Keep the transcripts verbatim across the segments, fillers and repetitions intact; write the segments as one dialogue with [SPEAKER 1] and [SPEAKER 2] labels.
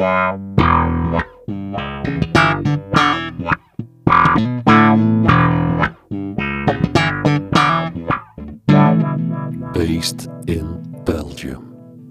[SPEAKER 1] Based in Belgium.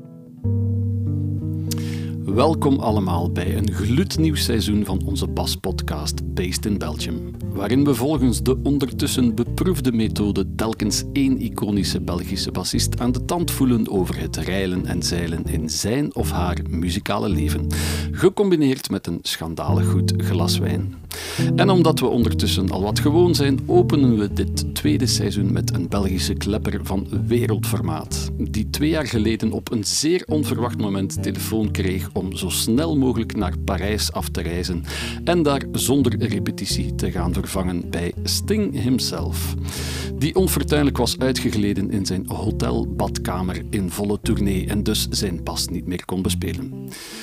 [SPEAKER 1] Welkom allemaal bij een gloednieuw seizoen van onze baspodcast Based in Belgium, waarin we volgens de ondertussen beproefde methode telkens één iconische Belgische bassist aan de tand voelen over het reilen en zeilen in zijn of haar muzikale leven, gecombineerd met een schandalig goed glas wijn. En omdat we ondertussen al wat gewoon zijn, openen we dit tweede seizoen met een Belgische klepper van wereldformaat, die twee jaar geleden op een zeer onverwacht moment telefoon kreeg om zo snel mogelijk naar Parijs af te reizen en daar zonder repetitie te gaan vervangen bij Sting himself, die onfortuinlijk was uitgegleden in zijn hotelbadkamer in volle tournee en dus zijn bas niet meer kon bespelen.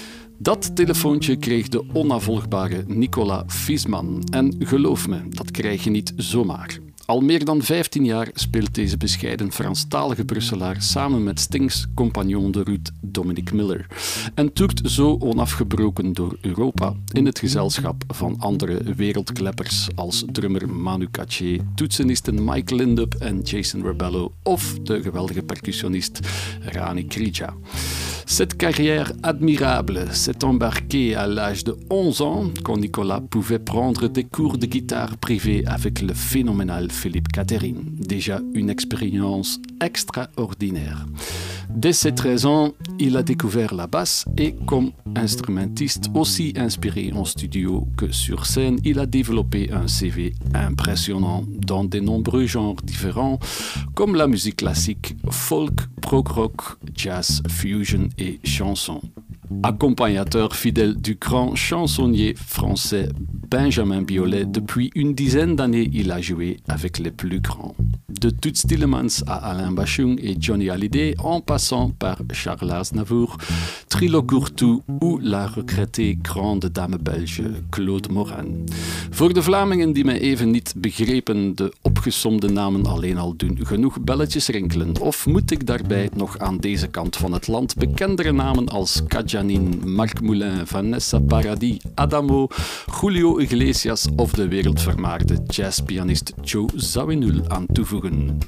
[SPEAKER 1] Dat telefoontje kreeg de onnavolgbare Nicolas Fiesman. En geloof me, dat krijg je niet zomaar. Al meer dan vijftien jaar speelt deze bescheiden Franstalige Brusselaar samen met Stings compagnon de route Dominic Miller en toert zo onafgebroken door Europa in het gezelschap van andere wereldkleppers als drummer Manu Katché, toetsenisten Mike Lindup en Jason Rebello of de geweldige percussionist Rani Krija. Cette carrière admirable s'est embarquée à l'âge de onze ans, quand Nicolas pouvait prendre des cours de guitare privés avec le phénoménal Philippe Catherine, déjà une expérience extraordinaire. Dès ses treize ans, il a découvert la basse et comme instrumentiste aussi inspiré en studio que sur scène, il a développé un C V impressionnant dans de nombreux genres différents comme la musique classique, folk, prog rock, jazz, fusion et chanson. Accompagnateur fidèle du grand chansonnier français Benjamin Biolay, depuis une dizaine d'années, il a joué avec les plus grands. De Toots Thielemans à Alain Bachung et Johnny Hallyday, en passant par Charles Aznavour, Trilo Courtou ou la regrettée grande dame belge Claude Morin. Voor de Vlamingen die mij even niet begrepen, de opgesomde namen alleen al doen genoeg belletjes rinkelen. Of moet ik daarbij nog aan deze kant van het land bekendere namen als Kajanin, Marc Moulin, Vanessa Paradis, Adamo, Julio Iglesias of de wereldvermaarde jazzpianist Joe Zawinul aan toevoegen.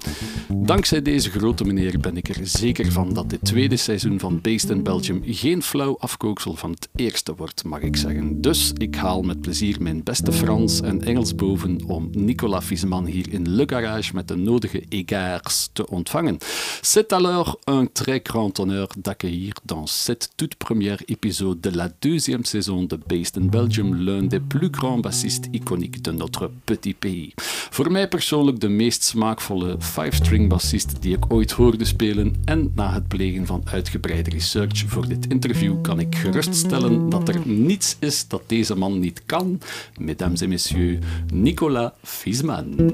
[SPEAKER 1] Dankzij deze grote meneer ben ik er zeker van dat dit tweede seizoen van Based in Belgium geen flauw afkooksel van het eerste wordt, mag ik zeggen. Dus ik haal met plezier mijn beste Frans en Engels boven om Nicolas Fiesman hier in Le Garage met de nodige égards te ontvangen. C'est alors un très grand honneur d'accueillir dans cette toute première épisode de la deuxième saison de Based in Belgium l'un des plus grands bassistes iconiques de notre petit pays. Voor mij persoonlijk de meest smaakvolle five-string bassist die ik ooit hoorde spelen en na het plegen van uitgebreide research voor dit interview kan ik geruststellen dat er niets is dat deze man niet kan. Mesdames et messieurs, Nicolas Fiesman.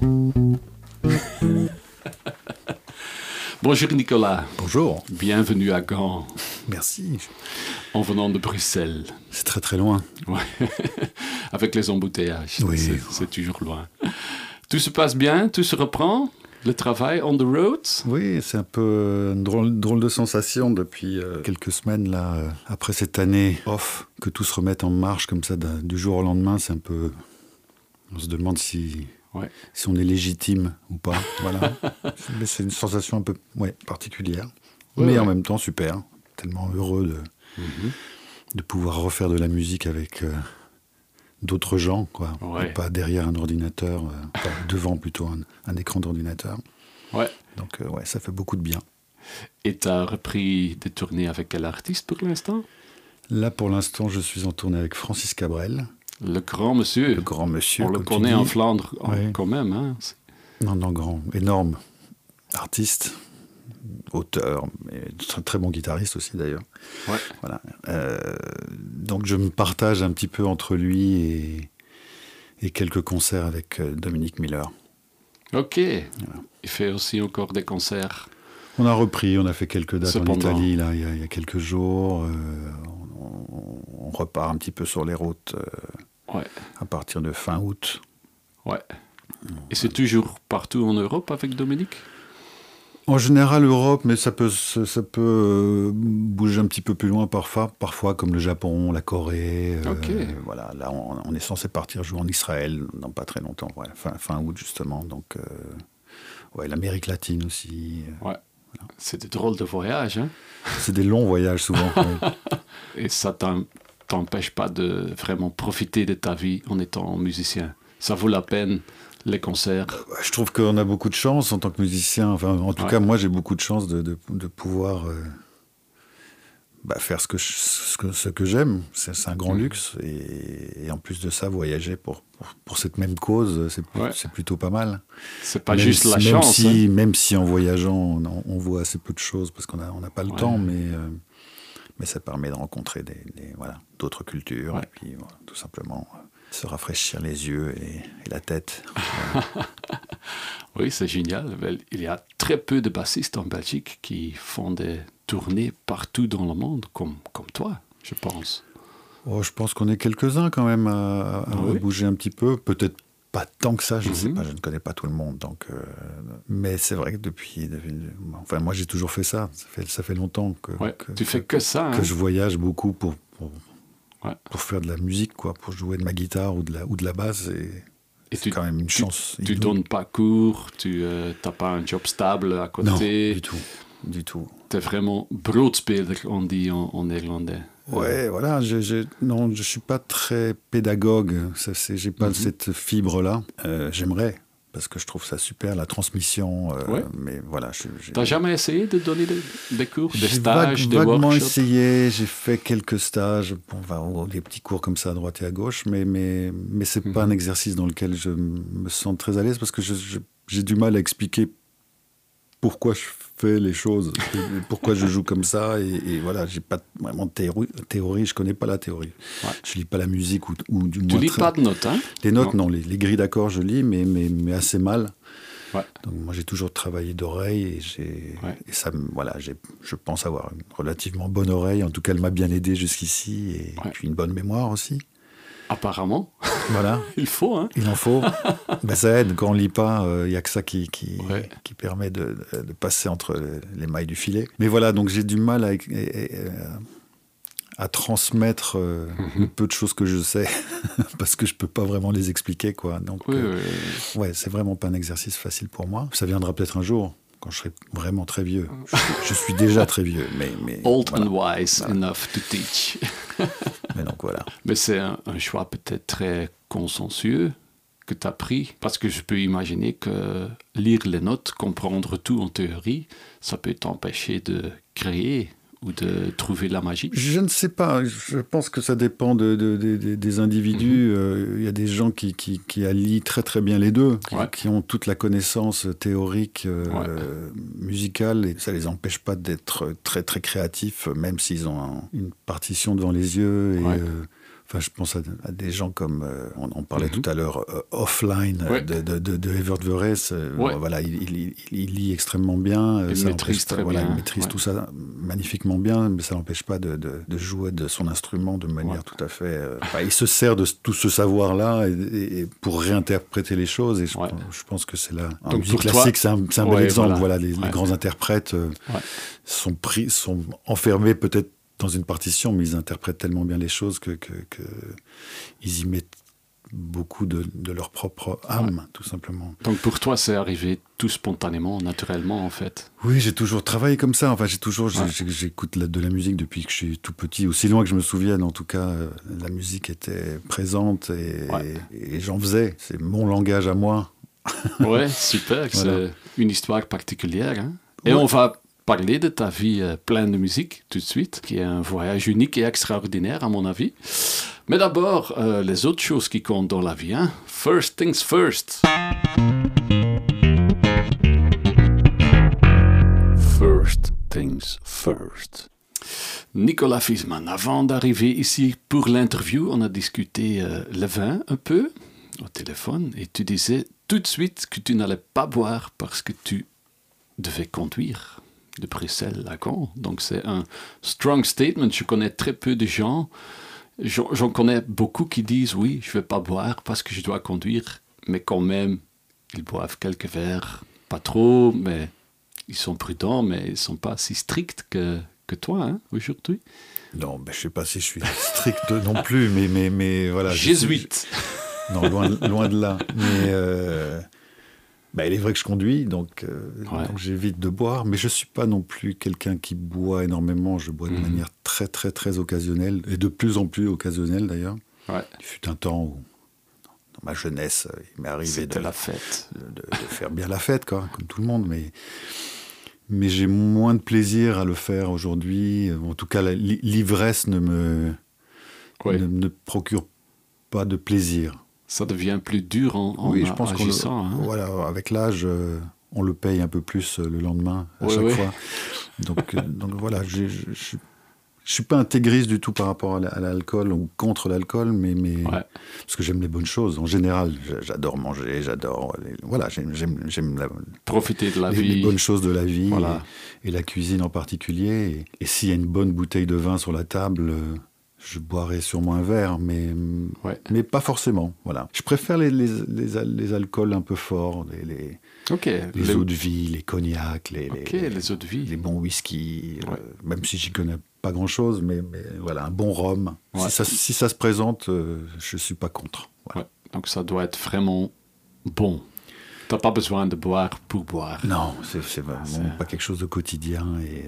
[SPEAKER 1] Bonjour Nicolas.
[SPEAKER 2] Bonjour.
[SPEAKER 1] Bienvenue à Gand.
[SPEAKER 2] Merci.
[SPEAKER 1] En venant de Bruxelles.
[SPEAKER 2] C'est très très loin.
[SPEAKER 1] Ouais. Avec les embouteillages,
[SPEAKER 2] oui.
[SPEAKER 1] c'est, c'est toujours loin. Tout se passe bien, tout se reprend, le travail on the road.
[SPEAKER 2] Oui, c'est un peu une drôle, drôle de sensation depuis euh, quelques semaines là, euh, après cette année off, que tout se remette en marche comme ça du jour au lendemain, c'est un peu, on se demande si, ouais. si on est légitime ou pas. Voilà, mais c'est une sensation un peu ouais, particulière, ouais, mais ouais. en même temps super, tellement heureux de, mm-hmm. de pouvoir refaire de la musique avec. Euh, d'autres gens, quoi. Ouais. Pas derrière un ordinateur, euh, pas devant plutôt un, un écran d'ordinateur.
[SPEAKER 1] Ouais.
[SPEAKER 2] Donc, euh, ouais, ça fait beaucoup de bien.
[SPEAKER 1] Et tu as repris des tournées avec quel artiste pour l'instant?
[SPEAKER 2] Là, pour l'instant, je suis en tournée avec Francis Cabrel.
[SPEAKER 1] Le grand monsieur.
[SPEAKER 2] Le grand monsieur.
[SPEAKER 1] On le connaît en Flandre
[SPEAKER 2] ouais.
[SPEAKER 1] quand même. Hein.
[SPEAKER 2] Non, non, grand, énorme artiste. Auteur, mais très, très bon guitariste aussi d'ailleurs.
[SPEAKER 1] Ouais.
[SPEAKER 2] Voilà. Euh, donc je me partage un petit peu entre lui et, et quelques concerts avec euh, Dominic Miller.
[SPEAKER 1] Ok. Voilà. Il fait aussi encore des concerts.
[SPEAKER 2] On a repris, on a fait quelques dates
[SPEAKER 1] Cependant.
[SPEAKER 2] en Italie là, il, y a, il y a quelques jours. Euh, on, on repart un petit peu sur les routes euh,
[SPEAKER 1] ouais.
[SPEAKER 2] à partir de fin août.
[SPEAKER 1] Ouais. Et c'est toujours partout en Europe avec Dominique?
[SPEAKER 2] En général, Europe, mais ça peut, ça peut euh, bouger un petit peu plus loin parfois, parfois comme le Japon, la Corée. Euh,
[SPEAKER 1] okay.
[SPEAKER 2] Voilà, là, on, on est censé partir jouer en Israël dans pas très longtemps, ouais, fin, fin août justement. Donc, euh, ouais, l'Amérique latine aussi.
[SPEAKER 1] Euh, ouais. Voilà. C'est des drôles de voyages, hein?
[SPEAKER 2] C'est des longs voyages souvent. Ouais.
[SPEAKER 1] Et ça t'empêche pas de vraiment profiter de ta vie en étant musicien. Ça vaut la peine. Les concerts.
[SPEAKER 2] Je trouve qu'on a beaucoup de chance en tant que musicien. Enfin, en tout ouais. cas, moi, j'ai beaucoup de chance de, de, de pouvoir euh, bah, faire ce que, je, ce que, ce que j'aime. C'est, c'est un grand mmh. luxe. Et, et en plus de ça, voyager pour, pour, pour cette même cause, c'est, ouais. c'est plutôt pas mal.
[SPEAKER 1] C'est pas
[SPEAKER 2] même
[SPEAKER 1] juste
[SPEAKER 2] si,
[SPEAKER 1] la
[SPEAKER 2] même
[SPEAKER 1] chance.
[SPEAKER 2] Si,
[SPEAKER 1] hein.
[SPEAKER 2] Même si en voyageant, on, on voit assez peu de choses parce qu'on n'a on a pas le ouais. temps, mais, euh, mais ça permet de rencontrer des, des, voilà, d'autres cultures. Ouais. Et puis, voilà, tout simplement... Euh, se rafraîchir les yeux et, et la tête.
[SPEAKER 1] Oui, c'est génial. Il y a très peu de bassistes en Belgique qui font des tournées partout dans le monde, comme, comme toi, je pense.
[SPEAKER 2] Oh, je pense qu'on est quelques-uns quand même à, à oui. bouger un petit peu. Peut-être pas tant que ça, je ne mm-hmm. sais pas, je ne connais pas tout le monde. Donc, euh, mais c'est vrai que depuis, depuis... Enfin, moi, j'ai toujours fait ça. Ça fait, ça fait longtemps que,
[SPEAKER 1] ouais,
[SPEAKER 2] que,
[SPEAKER 1] tu
[SPEAKER 2] que,
[SPEAKER 1] fais que ça.
[SPEAKER 2] Que
[SPEAKER 1] hein.
[SPEAKER 2] je voyage beaucoup pour... pour
[SPEAKER 1] Ouais.
[SPEAKER 2] pour faire de la musique, quoi, pour jouer de ma guitare ou de la, ou de la basse. Et, et c'est
[SPEAKER 1] tu,
[SPEAKER 2] quand même une
[SPEAKER 1] tu,
[SPEAKER 2] chance.
[SPEAKER 1] Tu ne donnes pas cours, tu n'as euh, pas un job stable à côté.
[SPEAKER 2] Non, du tout. Du tout.
[SPEAKER 1] Tu es vraiment broodspeler, on dit en, en néerlandais.
[SPEAKER 2] Ouais, euh. voilà. Je, je, non, je ne suis pas très pédagogue. Je n'ai pas mm-hmm. cette fibre-là. Euh, j'aimerais. Parce que je trouve ça super, la transmission. Euh, ouais. Mais voilà. Tu
[SPEAKER 1] n'as jamais essayé de donner des, des cours, des
[SPEAKER 2] j'ai
[SPEAKER 1] stages,
[SPEAKER 2] vague,
[SPEAKER 1] des
[SPEAKER 2] vaguement
[SPEAKER 1] workshops?
[SPEAKER 2] Essayé. J'ai fait quelques stages, bon, enfin, des petits cours comme ça à droite et à gauche, mais mais mais c'est mm-hmm. pas un exercice dans lequel je me sens très à l'aise parce que je, je, j'ai du mal à expliquer pourquoi je fais les choses, et pourquoi je joue comme ça, et, et voilà, j'ai pas vraiment de théorie, théorie, je connais pas la théorie. Ouais. Je lis pas la musique ou, ou du moins.
[SPEAKER 1] Tu lis
[SPEAKER 2] très...
[SPEAKER 1] pas de notes, hein?
[SPEAKER 2] Les notes, non, non les, les grilles d'accords, je lis, mais mais mais assez mal.
[SPEAKER 1] Ouais.
[SPEAKER 2] Donc moi j'ai toujours travaillé d'oreille et j'ai ouais. et ça voilà j'ai je pense avoir une relativement bonne oreille, en tout cas elle m'a bien aidé jusqu'ici et ouais. puis une bonne mémoire aussi.
[SPEAKER 1] Apparemment.
[SPEAKER 2] Voilà.
[SPEAKER 1] Il faut, hein.
[SPEAKER 2] Il en faut. Ben, ça aide. Quand on lit pas, il euh, y a que ça qui qui, ouais. qui permet de, de passer entre les mailles du filet. Mais voilà, donc j'ai du mal à, à, à transmettre euh, mm-hmm. le peu de choses que je sais parce que je peux pas vraiment les expliquer, quoi. Donc,
[SPEAKER 1] oui,
[SPEAKER 2] euh,
[SPEAKER 1] oui, oui.
[SPEAKER 2] ouais, c'est vraiment pas un exercice facile pour moi. Ça viendra peut-être un jour. Quand je serai vraiment très vieux. Je, je suis déjà très vieux, mais... mais
[SPEAKER 1] Old
[SPEAKER 2] voilà.
[SPEAKER 1] and wise
[SPEAKER 2] voilà.
[SPEAKER 1] enough to teach.
[SPEAKER 2] Mais donc voilà.
[SPEAKER 1] Mais c'est un, un choix peut-être très consensueux que tu as pris, parce que je peux imaginer que lire les notes, comprendre tout en théorie, ça peut t'empêcher de créer ou de trouver la magie.
[SPEAKER 2] Je ne sais pas. Je pense que ça dépend de, de, de, de, des individus. Il mm-hmm. euh, y a des gens qui, qui, qui allient très très bien les deux, qui,
[SPEAKER 1] ouais.
[SPEAKER 2] qui ont toute la connaissance théorique, euh,
[SPEAKER 1] ouais.
[SPEAKER 2] musicale, et ça ne les empêche pas d'être très très créatifs, même s'ils ont un, une partition devant les yeux. Et,
[SPEAKER 1] ouais.
[SPEAKER 2] euh, Enfin, je pense à, à des gens comme, euh, on en parlait mm-hmm. tout à l'heure, euh, Offline
[SPEAKER 1] ouais.
[SPEAKER 2] de, de, de, de Evert Verres. Euh,
[SPEAKER 1] ouais.
[SPEAKER 2] voilà, il, il, il, il lit extrêmement bien.
[SPEAKER 1] Il
[SPEAKER 2] ça
[SPEAKER 1] maîtrise très
[SPEAKER 2] voilà,
[SPEAKER 1] bien.
[SPEAKER 2] Il maîtrise ouais. tout ça magnifiquement bien, mais ça n'empêche pas de, de, de jouer de son instrument de manière ouais. tout à fait... Euh, enfin, il se sert de tout ce savoir-là et, et, et pour réinterpréter les choses. Et je,
[SPEAKER 1] ouais.
[SPEAKER 2] je pense que c'est là... En
[SPEAKER 1] Donc
[SPEAKER 2] musique
[SPEAKER 1] toi,
[SPEAKER 2] classique, c'est un, c'est un
[SPEAKER 1] ouais,
[SPEAKER 2] bel exemple.
[SPEAKER 1] Voilà,
[SPEAKER 2] voilà les,
[SPEAKER 1] ouais.
[SPEAKER 2] les grands interprètes euh,
[SPEAKER 1] ouais.
[SPEAKER 2] sont, pris, sont enfermés peut-être dans une partition, mais ils interprètent tellement bien les choses que, que, que ils y mettent beaucoup de, de leur propre âme, ouais. tout simplement.
[SPEAKER 1] Donc pour toi, c'est arrivé tout spontanément, naturellement, en fait.
[SPEAKER 2] Oui, j'ai toujours travaillé comme ça. Enfin, j'ai toujours,
[SPEAKER 1] ouais.
[SPEAKER 2] j'ai, j'écoute la, de la musique depuis que je suis tout petit, aussi loin que je me souvienne. En tout cas, euh, la musique était présente et,
[SPEAKER 1] ouais.
[SPEAKER 2] et, et j'en faisais. C'est mon langage à moi.
[SPEAKER 1] Ouais, super. Voilà. C'est une histoire particulière. Hein? Et ouais. on va parler de ta vie euh, pleine de musique tout de suite, qui est un voyage unique et extraordinaire à mon avis. Mais d'abord, euh, les autres choses qui comptent dans la vie. Hein? First things first. First things first. Nicolas Viessmann, avant d'arriver ici pour l'interview, on a discuté euh, le vin un peu au téléphone et tu disais tout de suite que tu n'allais pas boire parce que tu devais conduire de Bruxelles à Caen. Donc c'est un strong statement. Je connais très peu de gens. J'en, j'en connais beaucoup qui disent oui, je ne vais pas boire parce que je dois conduire, mais quand même, ils boivent quelques verres, pas trop, mais ils sont prudents, mais ils ne sont pas si stricts que, que toi, hein, aujourd'hui.
[SPEAKER 2] Non, ben, je ne sais pas si je suis strict non plus, mais, mais, mais voilà.
[SPEAKER 1] Jésuite.
[SPEAKER 2] Suis... Non, loin, loin de là. Mais euh... ben, il est vrai que je conduis, donc, euh, ouais. donc j'évite de boire, mais je ne suis pas non plus quelqu'un qui boit énormément. Je bois de mmh. manière très, très, très occasionnelle, et de plus en plus occasionnelle d'ailleurs.
[SPEAKER 1] Ouais.
[SPEAKER 2] Il fut un temps où, dans ma jeunesse, il m'est arrivé de,
[SPEAKER 1] la fête.
[SPEAKER 2] De, de, de faire bien la fête, quoi, comme tout le monde, mais... Mais j'ai moins de plaisir à le faire aujourd'hui. En tout cas, la, l'ivresse ne me, oui. ne, ne procure pas de plaisir.
[SPEAKER 1] Ça devient plus dur en, en
[SPEAKER 2] oui, je pense
[SPEAKER 1] agissant.
[SPEAKER 2] Qu'on le,
[SPEAKER 1] hein.
[SPEAKER 2] Voilà, avec l'âge, on le paye un peu plus le lendemain, à
[SPEAKER 1] oui,
[SPEAKER 2] chaque
[SPEAKER 1] oui.
[SPEAKER 2] fois. Donc, donc voilà, je ne suis pas intégriste du tout par rapport à l'alcool ou contre l'alcool, mais, mais
[SPEAKER 1] ouais.
[SPEAKER 2] parce que j'aime les bonnes choses. En général, j'adore manger, j'adore... Les, voilà, j'aime, j'aime, j'aime la,
[SPEAKER 1] profiter de la
[SPEAKER 2] les,
[SPEAKER 1] vie.
[SPEAKER 2] Les bonnes choses de la vie,
[SPEAKER 1] voilà.
[SPEAKER 2] et, et la cuisine en particulier. Et, et s'il y a une bonne bouteille de vin sur la table, je boirai sûrement un verre, mais,
[SPEAKER 1] ouais.
[SPEAKER 2] mais pas forcément. Voilà. Je préfère les, les, les, les alcools un peu forts, les... les
[SPEAKER 1] Okay.
[SPEAKER 2] Les, les eaux de vie, les cognacs, les,
[SPEAKER 1] okay,
[SPEAKER 2] les,
[SPEAKER 1] les eaux de vie,
[SPEAKER 2] les bons whisky,
[SPEAKER 1] ouais.
[SPEAKER 2] euh, même si j'y connais pas grand-chose, mais, mais voilà, un bon rhum.
[SPEAKER 1] Ouais.
[SPEAKER 2] Si, ça, si ça se présente, euh, je suis pas contre. Voilà.
[SPEAKER 1] Ouais. Donc ça doit être vraiment bon. Tu n'as pas besoin de boire pour boire.
[SPEAKER 2] Non, c'est, c'est vraiment c'est... pas quelque chose de quotidien. Et,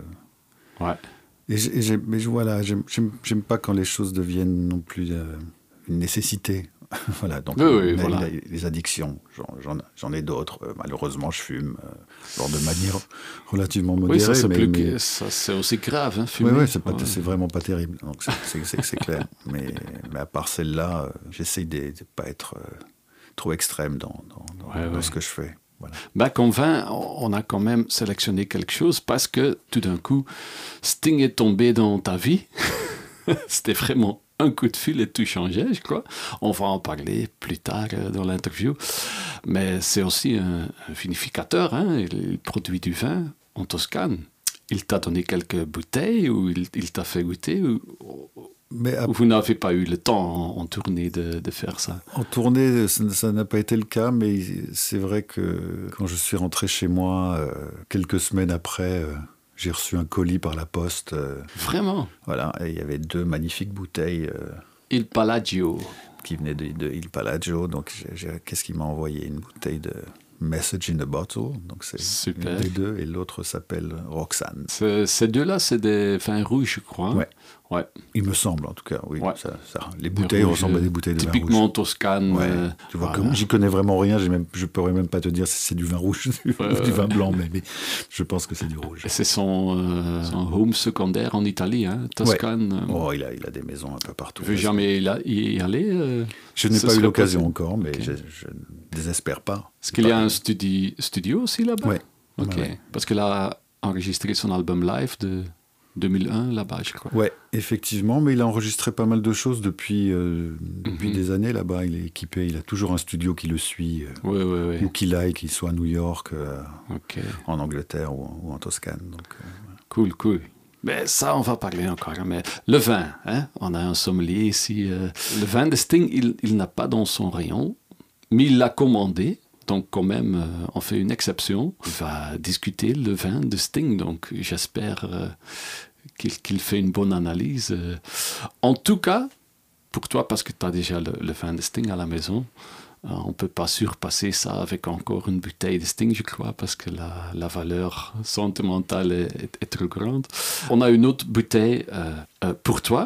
[SPEAKER 2] euh...
[SPEAKER 1] ouais.
[SPEAKER 2] et, j'ai, et j'ai, mais voilà, j'aime, j'aime, j'aime pas quand les choses deviennent non plus euh, une nécessité. Voilà, donc
[SPEAKER 1] oui, oui,
[SPEAKER 2] les,
[SPEAKER 1] voilà.
[SPEAKER 2] les, les addictions, j'en, j'en, j'en ai d'autres. Euh, malheureusement, je fume euh, alors de manière relativement modérée.
[SPEAKER 1] Oui, ça, c'est,
[SPEAKER 2] mais,
[SPEAKER 1] plus
[SPEAKER 2] mais...
[SPEAKER 1] Que, ça, c'est aussi grave, hein, fumer.
[SPEAKER 2] Oui, oui, c'est, pas,
[SPEAKER 1] ouais.
[SPEAKER 2] c'est vraiment pas terrible, donc c'est, c'est, c'est, c'est clair. mais, mais à part celle-là, euh, j'essaye de ne pas être euh, trop extrême dans, dans, dans,
[SPEAKER 1] ouais,
[SPEAKER 2] dans
[SPEAKER 1] ouais.
[SPEAKER 2] ce que je fais. Voilà.
[SPEAKER 1] Ben, comme vin, on a quand même sélectionné quelque chose parce que tout d'un coup, Sting est tombé dans ta vie. C'était vraiment un coup de fil et tout changeait, je crois. On va en parler plus tard dans l'interview. Mais c'est aussi un, un vinificateur, hein. Il produit du vin en Toscane. Il t'a donné quelques bouteilles ou il, il t'a fait goûter ou,
[SPEAKER 2] Mais à...
[SPEAKER 1] ou vous n'avez pas eu le temps en, en tournée de, de faire ça?
[SPEAKER 2] En tournée, ça, ça n'a pas été le cas, mais c'est vrai que quand je suis rentré chez moi, euh, quelques semaines après... Euh... J'ai reçu un colis par la poste. Euh,
[SPEAKER 1] Vraiment?
[SPEAKER 2] Voilà, et il y avait deux magnifiques bouteilles. Euh,
[SPEAKER 1] Il Palagio.
[SPEAKER 2] Qui venaient de, de Il Palagio. Donc, j'ai, j'ai, qu'est-ce qu'il m'a envoyé? Une bouteille de Message in a Bottle. Donc, c'est
[SPEAKER 1] super.
[SPEAKER 2] Une des deux. Et l'autre s'appelle Roxane.
[SPEAKER 1] C'est, ces deux-là, c'est des vins rouges, je crois.
[SPEAKER 2] Ouais.
[SPEAKER 1] Ouais.
[SPEAKER 2] Il me semble, en tout cas, oui.
[SPEAKER 1] Ouais.
[SPEAKER 2] Ça, ça, les bouteilles rouges, ressemblent à des bouteilles de vin rouge.
[SPEAKER 1] Typiquement Toscane.
[SPEAKER 2] Ouais.
[SPEAKER 1] Euh,
[SPEAKER 2] tu vois, voilà. Comme j'y connais vraiment rien, j'ai même, je ne pourrais même pas te dire si c'est du vin rouge ou euh, du vin blanc, mais, mais je pense que c'est du rouge.
[SPEAKER 1] C'est son, euh, son home secondaire en Italie, hein, Toscane.
[SPEAKER 2] Ouais. Oh, il a, il a des maisons un peu partout.
[SPEAKER 1] Tu veux jamais y aller euh,
[SPEAKER 2] Je n'ai pas eu l'occasion possible. encore, mais okay. je, je ne désespère pas.
[SPEAKER 1] Est-ce qu'il
[SPEAKER 2] pas
[SPEAKER 1] y a un studi- studio aussi là-bas?
[SPEAKER 2] Oui.
[SPEAKER 1] Ok. Ouais. Parce qu'il a enregistré son album live de deux mille un là-bas, je crois.
[SPEAKER 2] Oui, effectivement, mais il a enregistré pas mal de choses depuis, euh, depuis mm-hmm. des années là-bas. Il est équipé, il a toujours un studio qui le suit, euh,
[SPEAKER 1] oui, oui, oui.
[SPEAKER 2] où qu'il aille, qu'il soit à New York, euh,
[SPEAKER 1] okay.
[SPEAKER 2] en Angleterre ou, ou en Toscane. Donc, euh, voilà.
[SPEAKER 1] Cool, cool. Mais ça, on va parler encore. Mais le vin, hein? On a un sommelier ici. Euh, le vin de Sting, il, il n'a pas dans son rayon, mais il l'a commandé. Donc, quand même, euh, on fait une exception. On va discuter le vin de Sting. Donc, j'espère euh, qu'il, qu'il fait une bonne analyse. Euh, en tout cas, pour toi, parce que tu as déjà le, le vin de Sting à la maison, euh, on ne peut pas surpasser ça avec encore une bouteille de Sting, je crois, parce que la, la valeur sentimentale est, est, est trop grande. On a une autre bouteille euh, euh, pour toi,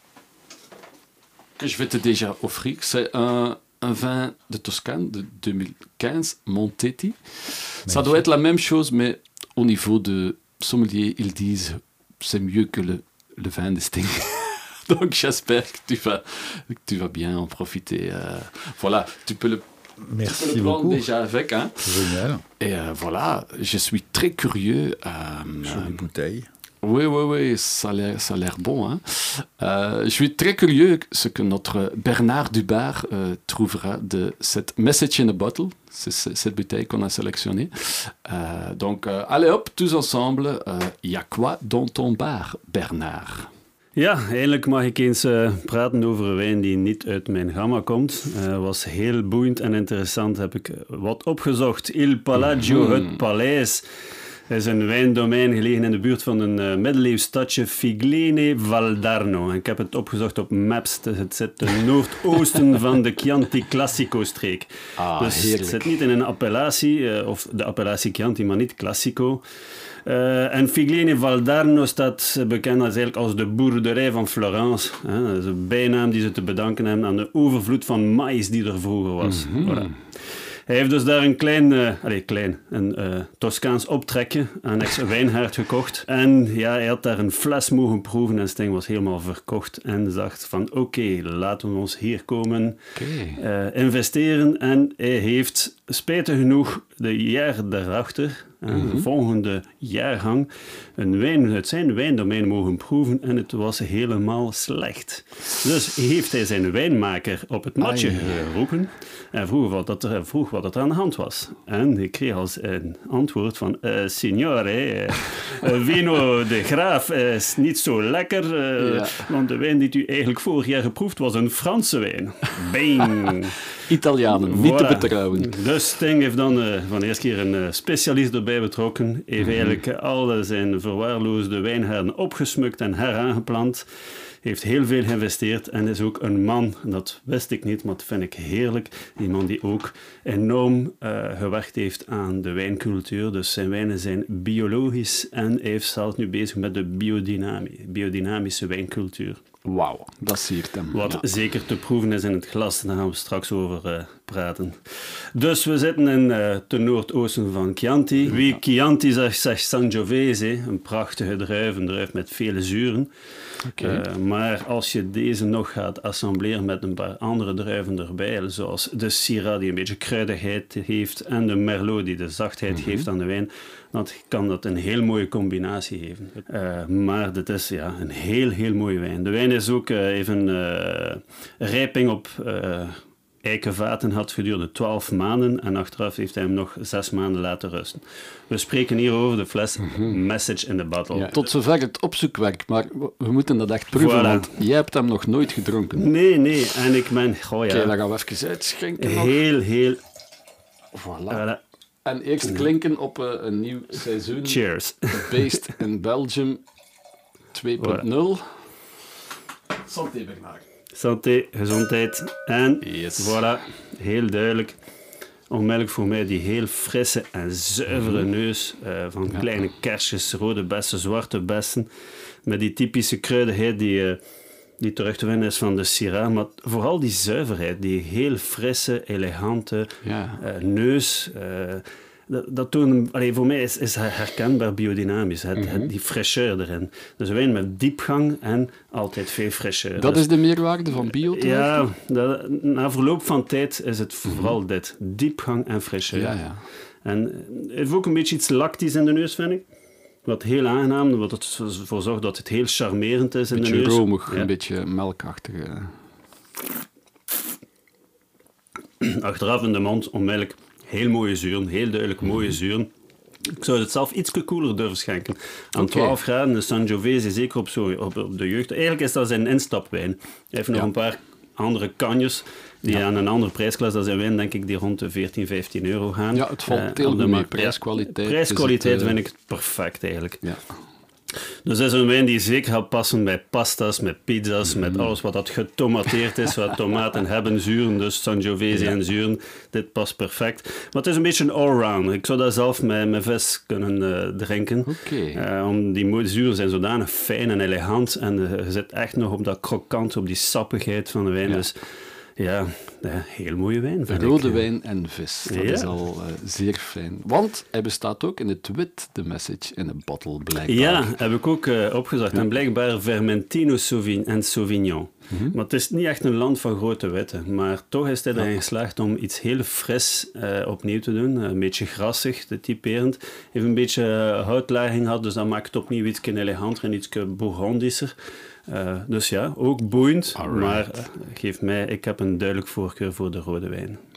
[SPEAKER 1] que je vais te déjà offrir. C'est un... un vin de Toscane de deux mille quinze, Montetti. Magnifique. Ça doit être la même chose, mais au niveau de sommelier, ils disent c'est mieux que le, le vin de Sting. Donc j'espère que tu vas, que tu vas bien en profiter. Euh, voilà, tu peux le,
[SPEAKER 2] Merci
[SPEAKER 1] tu peux le prendre
[SPEAKER 2] beaucoup.
[SPEAKER 1] déjà avec. Hein.
[SPEAKER 2] Génial.
[SPEAKER 1] Et euh, voilà, je suis très curieux. Euh,
[SPEAKER 2] Jolie euh, bouteille.
[SPEAKER 1] Oui, oui, oui, ça a l'air, ça a l'air bon. Hein. Euh, je suis très curieux ce que notre Bernard Dubar euh, trouvera de cette Message in a Bottle, c'est, c'est cette bouteille qu'on a sélectionnée. Euh, donc, euh, allez hop, tous ensemble. Il euh, y a quoi dans ton bar, Bernard?
[SPEAKER 3] Ja, eindelijk mag ik eens uh, praten over een wijn die niet uit mijn gamma komt. Uh, was heel boeiend en interessant, heb ik wat opgezocht. Il Palagio, mm-hmm. het paleis. Het is een wijndomein gelegen in de buurt van een uh, middeleeuws stadje Figlene Valdarno. Ik heb het opgezocht op Maps. Het zit ten noordoosten van de Chianti Classico-streek.
[SPEAKER 1] Ah,
[SPEAKER 3] dus
[SPEAKER 1] heerlijk.
[SPEAKER 3] het zit niet in een appellatie, uh, of de appellatie Chianti, maar niet Classico. Uh, en Figlene Valdarno staat bekend als, eigenlijk als de boerderij van Florence. Hè. Dat is een bijnaam die ze te bedanken hebben aan de overvloed van maïs die er vroeger was. Mm-hmm. Voilà. Hij heeft dus daar een klein, uh, allez, klein een uh, Toscaans optrekje aan ex-wijnhaard gekocht. En ja, hij had daar een fles mogen proeven en Sting was helemaal verkocht en dacht van oké, okay, laten we ons hier komen okay. uh, investeren. En hij heeft spijtig genoeg de jaren daarachter, mm-hmm. de volgende jaargang, een wijn uit zijn wijndomein mogen proeven en het was helemaal slecht. Dus heeft hij zijn wijnmaker op het matje Ai, geroepen en vroeg wat, dat er, vroeg wat er aan de hand was. En ik kreeg als een antwoord van uh, signore, uh, vino de Graaf is niet zo lekker, uh, ja. want de wijn die u eigenlijk vorig jaar geproefd was een Franse wijn. Bing!
[SPEAKER 1] Italianen, niet voilà. te betrouwen.
[SPEAKER 3] Dus Sting heeft dan uh, van de eerste keer een uh, specialist erbij betrokken. Heeft mm-hmm. eigenlijk al zijn verwaarloosde wijngaarden opgesmukt en heraangeplant. Heeft heel veel geïnvesteerd en is ook een man, dat wist ik niet, maar dat vind ik heerlijk. Die man die ook enorm uh, gewerkt heeft aan de wijncultuur. Dus zijn wijnen zijn biologisch en hij is zelfs nu bezig met de biodynamie, biodynamische wijncultuur.
[SPEAKER 1] Wauw, dat siert hem.
[SPEAKER 3] Wat
[SPEAKER 1] ja.
[SPEAKER 3] zeker te proeven is in het glas, daar gaan we straks over uh, praten. Dus we zitten in uh, ten noordoosten van Chianti. Wie Chianti zegt, zegt Sangiovese, een prachtige druif, een druif met vele zuren. Okay. Uh, maar als je deze nog gaat assembleren met een paar andere druiven erbij, zoals de Syrah die een beetje kruidigheid heeft en de Merlot die de zachtheid mm-hmm. geeft aan de wijn, dan kan dat een heel mooie combinatie geven. Uh, maar dit is ja, een heel, heel mooie wijn. De wijn is ook uh, even uh, rijping op uh, eikenvaten had gedurende twaalf maanden en achteraf heeft hij hem nog zes maanden laten rusten. We spreken hier over de fles mm-hmm. Message in the Bottle.
[SPEAKER 1] Ja, tot zover het opzoekwerk, maar we moeten dat echt proeven, voilà. want jij hebt hem nog nooit gedronken.
[SPEAKER 3] Nee, nee, en ik ben... Oh ja.
[SPEAKER 1] Oké, dan gaan we even uitschenken.
[SPEAKER 3] Heel, nog. heel...
[SPEAKER 1] Voilà. voilà. En eerst klinken op uh, een nieuw seizoen.
[SPEAKER 3] Cheers.
[SPEAKER 1] Based in Belgium twee punt nul. Voilà. Santé, Bernard.
[SPEAKER 3] Santé, gezondheid. En
[SPEAKER 1] yes.
[SPEAKER 3] voilà, heel duidelijk. Onmiddellijk voor mij die heel frisse en zuivere neus uh, van ja. kleine kersjes, rode bessen, zwarte bessen. Met die typische kruidigheid die, uh, die terug te vinden is van de Syrah. Maar vooral die zuiverheid, die heel frisse, elegante ja. uh, neus. Uh, dat, dat toont, allee, voor mij is, is herkenbaar biodynamisch, het, mm-hmm. het, die fraîcheur erin. Dus een wijn met diepgang en altijd veel fraîcheur.
[SPEAKER 1] Dat
[SPEAKER 3] dus,
[SPEAKER 1] is de meerwaarde van bio?
[SPEAKER 3] Ja, dat, na verloop van tijd is het vooral mm-hmm. dit. Diepgang en fraîcheur.
[SPEAKER 1] Ja, ja.
[SPEAKER 3] En het heeft ook een beetje iets lactisch in de neus, vind ik. Wat heel aangenaam, wat ervoor zorgt dat het heel charmerend is in de neus.
[SPEAKER 1] Een beetje romig, ja. een beetje melkachtig.
[SPEAKER 3] Achteraf in de mond onmiddellijk heel mooie zuren, heel duidelijk mooie mm-hmm. zuren. Ik zou het zelf iets koeler durven schenken. Aan okay. twaalf graden, de Sangiovese, zeker op, zo, op, op de jeugd. Eigenlijk is dat zijn instapwijn. Hij heeft nog ja. een paar andere kanjes die ja. aan een andere prijsklas, dat zijn wijn, denk ik, die rond de veertien, vijftien euro gaan.
[SPEAKER 1] Ja, het valt heel uh, mee. Prijskwaliteit.
[SPEAKER 3] Ja, prijskwaliteit
[SPEAKER 1] het, uh...
[SPEAKER 3] vind ik perfect, eigenlijk.
[SPEAKER 1] Ja.
[SPEAKER 3] Dus dat is een wijn die zeker gaat passen bij pasta's, met pizza's, mm. met alles wat dat getomateerd is, wat tomaten hebben, zuren, dus Sangiovese ja. en zuren. Dit past perfect. Maar het is een beetje een allround. Ik zou dat zelf met, met vis kunnen uh, drinken.
[SPEAKER 1] Okay.
[SPEAKER 3] Uh, om die mooie zuren zijn zodanig fijn en elegant en uh, je zit echt nog op dat krokant, op die sappigheid van de wijn. Ja. Dus ja, ja, heel mooie wijn, vind
[SPEAKER 1] Rode
[SPEAKER 3] ik.
[SPEAKER 1] wijn en vis, dat ja. is al uh, zeer fijn. Want hij bestaat ook in het wit, de Message in a Bottle, blijkbaar.
[SPEAKER 3] Ja, heb ik ook uh, opgezocht. Ja. En blijkbaar Vermentino Sauvignon en Sauvignon. Mm-hmm. Maar het is niet echt een land van grote witte. Maar toch is hij erin geslaagd om iets heel fris uh, opnieuw te doen. Een beetje grassig, te typerend. Heeft een beetje uh, houtlaging gehad, dus dat maakt het opnieuw iets eleganter en iets bourgondischer. Uh, dus ja, ook boeiend, Alright. maar uh, geef mij, ik heb een duidelijk voorkeur voor de rode wijn.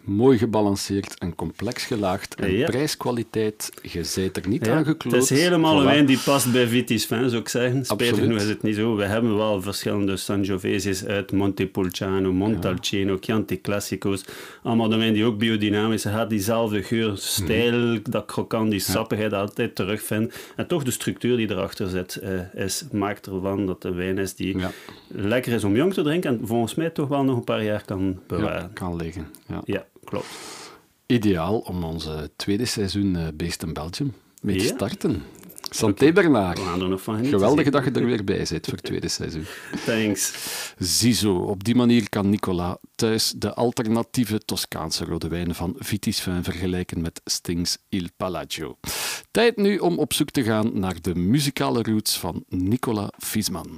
[SPEAKER 1] Mooi gebalanceerd en complex gelaagd. En
[SPEAKER 3] ja.
[SPEAKER 1] prijskwaliteit, je bent er niet
[SPEAKER 3] ja,
[SPEAKER 1] aan gekloot.
[SPEAKER 3] Het is helemaal
[SPEAKER 1] voilà.
[SPEAKER 3] een wijn die past bij Vitis Vin, zou ik zeggen. Spijtig
[SPEAKER 1] Absoluut.
[SPEAKER 3] genoeg is het niet zo. We hebben wel verschillende Sangioveses uit Montepulciano, Montalcino, ja. Chianti Classico's. Allemaal de wijn die ook biodynamisch had, diezelfde geur, stijl, mm. dat krokant, die sappigheid ja. altijd terugvindt. En toch de structuur die erachter zit, uh, is, maakt ervan dat de wijn is die ja. lekker is om jong te drinken en volgens mij toch wel nog een paar jaar kan bewaren.
[SPEAKER 1] Ja, kan liggen. Ja.
[SPEAKER 3] ja, klopt.
[SPEAKER 1] Ideaal om onze tweede seizoen uh, Based in Belgium mee te
[SPEAKER 3] ja.
[SPEAKER 1] starten. Santé Bernard.
[SPEAKER 3] Geweldig
[SPEAKER 1] dat je er weer bij zit voor het tweede seizoen.
[SPEAKER 3] Thanks.
[SPEAKER 1] Ziezo, op die manier kan Nicolas thuis de alternatieve Toscaanse rode wijnen van Vitis Vin vergelijken met Sting's Il Palagio. Tijd nu om op zoek te gaan naar de muzikale roots van Nicolas Viessmann.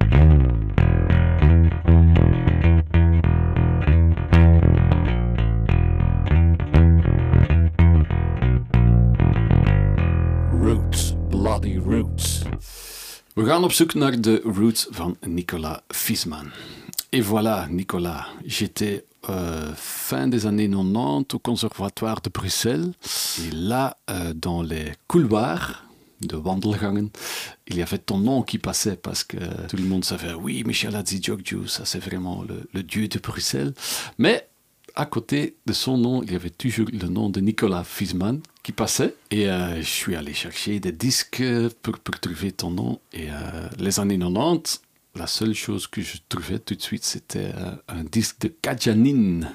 [SPEAKER 1] Roots, bloody roots. We gaan op zoek naar de roots van Nicolas Viessmann. Et voilà, Nicolas. J'étais euh, fin des années quatre-vingt-dix au Conservatoire de Bruxelles. Et là, euh, dans les couloirs de wandelgangen, il y avait ton nom qui passait parce que tout le monde savait, oui, Michel Hadjigeorgiou, ça c'est vraiment le, le dieu de Bruxelles. Mais à côté de son nom, il y avait toujours le nom de Nicolas Viessmann qui passait. Et euh, je suis allé chercher des disques pour, pour trouver ton nom. Et euh, les années quatre-vingt-dix, la seule chose que je trouvais tout de suite, c'était euh, un disque de Kajanin.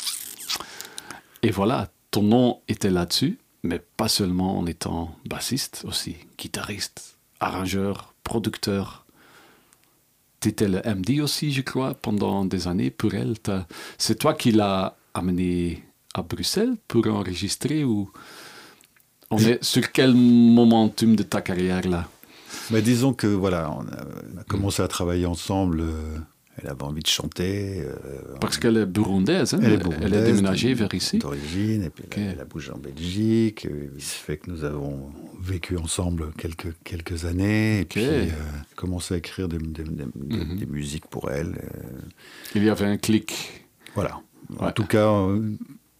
[SPEAKER 1] Et voilà, ton nom était là-dessus, mais pas seulement en étant bassiste, aussi guitariste, arrangeur, producteur. T'étais le M D aussi, je crois, pendant des années pour elle. T'as... C'est toi qui l'as amené à Bruxelles pour enregistrer ou on est sur quel momentum de ta carrière là?
[SPEAKER 2] Mais disons que voilà, on a, on a commencé à travailler ensemble. Euh, elle avait envie de chanter. Euh,
[SPEAKER 1] Parce on... qu'elle est burundaise, hein?
[SPEAKER 2] Elle est burundaise.
[SPEAKER 1] Elle est déménagée vers ici.
[SPEAKER 2] D'origine, et puis
[SPEAKER 1] okay.
[SPEAKER 2] elle, elle a bougé en Belgique. Il se fait que nous avons vécu ensemble quelques, quelques années. Et okay. puis, euh, commencé à écrire des, des, des, mm-hmm. des musiques pour elle. Euh...
[SPEAKER 1] Il y avait un clic.
[SPEAKER 2] Voilà.
[SPEAKER 1] Ouais.
[SPEAKER 2] En tout cas, euh,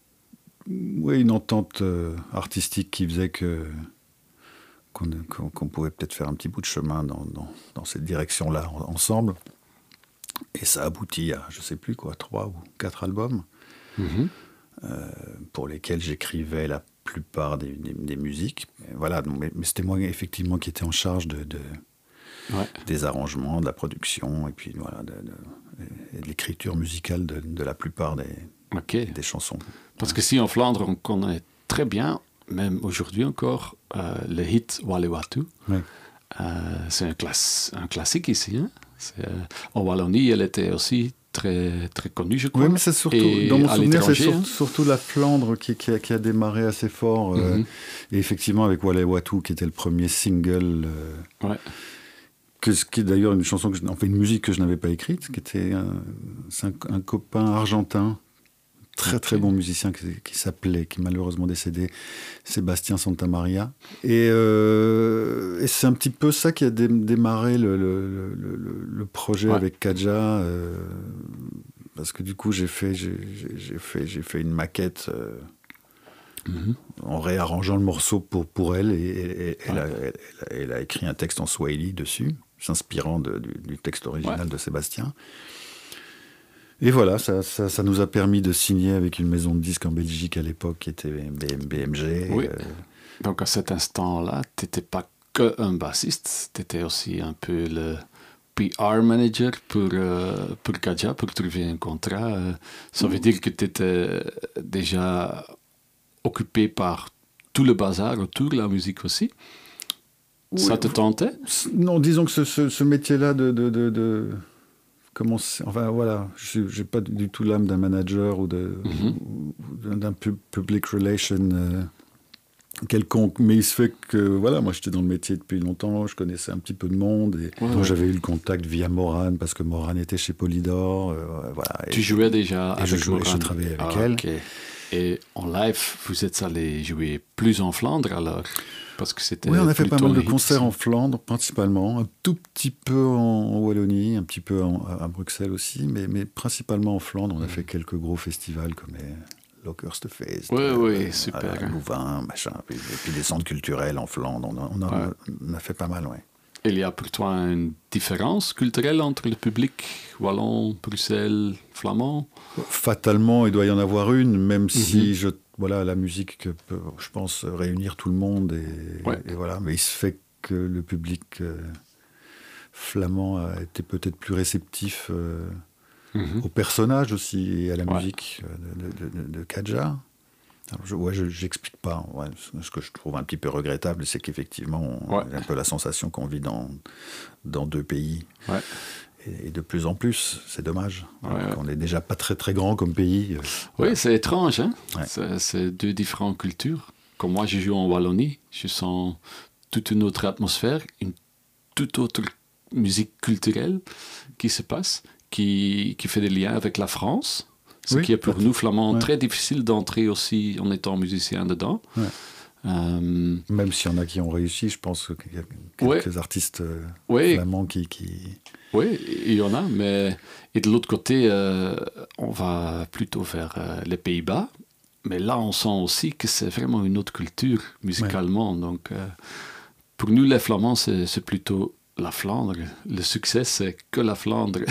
[SPEAKER 2] oui, une entente euh, artistique qui faisait que qu'on, qu'on, qu'on pouvait peut-être faire un petit bout de chemin dans, dans, dans cette direction-là en, ensemble. Et ça aboutit à, je ne sais plus quoi, trois ou quatre albums mm-hmm. euh, pour lesquels j'écrivais la plupart des, des, des musiques. Et voilà, donc, mais, mais c'était moi effectivement qui étais en charge de, de, ouais. des arrangements, de la production et puis voilà, de, de, et de l'écriture musicale de, de la plupart des, okay. des chansons.
[SPEAKER 1] Parce que si en Flandre, on connaît très bien, même aujourd'hui encore, euh, le hit Wale-Watu.
[SPEAKER 2] Ouais.
[SPEAKER 1] Euh, c'est un, class- un classique ici. Hein? C'est, euh, en Wallonie, elle était aussi très, très connue, je crois.
[SPEAKER 2] Oui, mais c'est surtout, et dans mon souvenir, c'est sur, hein? surtout la Flandre qui, qui, a, qui a démarré assez fort. Euh, mm-hmm. Et effectivement, avec Wale-Watu, qui était le premier single. Euh,
[SPEAKER 1] ouais.
[SPEAKER 2] que, qui est d'ailleurs une chanson, que je, enfin une musique que je n'avais pas écrite, qui était un, c'est un, un copain argentin. Très très bon musicien qui, qui s'appelait, qui est malheureusement décédé, Sébastien Santamaria. Et, euh, et c'est un petit peu ça qui a dé- démarré le, le, le, le projet ouais. avec Kaja, euh, parce que du coup j'ai fait, j'ai, j'ai fait, j'ai fait une maquette euh, mm-hmm. en réarrangeant le morceau pour, pour elle, et, et, et ouais. elle, a, elle, elle a écrit un texte en swahili dessus, s'inspirant de, du, du texte original ouais. de Sébastien. Et voilà, ça, ça, ça nous a permis de signer avec une maison de disques en Belgique à l'époque qui était B M G.
[SPEAKER 1] Oui.
[SPEAKER 2] Euh...
[SPEAKER 1] Donc à cet instant-là, tu n'étais pas qu'un bassiste, tu étais aussi un peu le P R manager pour, euh, pour Kaja, pour trouver un contrat. Euh, ça veut dire que tu étais déjà occupé par tout le bazar autour de la musique aussi. Oui. Ça te tentait?
[SPEAKER 2] Non, disons que ce, ce, ce métier-là de... de, de, de... Comment enfin voilà, je n'ai pas du tout l'âme d'un manager ou, de, mm-hmm. ou d'un pub, public relation euh, quelconque, mais il se fait que voilà, moi j'étais dans le métier depuis longtemps, je connaissais un petit peu de monde et ouais, ouais. j'avais eu le contact via Morane parce que Morane était chez Polydor. Euh, voilà,
[SPEAKER 1] tu et, jouais déjà
[SPEAKER 2] et
[SPEAKER 1] avec
[SPEAKER 2] je jouais,
[SPEAKER 1] Morane.
[SPEAKER 2] Je travaillais avec
[SPEAKER 1] ah,
[SPEAKER 2] elle.
[SPEAKER 1] Okay. Et en live, vous êtes allé jouer plus en Flandre alors? Parce que c'était
[SPEAKER 2] oui, on a fait pas mal de
[SPEAKER 1] hit,
[SPEAKER 2] concerts en Flandre, principalement, un tout petit peu en Wallonie, un petit peu en, à Bruxelles aussi, mais, mais principalement en Flandre. On a mmh. fait quelques gros festivals comme Lokerstefeest,
[SPEAKER 1] Oui,
[SPEAKER 2] euh,
[SPEAKER 1] oui, super.
[SPEAKER 2] à, à Louvain, machin, puis, et puis des centres culturels en Flandre. On, a, on, a,
[SPEAKER 1] Ouais.
[SPEAKER 2] on a fait pas mal, oui.
[SPEAKER 1] Il y a pour toi une différence culturelle entre le public wallon, Bruxelles, flamand?
[SPEAKER 2] Fatalement, il doit y en avoir une, même
[SPEAKER 1] Mhm.
[SPEAKER 2] si je, voilà, la musique peut, je pense, réunir tout le monde. Et,
[SPEAKER 1] Ouais.
[SPEAKER 2] et voilà. Mais il se fait que le public euh, flamand a été peut-être plus réceptif euh,
[SPEAKER 1] Mhm.
[SPEAKER 2] au personnage aussi et à la
[SPEAKER 1] Ouais.
[SPEAKER 2] musique de, de, de, de Kadja. Alors, je, ouais, je n'explique pas. Ouais. Ce que je trouve un petit peu regrettable, c'est qu'effectivement, on
[SPEAKER 1] Ouais.
[SPEAKER 2] a un peu la sensation qu'on vit dans, dans deux pays.
[SPEAKER 1] Ouais.
[SPEAKER 2] Et, et de plus en plus, c'est dommage.
[SPEAKER 1] Ouais,
[SPEAKER 2] Alors
[SPEAKER 1] ouais.
[SPEAKER 2] qu'on n'est déjà pas très très grand comme pays. euh,
[SPEAKER 1] Oui,
[SPEAKER 2] voilà.
[SPEAKER 1] c'est étrange, hein?
[SPEAKER 2] Ouais.
[SPEAKER 1] C'est, c'est deux différentes cultures. Comme moi, je joue en Wallonie, je sens toute une autre atmosphère, une toute autre musique culturelle qui se passe, qui, qui fait des liens avec la France, ce
[SPEAKER 2] Oui,
[SPEAKER 1] qui est pour
[SPEAKER 2] peut-
[SPEAKER 1] nous, flamands,
[SPEAKER 2] ouais.
[SPEAKER 1] très difficile d'entrer aussi en étant musicien dedans.
[SPEAKER 2] Ouais.
[SPEAKER 1] Euh,
[SPEAKER 2] Même s'il y en a qui ont réussi, je pense qu'il y a quelques artistes euh,
[SPEAKER 1] oui,
[SPEAKER 2] flamands qui, qui...
[SPEAKER 1] oui, il y en a, mais et de l'autre côté, euh, on va plutôt vers euh, les Pays-Bas. Mais là, on sent aussi que c'est vraiment une autre culture musicalement. Ouais. Donc, euh, pour nous, les Flamands, c'est, c'est plutôt la Flandre. Le succès, c'est que la Flandre.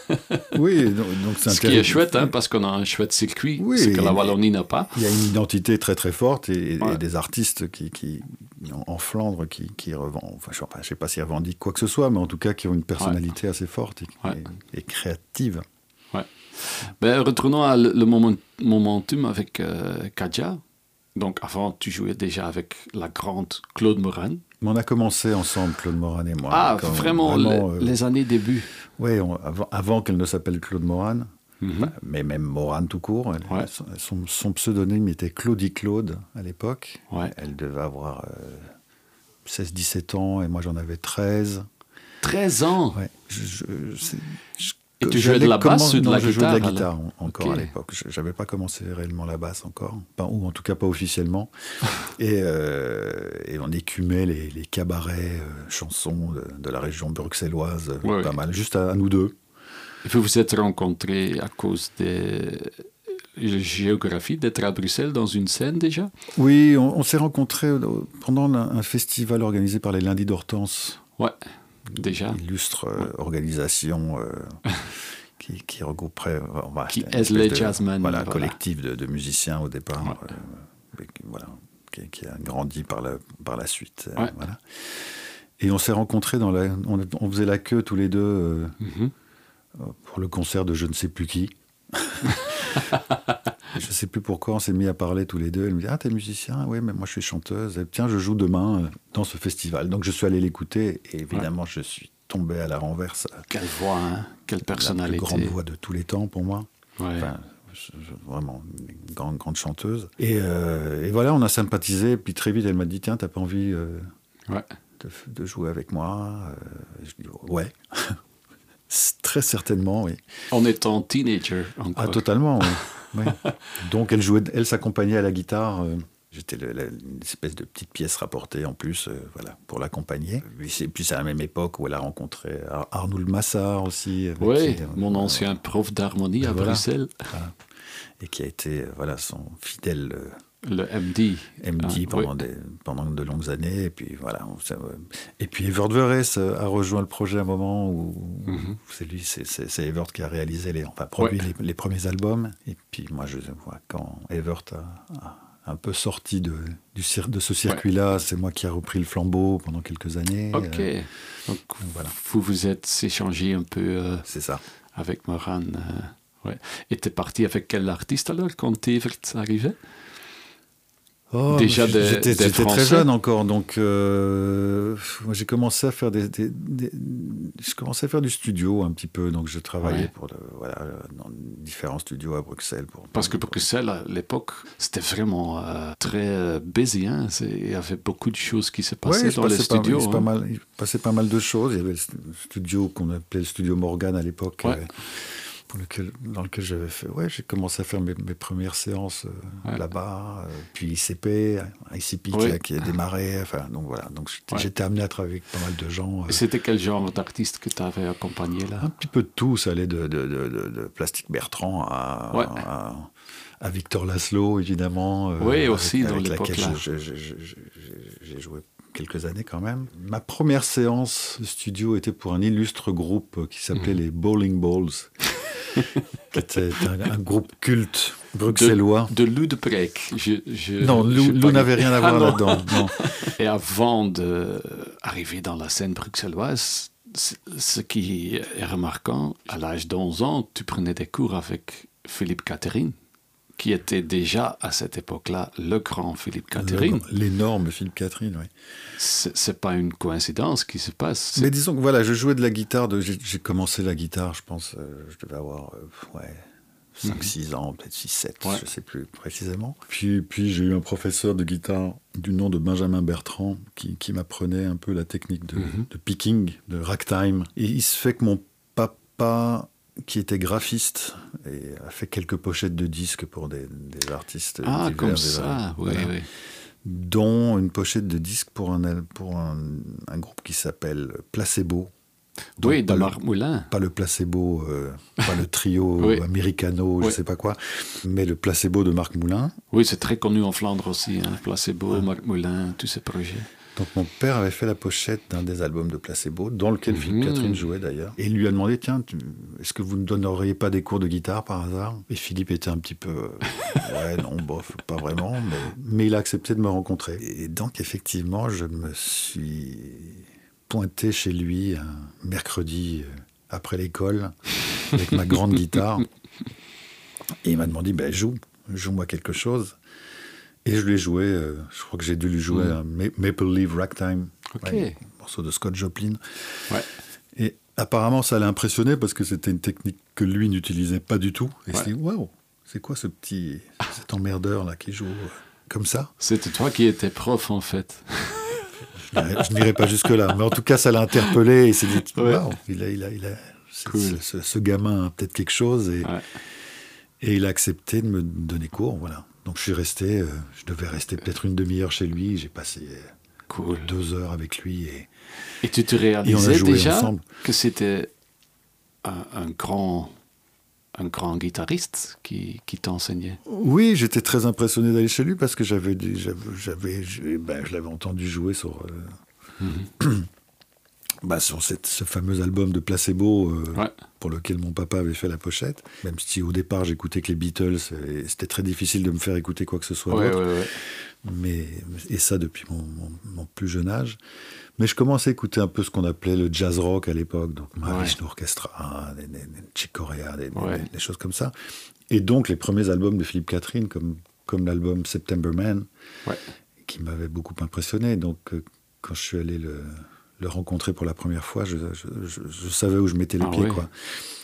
[SPEAKER 2] Oui, donc, donc c'est
[SPEAKER 1] ce qui est chouette, hein, parce qu'on a un chouette circuit, oui, ce que la Wallonie n'a pas.
[SPEAKER 2] Il y a une identité très très forte et,
[SPEAKER 1] ouais.
[SPEAKER 2] et des artistes qui, qui en, en Flandre qui, qui revendiquent, enfin, je ne sais pas s'ils revendiquent quoi que ce soit, mais en tout cas qui ont une personnalité ouais. assez forte et,
[SPEAKER 1] ouais.
[SPEAKER 2] et, et créative.
[SPEAKER 1] Ouais. Ben, retournons à le, le moment, momentum avec euh, Kadja. Donc avant, tu jouais déjà avec la grande Claude Moran.
[SPEAKER 2] Mais on a commencé ensemble, Claude Moran et moi.
[SPEAKER 1] Ah, vraiment, vraiment les, euh, les années début.
[SPEAKER 2] Oui, on, avant, avant qu'elle ne s'appelle Claude Moran, mm-hmm. bah, mais même Moran tout court. Elle,
[SPEAKER 1] ouais.
[SPEAKER 2] son, son pseudonyme était Claudie Claude à l'époque.
[SPEAKER 1] Ouais.
[SPEAKER 2] Elle devait avoir euh, seize dix-sept ans et moi j'en avais treize.
[SPEAKER 1] treize ans
[SPEAKER 2] ouais, je, je, je,
[SPEAKER 1] Et tu jouais de la basse
[SPEAKER 2] comment...
[SPEAKER 1] ou de
[SPEAKER 2] non,
[SPEAKER 1] la
[SPEAKER 2] je
[SPEAKER 1] guitare
[SPEAKER 2] jouais de la guitare alors. encore
[SPEAKER 1] okay.
[SPEAKER 2] à l'époque. Je n'avais pas commencé réellement la basse encore, pas, ou en tout cas pas officiellement. et, euh, et on écumait les, les cabarets, euh, chansons de, de la région bruxelloise,
[SPEAKER 1] ouais.
[SPEAKER 2] pas mal, juste à, à nous deux.
[SPEAKER 1] Et vous vous êtes rencontrés à cause de la géographie, d'être à Bruxelles dans une scène déjà?
[SPEAKER 2] Oui, on, on s'est rencontrés pendant un, un festival organisé par les Lundis d'Hortense.
[SPEAKER 1] Ouais, déjà.
[SPEAKER 2] Illustre euh,
[SPEAKER 1] ouais.
[SPEAKER 2] organisation euh, qui, qui regrouperait... Euh, bah,
[SPEAKER 1] qui aide les
[SPEAKER 2] de,
[SPEAKER 1] jazzmen.
[SPEAKER 2] Voilà,
[SPEAKER 1] voilà.
[SPEAKER 2] collectif de, de musiciens au départ,
[SPEAKER 1] ouais.
[SPEAKER 2] euh, voilà, qui, qui a grandi par la, par la suite.
[SPEAKER 1] Ouais.
[SPEAKER 2] Euh, voilà. Et on s'est rencontrés, dans la, on, on faisait la queue tous les deux euh, mm-hmm. pour le concert de je ne sais plus qui. Je ne sais plus pourquoi on s'est mis à parler tous les deux. Elle me dit « Ah, t'es musicien ? Oui, mais moi je suis chanteuse. Et, tiens, je joue demain dans ce festival. » Donc je suis allé l'écouter et évidemment ouais. je suis tombé à la renverse.
[SPEAKER 1] Quelle voix, hein ? Quelle personnalité.
[SPEAKER 2] La plus grande voix de tous les temps pour moi.
[SPEAKER 1] Ouais.
[SPEAKER 2] Enfin, je, je, vraiment une grande, grande chanteuse. Et, euh, et voilà, on a sympathisé. Et puis très vite, elle m'a dit « Tiens, t'as pas envie euh, ouais. de, de jouer avec moi ?» Je dis « Ouais. » Très certainement, oui.
[SPEAKER 1] En étant teenager encore.
[SPEAKER 2] Ah, totalement, oui. oui. Donc, elle jouait, elle s'accompagnait à la guitare. Euh, j'étais le, la, une espèce de petite pièce rapportée en plus, euh, voilà, pour l'accompagner. Puis c'est, puis c'est à la même époque où elle a rencontré Ar- Arnould Massard aussi.
[SPEAKER 1] Oui, qui, mon euh, ancien prof d'harmonie à
[SPEAKER 2] voilà,
[SPEAKER 1] Bruxelles.
[SPEAKER 2] Voilà. Et qui a été, voilà, son fidèle... Euh,
[SPEAKER 1] le M D.
[SPEAKER 2] M D ah, pendant, oui. des, pendant de longues années. Et puis, voilà, on, ça, et puis Evert Verres a rejoint le projet à un moment où mm-hmm. c'est lui, c'est, c'est, c'est Evert qui a réalisé, les, enfin produit ouais. les, les premiers albums. Et puis moi, je vois, quand Evert a, a un peu sorti de, du, de ce circuit-là, ouais. c'est moi qui ai repris le flambeau pendant quelques années.
[SPEAKER 1] Ok. Euh, Donc, voilà. Vous vous êtes échangé un peu euh,
[SPEAKER 2] c'est ça.
[SPEAKER 1] avec Moran. Euh, ouais. Et t'es parti avec quel artiste alors quand Evert arrivait?
[SPEAKER 2] Oh, Déjà des, j'étais, des j'étais très jeune encore, donc euh, moi j'ai commencé à faire des, des, des, je commençais à faire du studio un petit peu, donc je travaillais ouais. pour le, voilà, dans différents studios à Bruxelles. Pour,
[SPEAKER 1] Parce que pour Bruxelles à l'époque c'était vraiment euh, très busy, hein. Il y avait beaucoup de choses qui se passaient ouais, dans les studios.
[SPEAKER 2] Pas,
[SPEAKER 1] hein.
[SPEAKER 2] pas mal, il passait pas mal de choses. Il y avait le studio qu'on appelait le studio Morgan à l'époque.
[SPEAKER 1] Ouais.
[SPEAKER 2] Euh, Pour lequel, dans lequel j'avais fait, ouais, j'ai commencé à faire mes, mes premières séances euh, ouais. là-bas, euh, puis I C P, I C P oui. qui, a, qui a démarré, enfin, donc voilà, donc j'étais, ouais. j'étais amené à travailler avec pas mal de gens. Euh.
[SPEAKER 1] Et c'était quel genre d'artiste que tu avais accompagné là?
[SPEAKER 2] Un petit peu de tout, ça allait de, de, de, de, de Plastique Bertrand à,
[SPEAKER 1] ouais.
[SPEAKER 2] à, à Victor Laszlo, évidemment.
[SPEAKER 1] Euh, oui, aussi,
[SPEAKER 2] avec,
[SPEAKER 1] dans l'époque-là.
[SPEAKER 2] Je, je, je, je, j'ai joué quelques années quand même. Ma première séance de studio était pour un illustre groupe qui s'appelait mmh. les Bowling Balls, qui était un, un groupe culte bruxellois.
[SPEAKER 1] De, de Lou de Prek. Je, je,
[SPEAKER 2] non, Lou, Lou n'avait rien à voir ah, là-dedans. Non.
[SPEAKER 1] Et avant d'arriver dans la scène bruxelloise, ce qui est remarquant, à l'âge d'onze ans, tu prenais des cours avec Philippe Catherine, qui était déjà à cette époque-là le grand Philippe Catherine.
[SPEAKER 2] Le, l'énorme Philippe Catherine, oui.
[SPEAKER 1] C'est, c'est pas une coïncidence qui se passe.
[SPEAKER 2] Mais disons que voilà, je jouais de la guitare, de, j'ai, j'ai commencé la guitare, je pense, euh, je devais avoir euh, ouais, cinq six mm-hmm. ans, peut-être six sept, ouais. je ne sais plus précisément. Puis, puis j'ai eu un professeur de guitare du nom de Benjamin Bertrand qui, qui m'apprenait un peu la technique de, mm-hmm. de picking, de ragtime. Et il se fait que mon papa, qui était graphiste et a fait quelques pochettes de disques pour des, des artistes.
[SPEAKER 1] Ah,
[SPEAKER 2] divers,
[SPEAKER 1] comme ça, oui,
[SPEAKER 2] voilà.
[SPEAKER 1] oui.
[SPEAKER 2] Dont une pochette de disques pour un, pour un, un groupe qui s'appelle Placebo.
[SPEAKER 1] Donc, oui, de Marc Moulin.
[SPEAKER 2] Pas le Placebo, euh, pas le trio oui. Americano, je ne oui. sais pas quoi, mais le Placebo de Marc Moulin.
[SPEAKER 1] Oui, c'est très connu en Flandre aussi, hein, Placebo, ouais. Marc Moulin, tous ces projets.
[SPEAKER 2] Donc mon père avait fait la pochette d'un des albums de Placebo, dans lequel mmh. Philippe Catherine jouait d'ailleurs. Et il lui a demandé, tiens, tu, est-ce que vous ne donneriez pas des cours de guitare par hasard ? Et Philippe était un petit peu, euh, ouais, non, bof, pas vraiment, mais, mais il a accepté de me rencontrer. Et donc effectivement, je me suis pointé chez lui un mercredi après l'école, avec ma grande guitare. Et il m'a demandé, ben joue, joue-moi quelque chose. Et je lui ai joué, euh, je crois que j'ai dû lui jouer mmh. un Ma- Maple Leaf Ragtime,
[SPEAKER 1] okay.
[SPEAKER 2] ouais, un morceau de Scott Joplin.
[SPEAKER 1] Ouais.
[SPEAKER 2] Et apparemment, ça l'a impressionné parce que c'était une technique que lui n'utilisait pas du tout. Et ouais. il s'est dit, waouh, c'est quoi ce petit, cet emmerdeur là qui joue euh, comme ça ?
[SPEAKER 1] C'était toi qui étais prof en fait.
[SPEAKER 2] Je n'irai, je n'irai pas jusque-là, mais en tout cas, ça l'a interpellé et il s'est dit, waouh,
[SPEAKER 1] ouais.
[SPEAKER 2] il a, il a, il a,
[SPEAKER 1] cool.
[SPEAKER 2] ce, ce gamin a peut-être quelque chose. Et,
[SPEAKER 1] ouais.
[SPEAKER 2] et il a accepté de me donner cours, voilà. Donc je suis resté, euh, je devais rester peut-être une demi-heure chez lui. J'ai passé
[SPEAKER 1] cool.
[SPEAKER 2] deux heures avec lui. Et,
[SPEAKER 1] et tu te réalisais déjà ensemble. Que c'était un, un, grand, un grand guitariste qui, qui t'enseignait ?
[SPEAKER 2] Oui, j'étais très impressionné d'aller chez lui parce que j'avais, j'avais, j'avais ben, je l'avais entendu jouer sur, euh, mm-hmm. bah, sur cette, ce fameux album de Placebo euh,
[SPEAKER 1] ouais.
[SPEAKER 2] pour lequel mon papa avait fait la pochette. Même si au départ j'écoutais que les Beatles, et c'était très difficile de me faire écouter quoi que ce soit
[SPEAKER 1] ouais,
[SPEAKER 2] d'autre.
[SPEAKER 1] Ouais, ouais.
[SPEAKER 2] Mais, et ça depuis mon, mon, mon plus jeune âge. Mais je commençais à écouter un peu ce qu'on appelait le jazz rock à l'époque, donc Mahavishnu ouais. Orchestra, des, des, des Chick Corea, des, ouais. des, des choses comme ça. Et donc les premiers albums de Philippe Catherine, comme, comme l'album September Man,
[SPEAKER 1] ouais.
[SPEAKER 2] qui m'avait beaucoup impressionné. Donc euh, quand je suis allé le... le rencontrer pour la première fois, je, je, je, je savais où je mettais les
[SPEAKER 1] ah,
[SPEAKER 2] pieds.
[SPEAKER 1] Oui.
[SPEAKER 2] Quoi.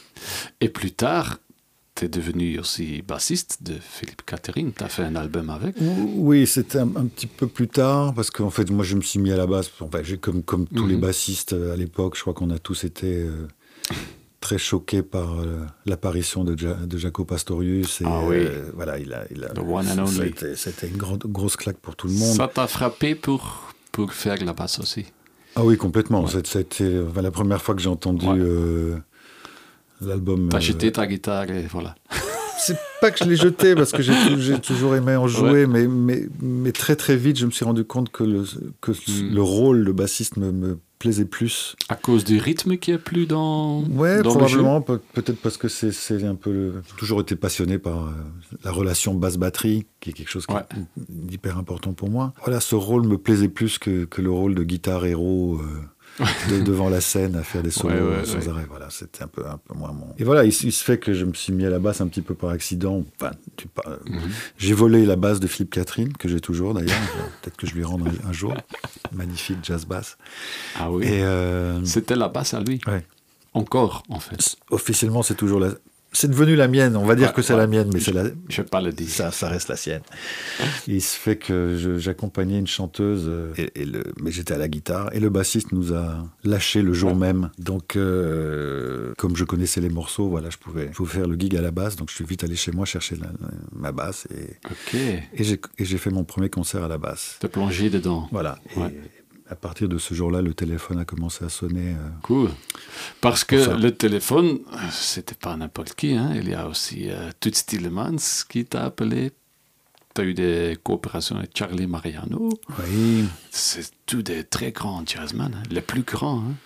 [SPEAKER 1] Et plus tard, tu es devenu aussi bassiste de Philippe Catherine. Tu as fait un album avec ?
[SPEAKER 2] Oui, c'était un, un petit peu plus tard, parce qu'en fait, moi, je me suis mis à la basse. Enfin, j'ai, comme, comme tous mm-hmm. les bassistes à l'époque, je crois qu'on a tous été euh, très choqués par euh, l'apparition de, ja, de Jaco Pastorius. Et,
[SPEAKER 1] ah oui.
[SPEAKER 2] euh, voilà, il a, il a,
[SPEAKER 1] The one and only.
[SPEAKER 2] C'était, c'était une grande, grosse claque pour tout le monde.
[SPEAKER 1] Ça t'a frappé pour, pour faire la basse aussi ?
[SPEAKER 2] Ah oui, complètement.
[SPEAKER 1] Ouais.
[SPEAKER 2] C'était enfin, la première fois que j'ai entendu ouais. euh, l'album.
[SPEAKER 1] T'as
[SPEAKER 2] euh...
[SPEAKER 1] jeté ta guitare et voilà.
[SPEAKER 2] C'est pas que je l'ai jeté parce que j'ai, j'ai toujours aimé en jouer, ouais. mais, mais, mais très très vite, je me suis rendu compte que le, que mm. le rôle de bassiste me, me plaisait plus.
[SPEAKER 1] À cause du rythme qui est plus dans.
[SPEAKER 2] Ouais,
[SPEAKER 1] dans
[SPEAKER 2] probablement. Peut, peut-être parce que c'est, c'est un peu. Le... J'ai toujours été passionné par euh, la relation basse-batterie, qui est quelque chose qui ouais. est hyper important pour moi. Voilà, ce rôle me plaisait plus que, que le rôle de guitare héros. Euh... de, devant la scène à faire des solos ouais, ouais, sans ouais. arrêt. Voilà, c'était un peu, un peu moins mon... Et voilà, il, il se fait que je me suis mis à la basse un petit peu par accident. Enfin, tu, euh, mm-hmm. j'ai volé la basse de Philippe Catherine, que j'ai toujours d'ailleurs. Peut-être que je lui rendre un, un jour. Magnifique jazz basse.
[SPEAKER 1] Ah oui.
[SPEAKER 2] Et, euh...
[SPEAKER 1] c'était la basse à lui.
[SPEAKER 2] Ouais.
[SPEAKER 1] Encore, en fait.
[SPEAKER 2] Officiellement, c'est toujours la... C'est devenu la mienne, on va dire ouais, que c'est
[SPEAKER 1] ouais.
[SPEAKER 2] la mienne, mais
[SPEAKER 1] je,
[SPEAKER 2] c'est la...
[SPEAKER 1] je ne vais pas le dire.
[SPEAKER 2] Ça, ça reste la sienne. Il se fait que je, j'accompagnais une chanteuse, et, et le, mais j'étais à la guitare, et le bassiste nous a lâché le jour ouais. même. Donc, euh, comme je connaissais les morceaux, voilà, je pouvais, je pouvais faire le gig à la basse, donc je suis vite allé chez moi chercher la, la, ma basse, et,
[SPEAKER 1] okay.
[SPEAKER 2] et, j'ai, et j'ai fait mon premier concert à la basse.
[SPEAKER 1] Te plonger dedans.
[SPEAKER 2] Voilà.
[SPEAKER 1] Ouais.
[SPEAKER 2] à partir de ce jour-là, le téléphone a commencé à sonner. Euh,
[SPEAKER 1] cool. Parce que
[SPEAKER 2] enfin,
[SPEAKER 1] le téléphone, c'était pas n'importe qui. Hein. Il y a aussi euh, Toots Thielemans qui t'a appelé. Tu as eu des coopérations avec Charlie Mariano.
[SPEAKER 2] Oui.
[SPEAKER 1] C'est tous des très grands jazzmen, hein. Les plus grands. Hein.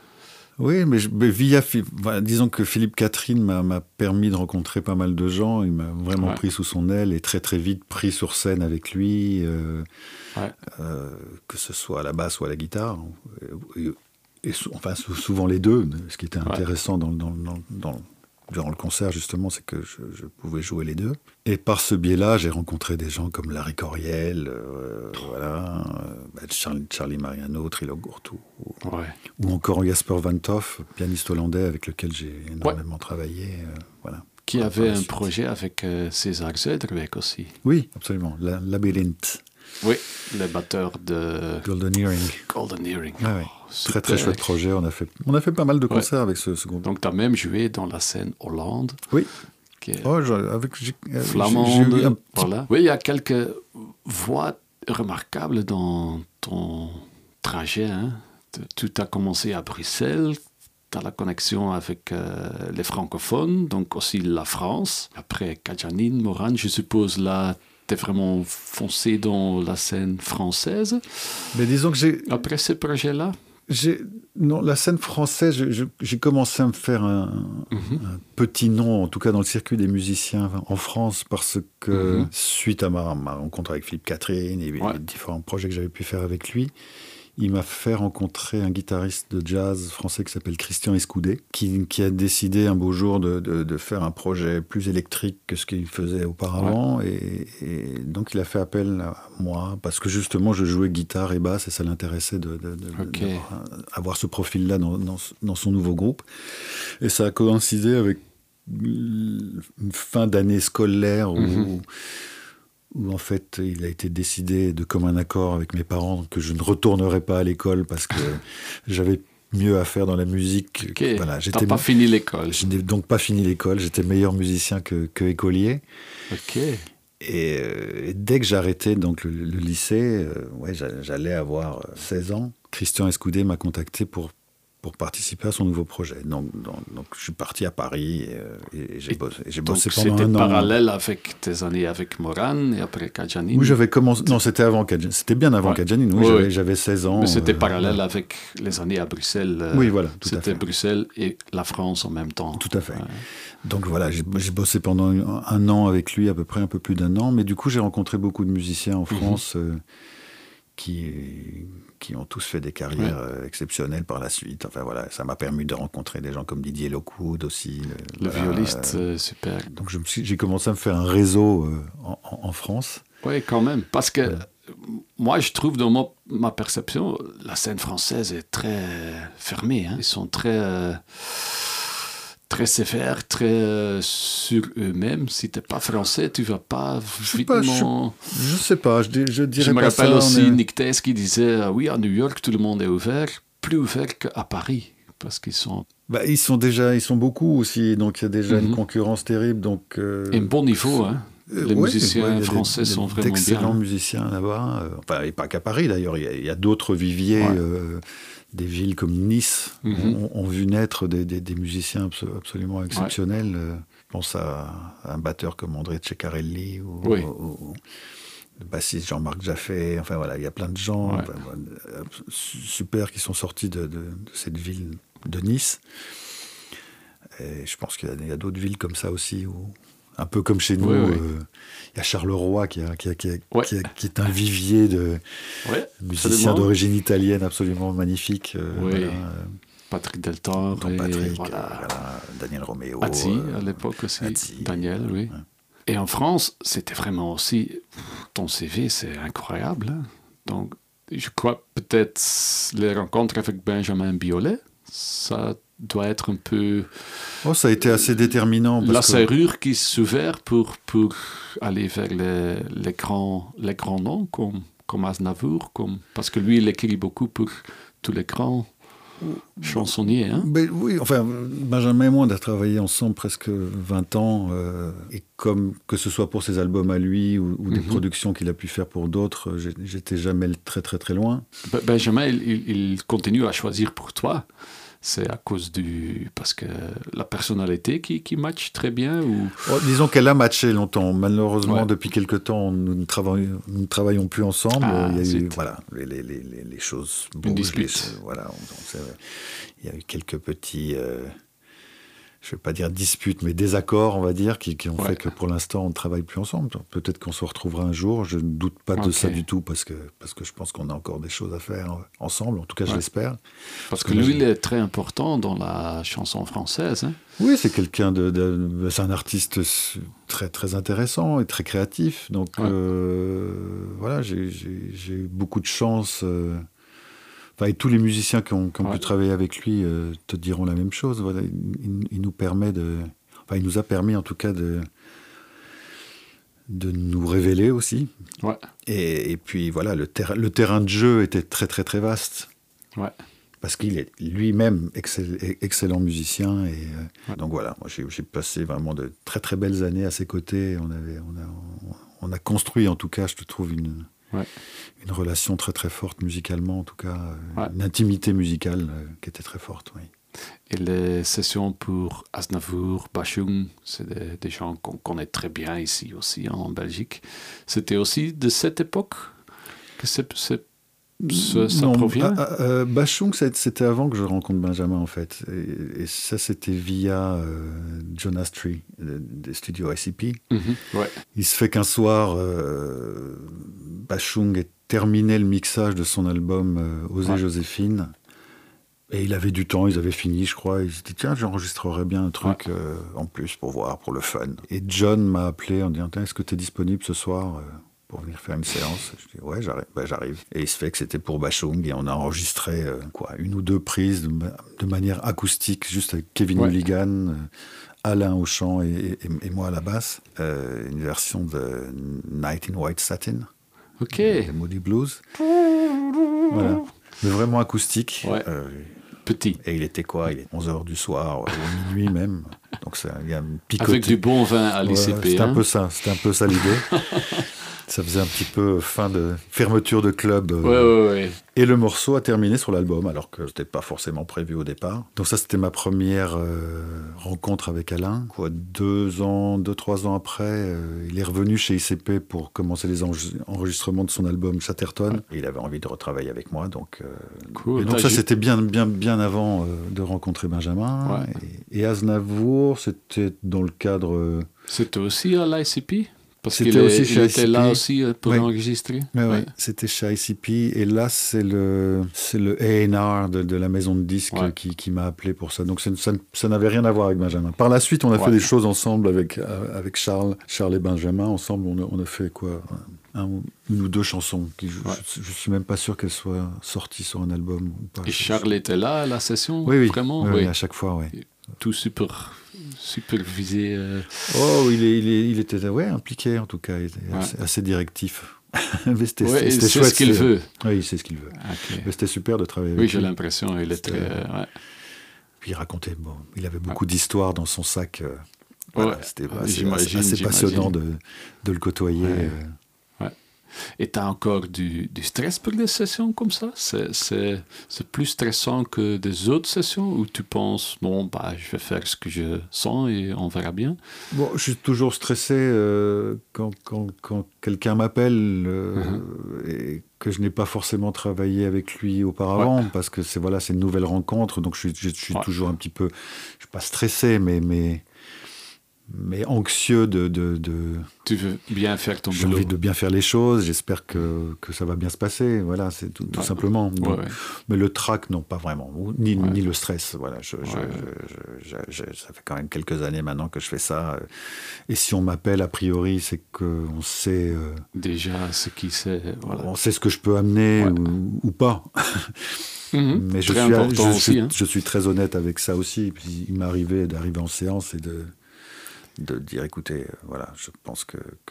[SPEAKER 2] Oui, mais, je, mais via, voilà, disons que Philippe Catherine m'a, m'a permis de rencontrer pas mal de gens. Il m'a vraiment ouais. pris sous son aile et très très vite pris sur scène avec lui, euh, ouais. euh, que ce soit à la basse ou à la guitare. Et, et, et enfin, souvent les deux. Ce qui était intéressant ouais. dans, dans, dans, dans, durant le concert, justement, c'est que je, je pouvais jouer les deux. Et par ce biais-là, j'ai rencontré des gens comme Larry Coryell, euh, voilà, euh, Charlie, Charlie Mariano, Trilo Gurtu, ouais. ou encore Jasper Van Toff, pianiste hollandais avec lequel j'ai énormément ouais. travaillé. Euh, voilà.
[SPEAKER 1] Qui avait un projet avec euh, César Zuiderwijk aussi.
[SPEAKER 2] Oui, absolument, la, Labyrinthe.
[SPEAKER 1] Oui, le batteur de
[SPEAKER 2] Golden Earring.
[SPEAKER 1] Golden Earring.
[SPEAKER 2] Ah, oui. Oh, très très chouette projet. On a fait, on a fait pas mal de concerts ouais. avec ce, ce groupe.
[SPEAKER 1] Donc tu as même joué dans la scène Hollande.
[SPEAKER 2] Oui.
[SPEAKER 1] Qui est
[SPEAKER 2] oh, avec j'ai,
[SPEAKER 1] flamande.
[SPEAKER 2] J'ai, j'ai
[SPEAKER 1] voilà. Oui, il y a quelques voix remarquables dans ton trajet. Hein. Tout a commencé à Bruxelles. Tu as la connexion avec euh, les francophones, donc aussi la France. Après Kajanine, Moran, je suppose là. T'es vraiment foncé dans la scène française.
[SPEAKER 2] Mais disons que j'ai...
[SPEAKER 1] Après ce projet-là
[SPEAKER 2] j'ai... Non, la scène française, je, je, j'ai commencé à me faire un, mm-hmm. un petit nom, en tout cas dans le circuit des musiciens en France, parce que mm-hmm. suite à ma, ma rencontre avec Philippe Catherine et ouais. les différents projets que j'avais pu faire avec lui, il m'a fait rencontrer un guitariste de jazz français qui s'appelle Christian Escoudé, qui, qui a décidé un beau jour de, de, de faire un projet plus électrique que ce qu'il faisait auparavant. Ouais. Et, et donc, il a fait appel à moi, parce que justement, je jouais guitare et basse, et ça l'intéressait de, de, de, okay. d'avoir ce profil-là dans, dans, dans son nouveau groupe. Et ça a coïncidé avec une fin d'année scolaire où... Mm-hmm. où en fait il a été décidé de commun accord avec mes parents que je ne retournerai pas à l'école parce que j'avais mieux à faire dans la musique.
[SPEAKER 1] Okay. Voilà, j'étais T'as pas fini l'école.
[SPEAKER 2] Je n'ai donc pas fini l'école, j'étais meilleur musicien que, que écolier.
[SPEAKER 1] Ok.
[SPEAKER 2] Et, euh, et dès que j'arrêtais donc le, le lycée, euh, ouais, j'allais avoir seize ans. Christian Escoudé m'a contacté pour pour participer à son nouveau projet. Donc, donc, donc je suis parti à Paris et, et j'ai bossé, et j'ai bossé pendant un an.
[SPEAKER 1] C'était parallèle avec tes années avec Moran et après Kajanine.
[SPEAKER 2] Oui, j'avais commencé... Non, c'était avant Kajanine. C'était bien avant ouais. Kajanine. Oui, oui, j'avais, j'avais seize ans.
[SPEAKER 1] Mais c'était
[SPEAKER 2] euh,
[SPEAKER 1] parallèle euh, avec les années à Bruxelles. Euh,
[SPEAKER 2] oui, voilà, tout
[SPEAKER 1] c'était
[SPEAKER 2] à fait.
[SPEAKER 1] Bruxelles et la France en même temps.
[SPEAKER 2] Tout à fait. Ouais. Donc voilà, j'ai, j'ai bossé pendant un an avec lui, à peu près un peu plus d'un an. Mais du coup, j'ai rencontré beaucoup de musiciens en France mm-hmm. euh, qui... qui ont tous fait des carrières ouais. exceptionnelles par la suite. Enfin voilà, ça m'a permis de rencontrer des gens comme Didier Lockwood aussi.
[SPEAKER 1] Le, le violiste, euh, super.
[SPEAKER 2] Donc je me suis, j'ai commencé à me faire un réseau euh, en, en France.
[SPEAKER 1] Oui, quand même, parce que ouais. moi je trouve dans ma, ma perception, la scène française est très fermée. Hein. Ils sont très... Euh, très sévères, très euh, sur eux-mêmes. Si t'es pas français, tu vas pas vitement...
[SPEAKER 2] Je, je sais pas, je, je dirais
[SPEAKER 1] je
[SPEAKER 2] pas
[SPEAKER 1] ça. Je me rappelle aussi
[SPEAKER 2] est...
[SPEAKER 1] Nick Thijs qui disait euh, oui, à New York, tout le monde est ouvert, plus ouvert qu'à Paris, parce qu'ils sont...
[SPEAKER 2] Bah, ils sont déjà, ils sont beaucoup aussi, donc il y a déjà mm-hmm. une concurrence terrible. Donc, euh,
[SPEAKER 1] et un bon niveau, hein. Les
[SPEAKER 2] ouais,
[SPEAKER 1] musiciens
[SPEAKER 2] ouais,
[SPEAKER 1] français
[SPEAKER 2] des,
[SPEAKER 1] sont
[SPEAKER 2] des,
[SPEAKER 1] vraiment bien.
[SPEAKER 2] D'excellents musiciens là-bas. Euh, enfin, et pas qu'à Paris d'ailleurs, il y a, il y a d'autres viviers... Ouais. Euh, des villes comme Nice mm-hmm. ont, ont vu naître des, des, des musiciens absolument exceptionnels. Ouais. Je pense à, à un batteur comme André Ceccarelli ou,
[SPEAKER 1] oui.
[SPEAKER 2] ou, ou le bassiste Jean-Marc Jaffé. Enfin voilà, il y a plein de gens ouais. enfin, super qui sont sortis de, de, de cette ville de Nice. Et je pense qu'il y a, il y a d'autres villes comme ça aussi où, un peu comme chez nous, il oui, oui. euh, y a Charleroi qui, a, qui, a, qui, a, ouais. qui, a, qui est un vivier de
[SPEAKER 1] ouais,
[SPEAKER 2] musiciens d'origine italienne absolument magnifique. Euh,
[SPEAKER 1] oui.
[SPEAKER 2] voilà.
[SPEAKER 1] Patrick Deltor,
[SPEAKER 2] et Patrick,
[SPEAKER 1] voilà.
[SPEAKER 2] euh, voilà. Daniel Roméo.
[SPEAKER 1] Azzi,
[SPEAKER 2] euh,
[SPEAKER 1] à l'époque aussi,
[SPEAKER 2] Azzi,
[SPEAKER 1] Daniel, oui. Ouais. Et en France, c'était vraiment aussi... Ton C V, c'est incroyable. Hein? Donc, je crois peut-être les rencontres avec Benjamin Biolay, ça... doit être un peu...
[SPEAKER 2] Oh, ça a été assez déterminant. Parce
[SPEAKER 1] la
[SPEAKER 2] que...
[SPEAKER 1] serrure qui s'ouvert pour, pour aller vers les, les, grands, les grands noms, comme, comme Aznavour, comme... parce que lui, il écrit beaucoup pour tous les grands chansonnier. Hein?
[SPEAKER 2] Ben, oui, enfin, Benjamin et moi, on a travaillé ensemble presque vingt ans. Euh, et comme que ce soit pour ses albums à lui ou, ou des mm-hmm. productions qu'il a pu faire pour d'autres, j'étais jamais très, très, très loin.
[SPEAKER 1] Benjamin, il, il continue à choisir pour toi. C'est à cause du... Parce que la personnalité qui, qui matche très bien ou...
[SPEAKER 2] Oh, disons qu'elle a matché longtemps. Malheureusement, ouais. depuis quelque temps, nous ne travaillons, nous ne travaillons plus ensemble. Ah, il y a eu, voilà, les, les, les, les choses bougent.
[SPEAKER 1] Une dispute.
[SPEAKER 2] Les, voilà, on, on, il y a eu quelques petits... Euh, je ne vais pas dire disputes, mais désaccords, on va dire, qui, qui ont ouais. fait que pour l'instant, on ne travaille plus ensemble. Peut-être qu'on se retrouvera un jour. Je ne doute pas de okay. ça du tout, parce que, parce que je pense qu'on a encore des choses à faire ensemble. En tout cas, ouais. je l'espère.
[SPEAKER 1] Parce, parce que, que lui, il est très important dans la chanson française. Hein.
[SPEAKER 2] Oui, c'est quelqu'un de, de... C'est un artiste très, très intéressant et très créatif. Donc, ouais. euh, voilà, j'ai, j'ai, j'ai eu beaucoup de chance... Euh, Enfin, et tous les musiciens qui ont, qui ont ouais. pu travailler avec lui euh, te diront la même chose. Voilà, il, il nous permet de, enfin, il nous a permis en tout cas de, de nous révéler aussi.
[SPEAKER 1] Ouais.
[SPEAKER 2] Et, et puis voilà, le, ter- le terrain de jeu était très très très vaste.
[SPEAKER 1] Ouais.
[SPEAKER 2] Parce qu'il est lui-même excell- excellent musicien. Et, euh, ouais. Donc voilà, moi j'ai, j'ai passé vraiment de très très belles années à ses côtés. On avait, on a, on a construit en tout cas, je te trouve une. Ouais. Une relation très très forte musicalement, en tout cas, ouais. une intimité musicale euh, qui était très forte, oui.
[SPEAKER 1] Et les sessions pour Aznavour, Bashung, c'est des, des gens qu'on connaît très bien ici aussi en Belgique. C'était aussi de cette époque que c'est, c'est, c'est, ça
[SPEAKER 2] non,
[SPEAKER 1] provient
[SPEAKER 2] à, à, Bashung, c'était avant que je rencontre Benjamin, en fait. Et, et ça, c'était via euh, John Astry, des studios I C P.
[SPEAKER 1] Mm-hmm, ouais.
[SPEAKER 2] Il se fait qu'un soir... Euh, Bashung est terminé le mixage de son album euh, Osez ouais. Joséphine. Et il avait du temps, ils avaient fini, je crois. Il s'est dit, tiens, j'enregistrerais bien un truc ouais. euh, en plus pour voir, pour le fun. Et John m'a appelé en disant, est-ce que tu es disponible ce soir euh, pour venir faire une séance? Je dis, ouais, j'arrive. Ben, j'arrive. Et il se fait que c'était pour Bashung. Et on a enregistré euh, quoi, une ou deux prises de, de manière acoustique, juste avec Kevin ouais. Mulligan, euh, Alain au chant et, et, et moi à la basse. Euh, une version de Night in White Satin.
[SPEAKER 1] Ok.
[SPEAKER 2] Les Moody Blues. Voilà. Mais vraiment acoustique.
[SPEAKER 1] Ouais. Euh, Petit.
[SPEAKER 2] Et il était quoi? Il est onze heures du soir, ou minuit même. Donc ça, il y a une picote.
[SPEAKER 1] Avec du bon vin à l'I C P.
[SPEAKER 2] Ouais, c'était
[SPEAKER 1] hein.
[SPEAKER 2] un peu ça. C'était un peu ça l'idée. Ça faisait un petit peu fin de fermeture de club.
[SPEAKER 1] Euh, ouais, ouais, ouais.
[SPEAKER 2] Et le morceau a terminé sur l'album, alors que c'était pas forcément prévu au départ. Donc ça, c'était ma première euh, rencontre avec Alain. Quoi, deux ans, deux, trois ans après, euh, il est revenu chez I C P pour commencer les enregistrements de son album Chatterton. Ouais. Et il avait envie de retravailler avec moi, donc. Euh,
[SPEAKER 1] cool.
[SPEAKER 2] Et donc ça, c'était bien, bien, bien avant euh, de rencontrer Benjamin.
[SPEAKER 1] Ouais.
[SPEAKER 2] Et, et Aznavour, c'était dans le cadre. Euh,
[SPEAKER 1] c'était aussi à l'I C P. Parce
[SPEAKER 2] c'était
[SPEAKER 1] qu'il
[SPEAKER 2] aussi
[SPEAKER 1] est,
[SPEAKER 2] chez
[SPEAKER 1] il
[SPEAKER 2] I
[SPEAKER 1] était
[SPEAKER 2] C P.
[SPEAKER 1] là aussi pour
[SPEAKER 2] oui.
[SPEAKER 1] enregistrer.
[SPEAKER 2] Oui,
[SPEAKER 1] ouais.
[SPEAKER 2] oui. C'était chez I C P. Et là, c'est le, c'est le A and R de, de la maison de disques ouais. qui, qui m'a appelé pour ça. Donc ça, ça, ça n'avait rien à voir avec Benjamin. Par la suite, on a ouais. fait des choses ensemble avec, avec Charles, Charles et Benjamin. Ensemble, on a, on a fait quoi un, une ou deux chansons. Qui, je, ouais. je, je suis même pas sûr qu'elles soient sorties sur un album ou pas.
[SPEAKER 1] Et Charles était là à la session?
[SPEAKER 2] Oui, oui.
[SPEAKER 1] Vraiment?
[SPEAKER 2] Oui,
[SPEAKER 1] oui.
[SPEAKER 2] oui, à chaque fois, oui.
[SPEAKER 1] Tout super... supervisé. Euh...
[SPEAKER 2] Oh, il, est, il, est, il était ouais, impliqué en tout cas, il était ouais. assez, assez directif. Mais c'était,
[SPEAKER 1] ouais,
[SPEAKER 2] c'était
[SPEAKER 1] c'est
[SPEAKER 2] chouette.
[SPEAKER 1] ce qu'il
[SPEAKER 2] c'est...
[SPEAKER 1] veut.
[SPEAKER 2] Oui, il sait ce qu'il veut. Okay. Mais c'était super de travailler avec
[SPEAKER 1] oui,
[SPEAKER 2] lui.
[SPEAKER 1] Oui, j'ai l'impression. Il est très. Ouais.
[SPEAKER 2] Puis il racontait, bon, il avait beaucoup ouais. d'histoires dans son sac. Euh, voilà,
[SPEAKER 1] ouais.
[SPEAKER 2] C'était
[SPEAKER 1] ouais,
[SPEAKER 2] assez,
[SPEAKER 1] j'imagine,
[SPEAKER 2] assez
[SPEAKER 1] j'imagine.
[SPEAKER 2] passionnant de, de le côtoyer.
[SPEAKER 1] Ouais.
[SPEAKER 2] Euh.
[SPEAKER 1] Et tu as encore du, du stress pour des sessions comme ça? C'est, c'est, c'est plus stressant que des autres sessions où tu penses, bon, bah, je vais faire ce que je sens et on verra bien?
[SPEAKER 2] Bon, je suis toujours stressé euh, quand, quand, quand quelqu'un m'appelle euh, uh-huh. et que je n'ai pas forcément travaillé avec lui auparavant, ouais. parce que c'est, voilà, c'est une nouvelle rencontre, donc je, je, je suis ouais. toujours un petit peu, je ne suis pas stressé, mais... mais mais anxieux de, de, de...
[SPEAKER 1] Tu veux bien faire ton
[SPEAKER 2] J'ai
[SPEAKER 1] boulot.
[SPEAKER 2] J'ai envie de bien faire les choses, j'espère que, que ça va bien se passer, voilà, c'est tout, tout ouais. simplement. Donc, ouais, ouais. Mais le trac, non, pas vraiment, ni, ouais. ni le stress, voilà. Je, ouais. je, je, je, je, ça fait quand même quelques années maintenant que je fais ça, et si on m'appelle, a priori, c'est qu'on sait... Euh,
[SPEAKER 1] déjà ce qui c'est, voilà.
[SPEAKER 2] On sait ce que je peux amener ouais. ou, ou pas.
[SPEAKER 1] Mmh,
[SPEAKER 2] mais je
[SPEAKER 1] très
[SPEAKER 2] suis,
[SPEAKER 1] important
[SPEAKER 2] je,
[SPEAKER 1] aussi.
[SPEAKER 2] Je,
[SPEAKER 1] hein.
[SPEAKER 2] je suis très honnête avec ça aussi, et puis il m'est arrivé d'arriver en séance et de... de dire, écoutez, euh, voilà, je pense que, que,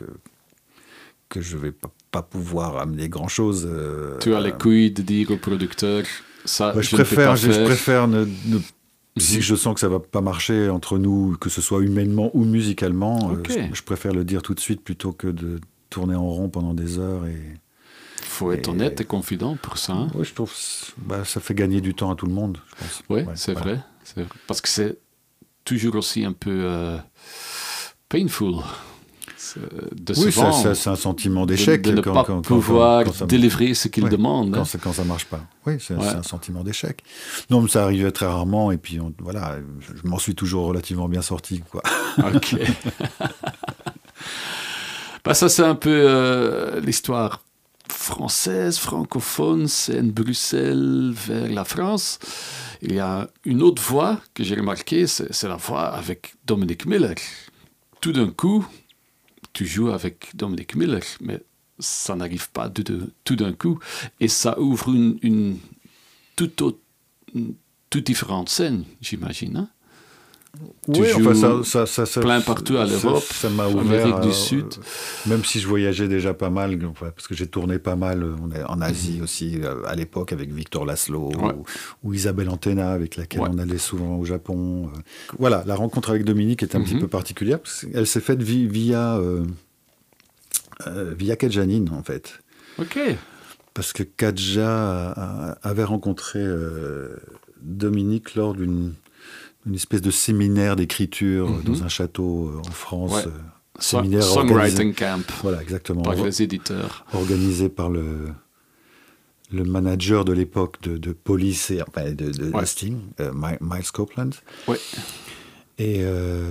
[SPEAKER 2] que je ne vais pas, pas pouvoir amener grand-chose. Euh,
[SPEAKER 1] tu as les couilles de dire au producteur, Ça,
[SPEAKER 2] bah, je,
[SPEAKER 1] je,
[SPEAKER 2] préfère,
[SPEAKER 1] ne
[SPEAKER 2] je, je préfère ne, ne,
[SPEAKER 1] mm-hmm.
[SPEAKER 2] si je sens que ça va pas marcher entre nous, que ce soit humainement ou musicalement,
[SPEAKER 1] okay.
[SPEAKER 2] euh, je, je préfère le dire tout de suite plutôt que de tourner en rond pendant des heures. Et
[SPEAKER 1] faut être et, honnête et confident pour ça. Hein?
[SPEAKER 2] Oui, je trouve bah, ça fait gagner du temps à tout le monde, je pense.
[SPEAKER 1] Oui, ouais, c'est, voilà. vrai, c'est vrai. Parce que c'est toujours aussi un peu euh, painful. De
[SPEAKER 2] oui,
[SPEAKER 1] ça,
[SPEAKER 2] ça, c'est un sentiment d'échec.
[SPEAKER 1] De, de ne
[SPEAKER 2] quand,
[SPEAKER 1] pas
[SPEAKER 2] quand,
[SPEAKER 1] pouvoir
[SPEAKER 2] quand, quand ça,
[SPEAKER 1] délivrer ce qu'il
[SPEAKER 2] ouais,
[SPEAKER 1] demande.
[SPEAKER 2] Quand,
[SPEAKER 1] hein.
[SPEAKER 2] ça, quand ça marche pas. Oui, c'est,
[SPEAKER 1] ouais.
[SPEAKER 2] c'est un sentiment d'échec. Non, mais ça arrivait très rarement. Et puis, on, voilà, je m'en suis toujours relativement bien sorti, quoi.
[SPEAKER 1] Ok. bah, ça, c'est un peu euh, l'histoire française, francophone, c'est de Bruxelles vers la France. Il y a une autre voix que j'ai remarquée, c'est, c'est la voix avec Dominique Miller. Tout d'un coup, tu joues avec Dominique Miller, mais ça n'arrive pas de, de, tout d'un coup. Et ça ouvre une, une toute, autre, une toute différente scène, j'imagine. Hein? Tu
[SPEAKER 2] oui,
[SPEAKER 1] joues
[SPEAKER 2] enfin, ça, ça, ça, ça,
[SPEAKER 1] plein partout à l'Europe,
[SPEAKER 2] ça, ça m'a ouvert,
[SPEAKER 1] Amérique du
[SPEAKER 2] euh,
[SPEAKER 1] Sud.
[SPEAKER 2] Même si je voyageais déjà pas mal, enfin, parce que j'ai tourné pas mal en Asie mmh. aussi, à l'époque avec Victor Laszlo
[SPEAKER 1] ouais.
[SPEAKER 2] ou, ou Isabelle Antena, avec laquelle
[SPEAKER 1] ouais.
[SPEAKER 2] on allait souvent au Japon. Voilà, la rencontre avec Dominique était un mmh. petit peu particulière, parce qu'elle s'est faite via, via, euh, euh, via Kadjanine, en fait.
[SPEAKER 1] Ok.
[SPEAKER 2] Parce que Kadja avait rencontré euh, Dominique lors d'une une espèce de séminaire d'écriture mm-hmm. dans un château en France.
[SPEAKER 1] Ouais.
[SPEAKER 2] Euh, séminaire
[SPEAKER 1] Songwriting camp.
[SPEAKER 2] Voilà, exactement.
[SPEAKER 1] Par les éditeurs.
[SPEAKER 2] Organisé par le, le manager de l'époque de, de Police et enfin, de, de, ouais. de Sting, euh, Miles Copeland.
[SPEAKER 1] Oui.
[SPEAKER 2] Et euh,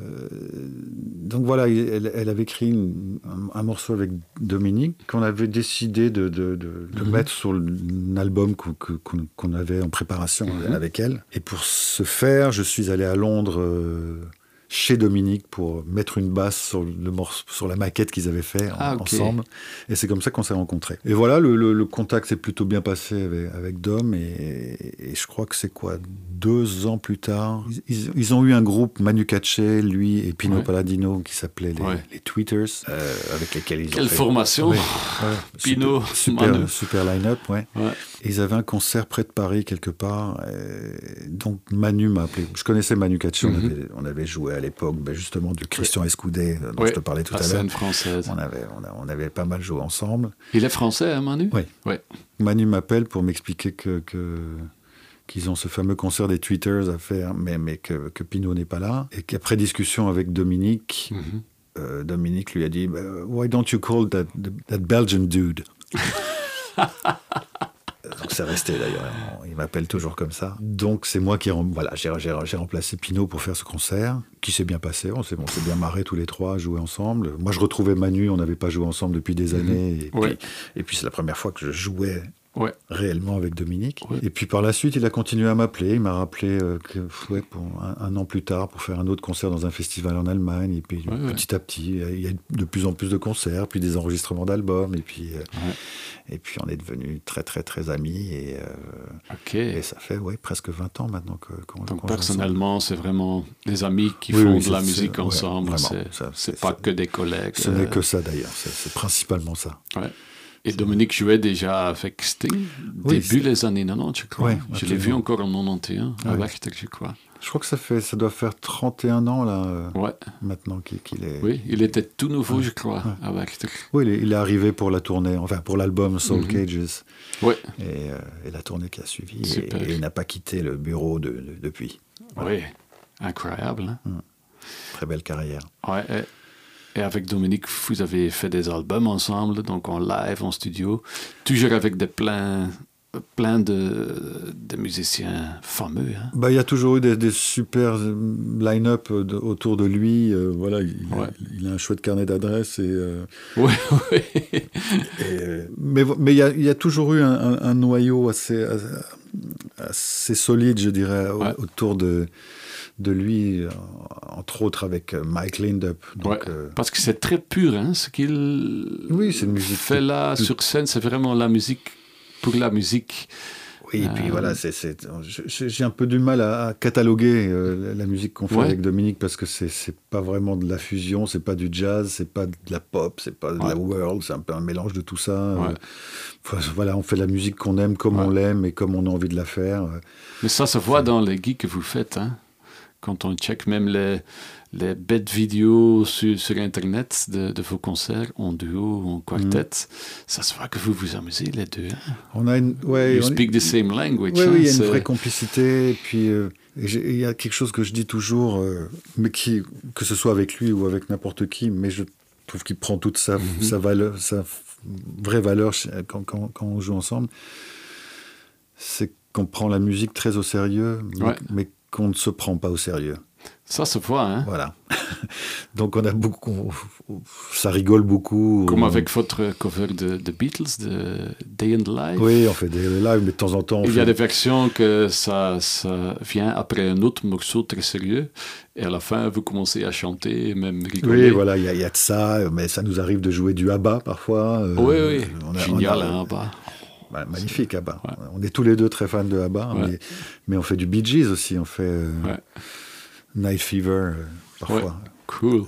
[SPEAKER 2] donc voilà, elle, elle avait écrit une, un, un morceau avec Dominique qu'on avait décidé de, de, de, de mm-hmm. mettre sur un album qu'on, qu'on, qu'on avait en préparation mm-hmm. avec elle. Et pour ce faire, je suis allé à Londres euh, chez Dominique pour mettre une basse sur, le morceau, sur la maquette qu'ils avaient fait
[SPEAKER 1] ah,
[SPEAKER 2] en,
[SPEAKER 1] okay.
[SPEAKER 2] ensemble. Et c'est comme ça qu'on s'est rencontrés. Et voilà, le, le, le contact s'est plutôt bien passé avec, avec Dom. Et, et, et je crois que c'est quoi, deux ans plus tard, ils, ils ont eu un groupe, Manu Katché, lui et Pino ouais. Palladino, qui s'appelait les,
[SPEAKER 1] ouais.
[SPEAKER 2] les Tweeters, euh, avec lesquels ils
[SPEAKER 1] Quelle
[SPEAKER 2] ont fait...
[SPEAKER 1] formation
[SPEAKER 2] ouais, ouais,
[SPEAKER 1] Pino,
[SPEAKER 2] super,
[SPEAKER 1] Manu.
[SPEAKER 2] super, super line-up, ouais.
[SPEAKER 1] ouais.
[SPEAKER 2] Et ils avaient un concert près de Paris, quelque part. Et donc Manu m'a appelé. Je connaissais Manu Katché, mm-hmm. on, avait, on avait joué à l'époque, ben justement, du Christian Escoudé, dont
[SPEAKER 1] ouais.
[SPEAKER 2] je te parlais tout
[SPEAKER 1] la
[SPEAKER 2] à l'heure.
[SPEAKER 1] Scène française.
[SPEAKER 2] On avait, on, a, on avait pas mal joué ensemble.
[SPEAKER 1] Il est français, hein, Manu?
[SPEAKER 2] Oui.
[SPEAKER 1] Ouais.
[SPEAKER 2] Manu m'appelle pour m'expliquer que... que qu'ils ont ce fameux concert des Tweeters à faire, mais, mais que, que Pino n'est pas là. Et qu'après discussion avec Dominique, mm-hmm. euh, Dominique lui a dit « Why don't you call that, that Belgian dude ?» Donc c'est resté d'ailleurs, il m'appelle toujours comme ça. Donc c'est moi qui voilà, j'ai, j'ai, j'ai remplacé Pino pour faire ce concert, qui s'est bien passé, on s'est, on s'est bien marré tous les trois, joué ensemble. Moi je retrouvais Manu, on n'avait pas joué ensemble depuis des années, mm-hmm. et, puis,
[SPEAKER 1] ouais.
[SPEAKER 2] et puis c'est la première fois que je jouais
[SPEAKER 1] ouais.
[SPEAKER 2] réellement avec Dominique.
[SPEAKER 1] Ouais.
[SPEAKER 2] Et puis par la suite, il a continué à m'appeler. Il m'a rappelé euh, que, ouais, pour un, un an plus tard pour faire un autre concert dans un festival en Allemagne. Et puis ouais, petit ouais. à petit, il y a de plus en plus de concerts, puis des enregistrements d'albums. Et puis, euh, ouais. et puis on est devenus très très très amis. Et, euh,
[SPEAKER 1] okay.
[SPEAKER 2] et ça fait ouais, presque vingt ans maintenant que, qu'on,
[SPEAKER 1] Donc
[SPEAKER 2] qu'on
[SPEAKER 1] personnellement, c'est vraiment des amis qui
[SPEAKER 2] oui,
[SPEAKER 1] font
[SPEAKER 2] oui,
[SPEAKER 1] de la musique
[SPEAKER 2] c'est,
[SPEAKER 1] ensemble.
[SPEAKER 2] Ouais,
[SPEAKER 1] c'est,
[SPEAKER 2] vraiment, ça,
[SPEAKER 1] c'est,
[SPEAKER 2] c'est
[SPEAKER 1] pas
[SPEAKER 2] c'est,
[SPEAKER 1] que des collègues.
[SPEAKER 2] Ce euh... n'est que ça d'ailleurs. C'est, c'est principalement ça.
[SPEAKER 1] Ouais. Et Dominique jouait déjà avec Sting,
[SPEAKER 2] oui,
[SPEAKER 1] début des années quatre-vingt-dix, je crois.
[SPEAKER 2] Ouais,
[SPEAKER 1] je l'ai vu encore en quatre-vingt-onze, à
[SPEAKER 2] ouais.
[SPEAKER 1] Werchter, je crois.
[SPEAKER 2] Je crois que ça, fait, ça doit faire trente et un ans, là,
[SPEAKER 1] ouais.
[SPEAKER 2] maintenant qu'il, qu'il est...
[SPEAKER 1] Oui, il était tout nouveau,
[SPEAKER 2] ouais.
[SPEAKER 1] je crois,
[SPEAKER 2] ouais.
[SPEAKER 1] à Werchter.
[SPEAKER 2] Oui, il est, il est arrivé pour la tournée, enfin, pour l'album Soul mm-hmm. Cages.
[SPEAKER 1] Ouais.
[SPEAKER 2] Et, euh, et la tournée qui a suivi.
[SPEAKER 1] Super.
[SPEAKER 2] Et, et il n'a pas quitté le bureau de, de, depuis.
[SPEAKER 1] Voilà. Oui, incroyable. Hein?
[SPEAKER 2] Mm. Très belle carrière.
[SPEAKER 1] Ouais, et... Et avec Dominique, vous avez fait des albums ensemble, donc en live, en studio, toujours avec des plein, plein de, de musiciens fameux. Hein.
[SPEAKER 2] Bah, il y a toujours eu des, des super line-up de, autour de lui. Euh, voilà, il,
[SPEAKER 1] ouais.
[SPEAKER 2] il a un chouette carnet d'adresses. Et, euh,
[SPEAKER 1] oui, oui.
[SPEAKER 2] Et, mais mais il, y a, il y a toujours eu un, un, un noyau assez, assez solide, je dirais, ouais. autour de... de lui, entre autres avec Mike Lindup. Donc,
[SPEAKER 1] ouais,
[SPEAKER 2] euh...
[SPEAKER 1] parce que c'est très pur, hein, ce qu'il
[SPEAKER 2] oui, c'est une musique
[SPEAKER 1] fait là
[SPEAKER 2] plus...
[SPEAKER 1] sur scène, c'est vraiment la musique pour la musique.
[SPEAKER 2] Oui, et puis euh... voilà, c'est, c'est, j'ai un peu du mal à, à cataloguer euh, la musique qu'on fait ouais. avec Dominique parce que c'est, c'est pas vraiment de la fusion, c'est pas du jazz, c'est pas de la pop, c'est pas de ouais. la world, c'est un peu un mélange de tout ça. Ouais. Euh, voilà, on fait de la musique qu'on aime comme ouais. on l'aime et comme on a envie de la faire.
[SPEAKER 1] Mais ça se voit c'est... dans les gigs que vous faites, hein. Quand on check même les, les bêtes vidéos sur, sur Internet de, de vos concerts, en duo, en quartet, mmh. ça se voit que vous vous amusez les deux. Hein.
[SPEAKER 2] On a une, ouais,
[SPEAKER 1] you
[SPEAKER 2] on
[SPEAKER 1] speak
[SPEAKER 2] est...
[SPEAKER 1] the same language.
[SPEAKER 2] Oui,
[SPEAKER 1] hein,
[SPEAKER 2] oui, il y a
[SPEAKER 1] c'est...
[SPEAKER 2] une vraie complicité. Et puis, euh, il y a quelque chose que je dis toujours, euh, mais qui, que ce soit avec lui ou avec n'importe qui, mais je trouve qu'il prend toute sa, mmh. sa, valeur, sa vraie valeur quand, quand, quand on joue ensemble. C'est qu'on prend la musique très au sérieux, mais,
[SPEAKER 1] ouais.
[SPEAKER 2] mais qu'on ne se prend pas au sérieux.
[SPEAKER 1] Ça se voit, hein.
[SPEAKER 2] Voilà. Donc on a beaucoup, ça rigole beaucoup.
[SPEAKER 1] Comme
[SPEAKER 2] on...
[SPEAKER 1] avec votre cover de, de Beatles, de Day in the Life.
[SPEAKER 2] Oui, on fait des lives, mais de temps en temps. On
[SPEAKER 1] Il
[SPEAKER 2] fait...
[SPEAKER 1] y a des versions que ça, ça vient après un autre morceau très sérieux, et à la fin vous commencez à chanter, même rigoler.
[SPEAKER 2] Oui, voilà, il y, y a de ça, mais ça nous arrive de jouer du ABBA parfois.
[SPEAKER 1] Euh, oui, oui, on a, génial, on a... hein, ABBA.
[SPEAKER 2] Bah, magnifique, ABBA. Ouais. On est tous les deux très fans de ABBA, ouais. mais, mais on fait du Bee Gees aussi, on fait euh, ouais. Night Fever euh, parfois.
[SPEAKER 1] Ouais. Cool.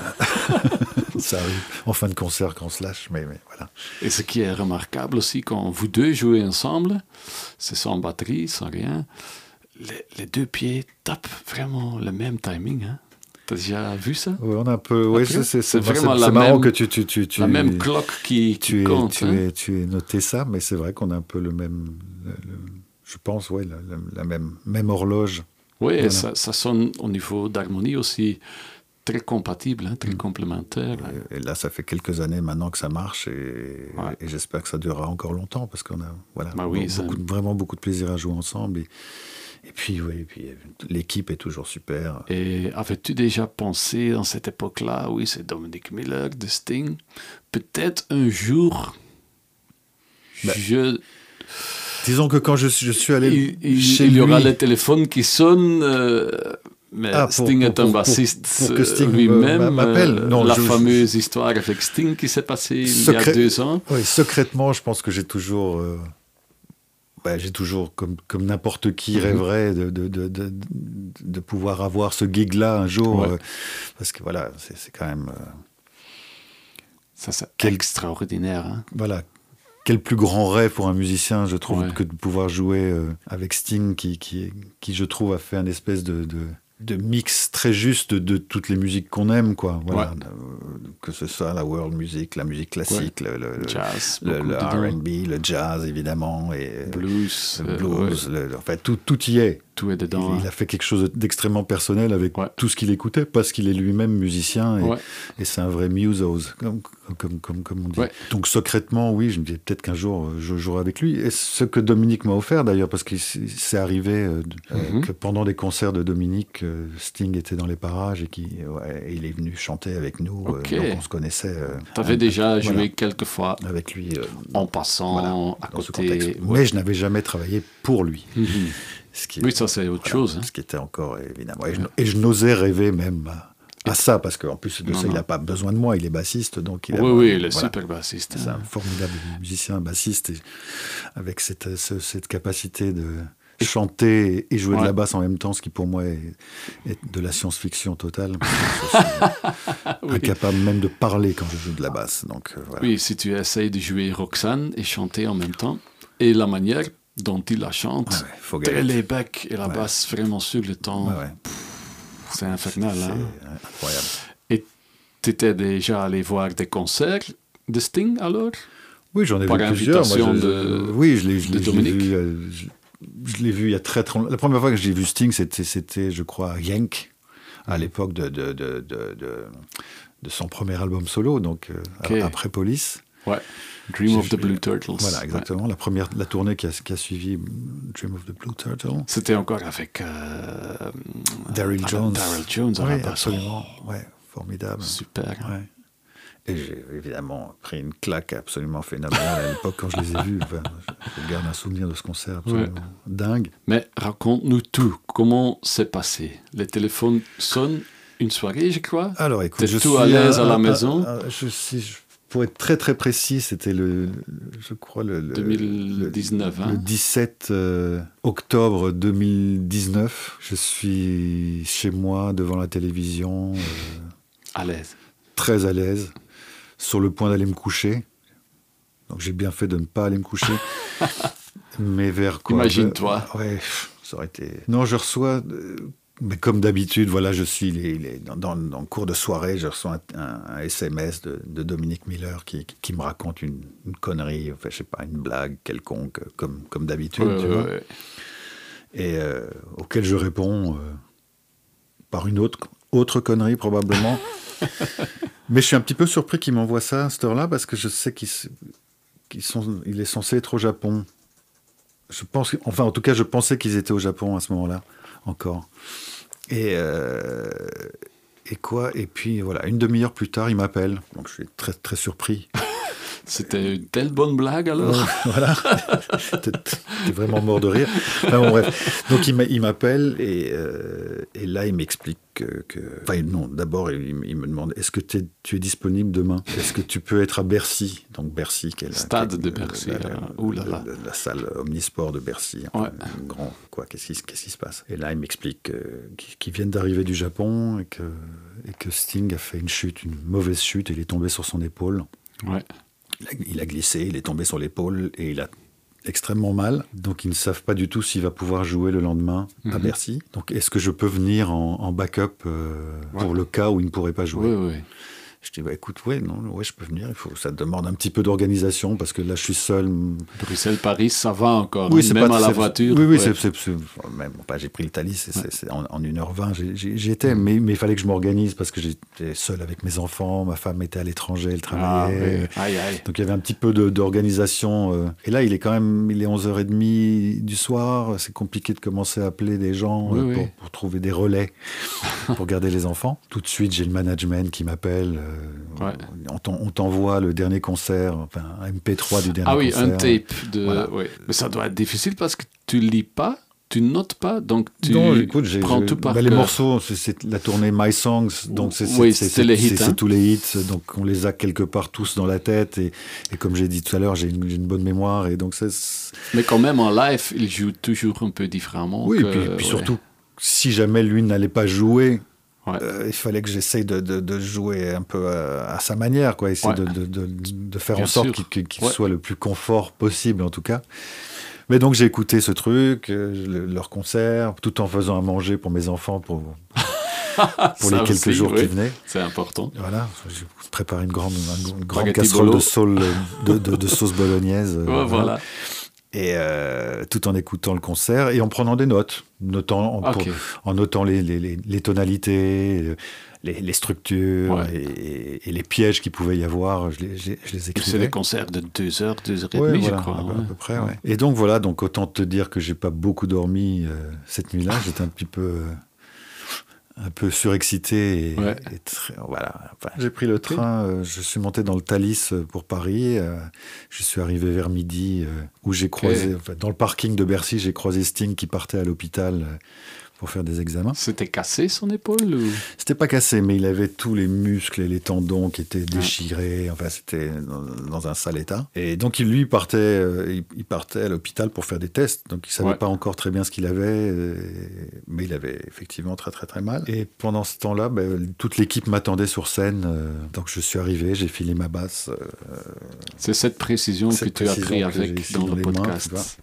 [SPEAKER 2] Ça arrive en fin de concert quand on se lâche, mais, mais voilà.
[SPEAKER 1] Et ce qui est remarquable aussi, quand vous deux jouez ensemble, c'est sans batterie, sans rien, les, les deux pieds tapent vraiment le même timing, hein. T'as déjà vu ça?
[SPEAKER 2] Oui, on a un peu. Oui, c'est, c'est,
[SPEAKER 1] c'est,
[SPEAKER 2] c'est
[SPEAKER 1] vraiment
[SPEAKER 2] c'est,
[SPEAKER 1] la
[SPEAKER 2] c'est marrant
[SPEAKER 1] même,
[SPEAKER 2] que tu, tu, tu, tu
[SPEAKER 1] la même cloque qui, qui
[SPEAKER 2] tu
[SPEAKER 1] compte.
[SPEAKER 2] Es, tu,
[SPEAKER 1] hein.
[SPEAKER 2] es, tu es noté ça, mais c'est vrai qu'on a un peu le même. Le, le, je pense, oui, la, la, la même, même horloge.
[SPEAKER 1] Oui,
[SPEAKER 2] voilà.
[SPEAKER 1] et ça, ça sonne au niveau d'harmonie aussi très compatible, hein, très mmh. complémentaire.
[SPEAKER 2] Et, et là, ça fait quelques années maintenant que ça marche, et,
[SPEAKER 1] ouais.
[SPEAKER 2] et j'espère que ça durera encore longtemps parce qu'on a voilà,
[SPEAKER 1] bah oui,
[SPEAKER 2] beaucoup,
[SPEAKER 1] ça...
[SPEAKER 2] vraiment beaucoup de plaisir à jouer ensemble. Et, Et puis, oui, et puis, l'équipe est toujours super.
[SPEAKER 1] Et avais-tu déjà pensé, dans cette époque-là, oui, c'est Dominic Miller, de Sting, peut-être un jour, ben, je...
[SPEAKER 2] Disons que quand je, je suis allé
[SPEAKER 1] il,
[SPEAKER 2] chez
[SPEAKER 1] il,
[SPEAKER 2] lui...
[SPEAKER 1] Il y aura le téléphone qui sonne, euh, mais ah, pour,
[SPEAKER 2] pour,
[SPEAKER 1] Sting est un
[SPEAKER 2] pour,
[SPEAKER 1] bassiste
[SPEAKER 2] pour, pour que Sting
[SPEAKER 1] lui-même.
[SPEAKER 2] m'appelle.
[SPEAKER 1] Euh,
[SPEAKER 2] non,
[SPEAKER 1] la
[SPEAKER 2] je,
[SPEAKER 1] fameuse
[SPEAKER 2] je...
[SPEAKER 1] histoire avec Sting qui s'est passée
[SPEAKER 2] Secré...
[SPEAKER 1] il y a deux ans.
[SPEAKER 2] Oui, secrètement, je pense que j'ai toujours... Euh... Bah, j'ai toujours, comme, comme n'importe qui, rêverait de, de, de, de, de pouvoir avoir ce gig-là un jour.
[SPEAKER 1] Ouais.
[SPEAKER 2] Euh, parce que voilà, c'est, c'est quand même... Euh,
[SPEAKER 1] ça, c'est quel... extraordinaire. Hein.
[SPEAKER 2] Voilà. Quel plus grand rêve pour un musicien, je trouve,
[SPEAKER 1] ouais.
[SPEAKER 2] que de pouvoir jouer euh, avec Sting, qui, qui, qui, je trouve, a fait un espèce de... de de mix très juste de, de toutes les musiques qu'on aime, quoi. Voilà.
[SPEAKER 1] Ouais.
[SPEAKER 2] Euh, que ce soit la world music, la musique classique,
[SPEAKER 1] ouais.
[SPEAKER 2] le, le,
[SPEAKER 1] jazz,
[SPEAKER 2] le, le R and B, le jazz, évidemment, et
[SPEAKER 1] blues,
[SPEAKER 2] le blues,
[SPEAKER 1] euh, ouais.
[SPEAKER 2] le, enfin, tout, tout y est.
[SPEAKER 1] Tout est dedans.
[SPEAKER 2] Il,
[SPEAKER 1] hein.
[SPEAKER 2] il a fait quelque chose d'extrêmement personnel avec
[SPEAKER 1] ouais.
[SPEAKER 2] tout ce qu'il écoutait, parce qu'il est lui-même musicien, et,
[SPEAKER 1] ouais.
[SPEAKER 2] et c'est un vrai musos, comme, comme, comme, comme on dit.
[SPEAKER 1] Ouais.
[SPEAKER 2] Donc secrètement, oui, je me dis peut-être qu'un jour, je jouerai avec lui. Et ce que Dominique m'a offert, d'ailleurs, parce que c'est arrivé euh,
[SPEAKER 1] mm-hmm.
[SPEAKER 2] que pendant des concerts de Dominique, euh, Sting était dans les parages et, qui, ouais, et il est venu chanter avec nous,
[SPEAKER 1] okay.
[SPEAKER 2] euh, donc on se connaissait. Euh,
[SPEAKER 1] T'avais déjà joué
[SPEAKER 2] voilà,
[SPEAKER 1] quelques fois
[SPEAKER 2] avec lui, euh,
[SPEAKER 1] en passant
[SPEAKER 2] voilà,
[SPEAKER 1] à côté.
[SPEAKER 2] Ouais. Mais je n'avais jamais travaillé pour lui.
[SPEAKER 1] Mm-hmm.
[SPEAKER 2] Ce qui,
[SPEAKER 1] oui, ça c'est autre
[SPEAKER 2] voilà,
[SPEAKER 1] chose. Hein.
[SPEAKER 2] Ce qui était encore, évidemment. Et je, et je n'osais rêver même à, à ça, parce qu'en plus de non, ça, non. il n'a pas besoin de moi, il est bassiste. Donc il
[SPEAKER 1] oui,
[SPEAKER 2] a,
[SPEAKER 1] oui, il est
[SPEAKER 2] voilà,
[SPEAKER 1] super bassiste.
[SPEAKER 2] C'est
[SPEAKER 1] hein.
[SPEAKER 2] un formidable musicien, bassiste, et avec cette, ce, cette capacité de chanter et jouer ouais. de la basse en même temps, ce qui pour moi est, est de la science-fiction totale. Je suis oui. incapable même de parler quand je joue de la basse. Donc, euh, voilà.
[SPEAKER 1] Oui, si tu essayes de jouer Roxane et chanter en même temps, et la manière dont il la chante,
[SPEAKER 2] ouais, ouais,
[SPEAKER 1] très layback et la ouais. basse vraiment sur le temps,
[SPEAKER 2] ouais, ouais.
[SPEAKER 1] Pff, c'est infernal.
[SPEAKER 2] C'est,
[SPEAKER 1] hein.
[SPEAKER 2] c'est incroyable.
[SPEAKER 1] Et tu étais déjà allé voir des concerts de Sting alors?
[SPEAKER 2] Oui, j'en ai
[SPEAKER 1] Par
[SPEAKER 2] vu plusieurs. Moi, je,
[SPEAKER 1] de,
[SPEAKER 2] oui, je l'ai, je
[SPEAKER 1] de
[SPEAKER 2] l'ai,
[SPEAKER 1] Dominique.
[SPEAKER 2] Je l'ai, vu, je, je l'ai vu il y a très très longtemps. La première fois que j'ai vu Sting, c'était, c'était je crois, Yank, à l'époque de, de, de, de, de, de son premier album solo, donc okay. après Police.
[SPEAKER 1] Ouais. Dream j'ai of the Blue Turtles.
[SPEAKER 2] Voilà, exactement. Ouais. La première, la tournée qui a, qui a suivi Dream of the Blue Turtle.
[SPEAKER 1] C'était encore avec euh,
[SPEAKER 2] Daryl Jones.
[SPEAKER 1] Daryl Jones à
[SPEAKER 2] oui,
[SPEAKER 1] la basse.
[SPEAKER 2] Absolument. Ouais, formidable.
[SPEAKER 1] Super.
[SPEAKER 2] Ouais. Et j'ai évidemment pris une claque absolument phénoménale à l'époque quand je les ai vus. Enfin, je garde un souvenir de ce concert absolument ouais. dingue.
[SPEAKER 1] Mais raconte-nous tout. Comment c'est passé? Les téléphones sonnent une soirée, je crois.
[SPEAKER 2] Alors écoute,
[SPEAKER 1] T'es
[SPEAKER 2] je
[SPEAKER 1] tout
[SPEAKER 2] suis
[SPEAKER 1] à l'aise
[SPEAKER 2] à,
[SPEAKER 1] à la
[SPEAKER 2] à,
[SPEAKER 1] maison.
[SPEAKER 2] À, à, je, si je, pour être très très précis, c'était le, le je crois le, le
[SPEAKER 1] deux mille dix-neuf,
[SPEAKER 2] le,
[SPEAKER 1] hein?
[SPEAKER 2] le dix-sept euh, octobre deux mille dix-neuf. Je suis chez moi devant la télévision, euh,
[SPEAKER 1] à l'aise,
[SPEAKER 2] très à l'aise, sur le point d'aller me coucher. Donc j'ai bien fait de ne pas aller me coucher. Mais vers quoi?
[SPEAKER 1] Imagine-toi.
[SPEAKER 2] Euh, ouais, ça aurait été. Non, je reçois. Euh, Mais comme d'habitude, voilà, je suis les, les, dans, dans, dans le cours de soirée, je reçois un, un, un S M S de, de Dominique Miller qui, qui me raconte une, une connerie, enfin, je sais pas, une blague quelconque, comme, comme d'habitude,
[SPEAKER 1] ouais,
[SPEAKER 2] tu
[SPEAKER 1] ouais,
[SPEAKER 2] vois.
[SPEAKER 1] Ouais.
[SPEAKER 2] Et euh, auquel je réponds euh, par une autre, autre connerie, probablement. Mais je suis un petit peu surpris qu'il m'envoie ça à cette heure-là, parce que je sais qu'il qu'il sont, il est censé être au Japon. Je pense, enfin, en tout cas, je pensais qu'ils étaient au Japon à ce moment-là, encore. Et, euh, et quoi? Et puis, voilà, une demi-heure plus tard, il m'appelle. Donc, je suis très, très surpris.
[SPEAKER 1] C'était une telle bonne blague, alors?
[SPEAKER 2] Euh, voilà. T'es, t'es vraiment mort de rire. Enfin, bon, bref. Donc, il, m'a, il m'appelle et, euh, et là, il m'explique que... que... Enfin, non, d'abord, il, il me demande, est-ce que t'es, tu es disponible demain? Est-ce que tu peux être à Bercy? Donc, Bercy, qui est la...
[SPEAKER 1] Stade
[SPEAKER 2] qui est,
[SPEAKER 1] de Bercy.
[SPEAKER 2] La, la,
[SPEAKER 1] là. Ouh là là.
[SPEAKER 2] la, la, la salle Omnisport de Bercy. Enfin,
[SPEAKER 1] ouais.
[SPEAKER 2] Grand, quoi, qu'est-ce qui, qu'est-ce qui se passe? Et là, il m'explique euh, qu'ils viennent d'arriver du Japon et que, et que Sting a fait une chute, une mauvaise chute, et il est tombé sur son épaule.
[SPEAKER 1] Ouais.
[SPEAKER 2] Il a, il a glissé, il est tombé sur l'épaule et il a extrêmement mal. Donc, ils ne savent pas du tout s'il va pouvoir jouer le lendemain mm-hmm. à Bercy. Donc, est-ce que je peux venir en, en backup euh, ouais. pour le cas où il ne pourrait pas jouer?
[SPEAKER 1] Oui, oui.
[SPEAKER 2] Je dis, bah, écoute, ouais, non, ouais, je peux venir. Il faut, ça demande un petit peu d'organisation parce que là, je suis seul.
[SPEAKER 1] Bruxelles-Paris, ça va encore.
[SPEAKER 2] Oui,
[SPEAKER 1] hein,
[SPEAKER 2] c'est
[SPEAKER 1] même
[SPEAKER 2] pas,
[SPEAKER 1] à la
[SPEAKER 2] c'est,
[SPEAKER 1] voiture.
[SPEAKER 2] Oui, oui,
[SPEAKER 1] ouais.
[SPEAKER 2] c'est, c'est, c'est, même, bah, j'ai pris le Thalys, c'est, ouais. c'est, c'est, en, en une heure vingt, j'ai, j'ai, j'y étais, mmh. mais, mais il fallait que je m'organise parce que j'étais seul avec mes enfants, ma femme était à l'étranger, elle travaillait.
[SPEAKER 1] Ah, oui. Aïe, aïe.
[SPEAKER 2] Donc il y avait un petit peu de, d'organisation. Euh, et là, il est quand même, il est onze heures trente du soir, c'est compliqué de commencer à appeler des gens
[SPEAKER 1] oui,
[SPEAKER 2] euh,
[SPEAKER 1] oui.
[SPEAKER 2] Pour, pour trouver des relais pour garder les enfants. Tout de suite, j'ai le management qui m'appelle. Euh,
[SPEAKER 1] ouais.
[SPEAKER 2] On, on t'envoie le dernier concert, enfin un M P trois du dernier
[SPEAKER 1] ah oui,
[SPEAKER 2] concert.
[SPEAKER 1] Ah oui, un tape. De... Voilà. Ouais. Mais ça doit être difficile parce que tu lis pas, tu notes pas, donc tu
[SPEAKER 2] non, écoute, j'ai,
[SPEAKER 1] prends
[SPEAKER 2] j'ai,
[SPEAKER 1] tout par
[SPEAKER 2] bah,
[SPEAKER 1] cœur.
[SPEAKER 2] Les morceaux, c'est, c'est la tournée My Songs, donc c'est,
[SPEAKER 1] oui,
[SPEAKER 2] c'est,
[SPEAKER 1] c'est,
[SPEAKER 2] c'est,
[SPEAKER 1] les
[SPEAKER 2] c'est,
[SPEAKER 1] hits,
[SPEAKER 2] c'est,
[SPEAKER 1] hein.
[SPEAKER 2] c'est tous les hits, donc on les a quelque part tous dans la tête, et, et comme j'ai dit tout à l'heure, j'ai une, j'ai une bonne mémoire, et donc c'est...
[SPEAKER 1] Mais quand même, en live, il joue toujours un peu différemment.
[SPEAKER 2] Oui,
[SPEAKER 1] que...
[SPEAKER 2] et puis, puis
[SPEAKER 1] ouais.
[SPEAKER 2] surtout, si jamais lui n'allait pas jouer...
[SPEAKER 1] Ouais.
[SPEAKER 2] Euh, il fallait que j'essaye de, de, de jouer un peu à, à sa manière, quoi. Essayer ouais. de, de, de, de faire Bien en sorte sûr. qu'il, qu'il ouais. soit le plus confort possible, en tout cas. Mais donc, j'ai écouté ce truc, euh, leur concert, tout en faisant à manger pour mes enfants, pour, pour les quelques
[SPEAKER 1] aussi,
[SPEAKER 2] jours
[SPEAKER 1] oui.
[SPEAKER 2] qui venaient.
[SPEAKER 1] C'est important.
[SPEAKER 2] Voilà, j'ai préparé une grande, une grande casserole de, saule, de, de, de sauce bolognaise.
[SPEAKER 1] Ouais, voilà. voilà.
[SPEAKER 2] Et euh, tout en écoutant le concert et en prenant des notes, notant, en,
[SPEAKER 1] okay.
[SPEAKER 2] pour, en notant les, les, les, les tonalités, les, les structures
[SPEAKER 1] ouais.
[SPEAKER 2] et, et les pièges qu'il pouvait y avoir, je les, je, je les écrivais.
[SPEAKER 1] C'est des concerts de deux heures, deux heures et
[SPEAKER 2] ouais,
[SPEAKER 1] demie,
[SPEAKER 2] voilà,
[SPEAKER 1] je crois.
[SPEAKER 2] À,
[SPEAKER 1] ouais.
[SPEAKER 2] à peu près, ouais. Et donc voilà, donc autant te dire que j'ai pas beaucoup dormi euh, cette nuit-là, j'étais un petit peu... Euh, un peu surexcité et,
[SPEAKER 1] ouais.
[SPEAKER 2] et très, voilà. Enfin, j'ai pris le train, euh, je suis monté dans le Thalys pour Paris, euh, je suis arrivé vers midi euh, où j'ai croisé, okay. enfin, dans le parking de Bercy, j'ai croisé Sting qui partait à l'hôpital euh, pour faire des examens.
[SPEAKER 1] C'était cassé son épaule ou...
[SPEAKER 2] C'était pas cassé, mais il avait tous les muscles et les tendons qui étaient déchirés, enfin c'était dans, dans un sale état. Et donc il, lui partait, euh, il, il partait à l'hôpital pour faire des tests, donc il savait ouais. pas encore très bien ce qu'il avait, euh, mais il avait effectivement très très très mal. Et pendant ce temps-là, ben, toute l'équipe m'attendait sur scène, euh, donc je suis arrivé, j'ai filé ma basse. Euh,
[SPEAKER 1] C'est cette précision cette que tu as pris avec dans, dans le podcast.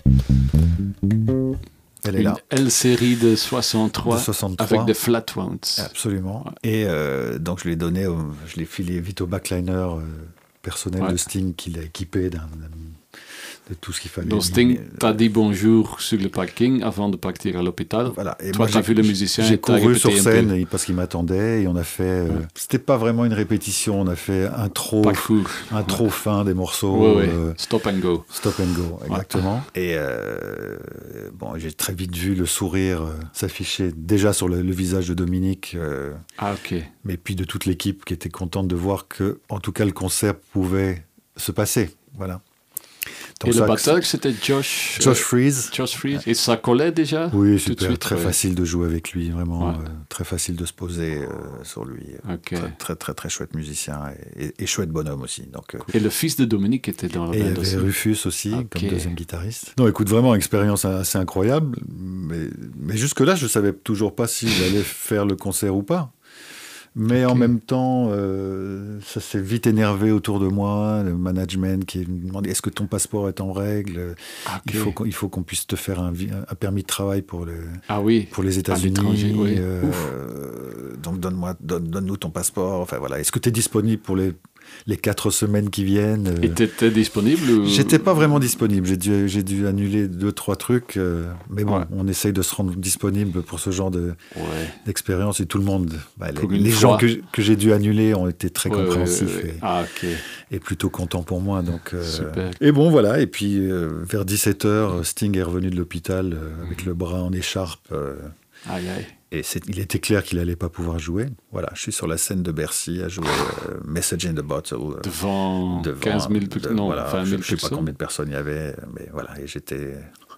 [SPEAKER 2] Mains, Elle est
[SPEAKER 1] une
[SPEAKER 2] là.
[SPEAKER 1] L-série de soixante-trois,
[SPEAKER 2] de soixante-trois
[SPEAKER 1] avec des flat wounds.
[SPEAKER 2] Absolument. Ouais. Et euh, donc je l'ai donné, au, je l'ai filé vite au backliner euh, personnel ouais. de Sting qui l'a équipé d'un, d'un, de tout ce qu'il fallait.
[SPEAKER 1] Donc Sting euh, t'a dit bonjour sur le parking avant de partir à l'hôpital.
[SPEAKER 2] Voilà. Et
[SPEAKER 1] toi,
[SPEAKER 2] moi,
[SPEAKER 1] t'as vu le musicien.
[SPEAKER 2] J'ai couru sur scène
[SPEAKER 1] et,
[SPEAKER 2] parce qu'il m'attendait et on a fait. Euh, ouais. C'était pas vraiment une répétition. On a fait un trop, un trop ouais. fin des morceaux.
[SPEAKER 1] Ouais, ouais. Euh, stop and go.
[SPEAKER 2] Stop and go, exactement. Ouais. Et euh, bon, j'ai très vite vu le sourire euh, s'afficher déjà sur le, le visage de Dominique. Euh,
[SPEAKER 1] ah ok.
[SPEAKER 2] Mais puis de toute l'équipe qui était contente de voir que, en tout cas, le concert pouvait se passer. Voilà.
[SPEAKER 1] Et le batteur, c'était Josh...
[SPEAKER 2] Josh Freese.
[SPEAKER 1] Josh Freese. Et ça collait déjà?
[SPEAKER 2] Oui, super.
[SPEAKER 1] Suite,
[SPEAKER 2] très
[SPEAKER 1] ouais.
[SPEAKER 2] facile de jouer avec lui, vraiment.
[SPEAKER 1] Ouais.
[SPEAKER 2] Euh, très facile de se poser euh, sur lui.
[SPEAKER 1] Okay.
[SPEAKER 2] Très, très, très, très chouette musicien et, et, et chouette bonhomme aussi. Donc, euh,
[SPEAKER 1] et le fils de Dominique était dans la bande aussi.
[SPEAKER 2] Et il y avait Rufus aussi, okay. comme deuxième guitariste. Non, écoute, vraiment, expérience assez incroyable. Mais, mais jusque-là, je ne savais toujours pas si j'allais faire le concert ou pas. Mais okay. en même temps, euh, ça s'est vite énervé autour de moi, le management qui me demandait est-ce que ton passeport est en règle, okay. il, faut qu'on, il faut qu'on puisse te faire un, un permis de travail pour, le,
[SPEAKER 1] ah oui,
[SPEAKER 2] pour les États-Unis.
[SPEAKER 1] Oui.
[SPEAKER 2] Euh, donc donne-moi, donne, donne-nous ton passeport. Enfin, voilà. Est-ce que tu es disponible pour les, les quatre semaines qui viennent?
[SPEAKER 1] Et tu étais disponible ou...
[SPEAKER 2] J'étais pas vraiment disponible. J'ai dû, j'ai dû annuler deux, trois trucs. Euh, mais bon, ouais. on essaye de se rendre disponible pour ce genre de, ouais. d'expérience. Et tout le monde, bah, les, les gens que, que j'ai dû annuler ont été très ouais, compréhensifs ouais, ouais. Et,
[SPEAKER 1] ah, okay.
[SPEAKER 2] et plutôt contents pour moi. Donc, euh,
[SPEAKER 1] super.
[SPEAKER 2] Et bon, voilà. Et puis, euh, vers dix-sept heures, Sting est revenu de l'hôpital euh, avec mmh. le bras en écharpe. Euh,
[SPEAKER 1] aïe, aïe.
[SPEAKER 2] Et c'est, il était clair qu'il n'allait pas pouvoir jouer. Voilà, je suis sur la scène de Bercy à jouer euh, Message in the Bottle. Euh,
[SPEAKER 1] devant, devant quinze mille de, non,
[SPEAKER 2] voilà,
[SPEAKER 1] vingt mille
[SPEAKER 2] je ne sais pas combien de personnes il y avait, mais voilà, et j'étais...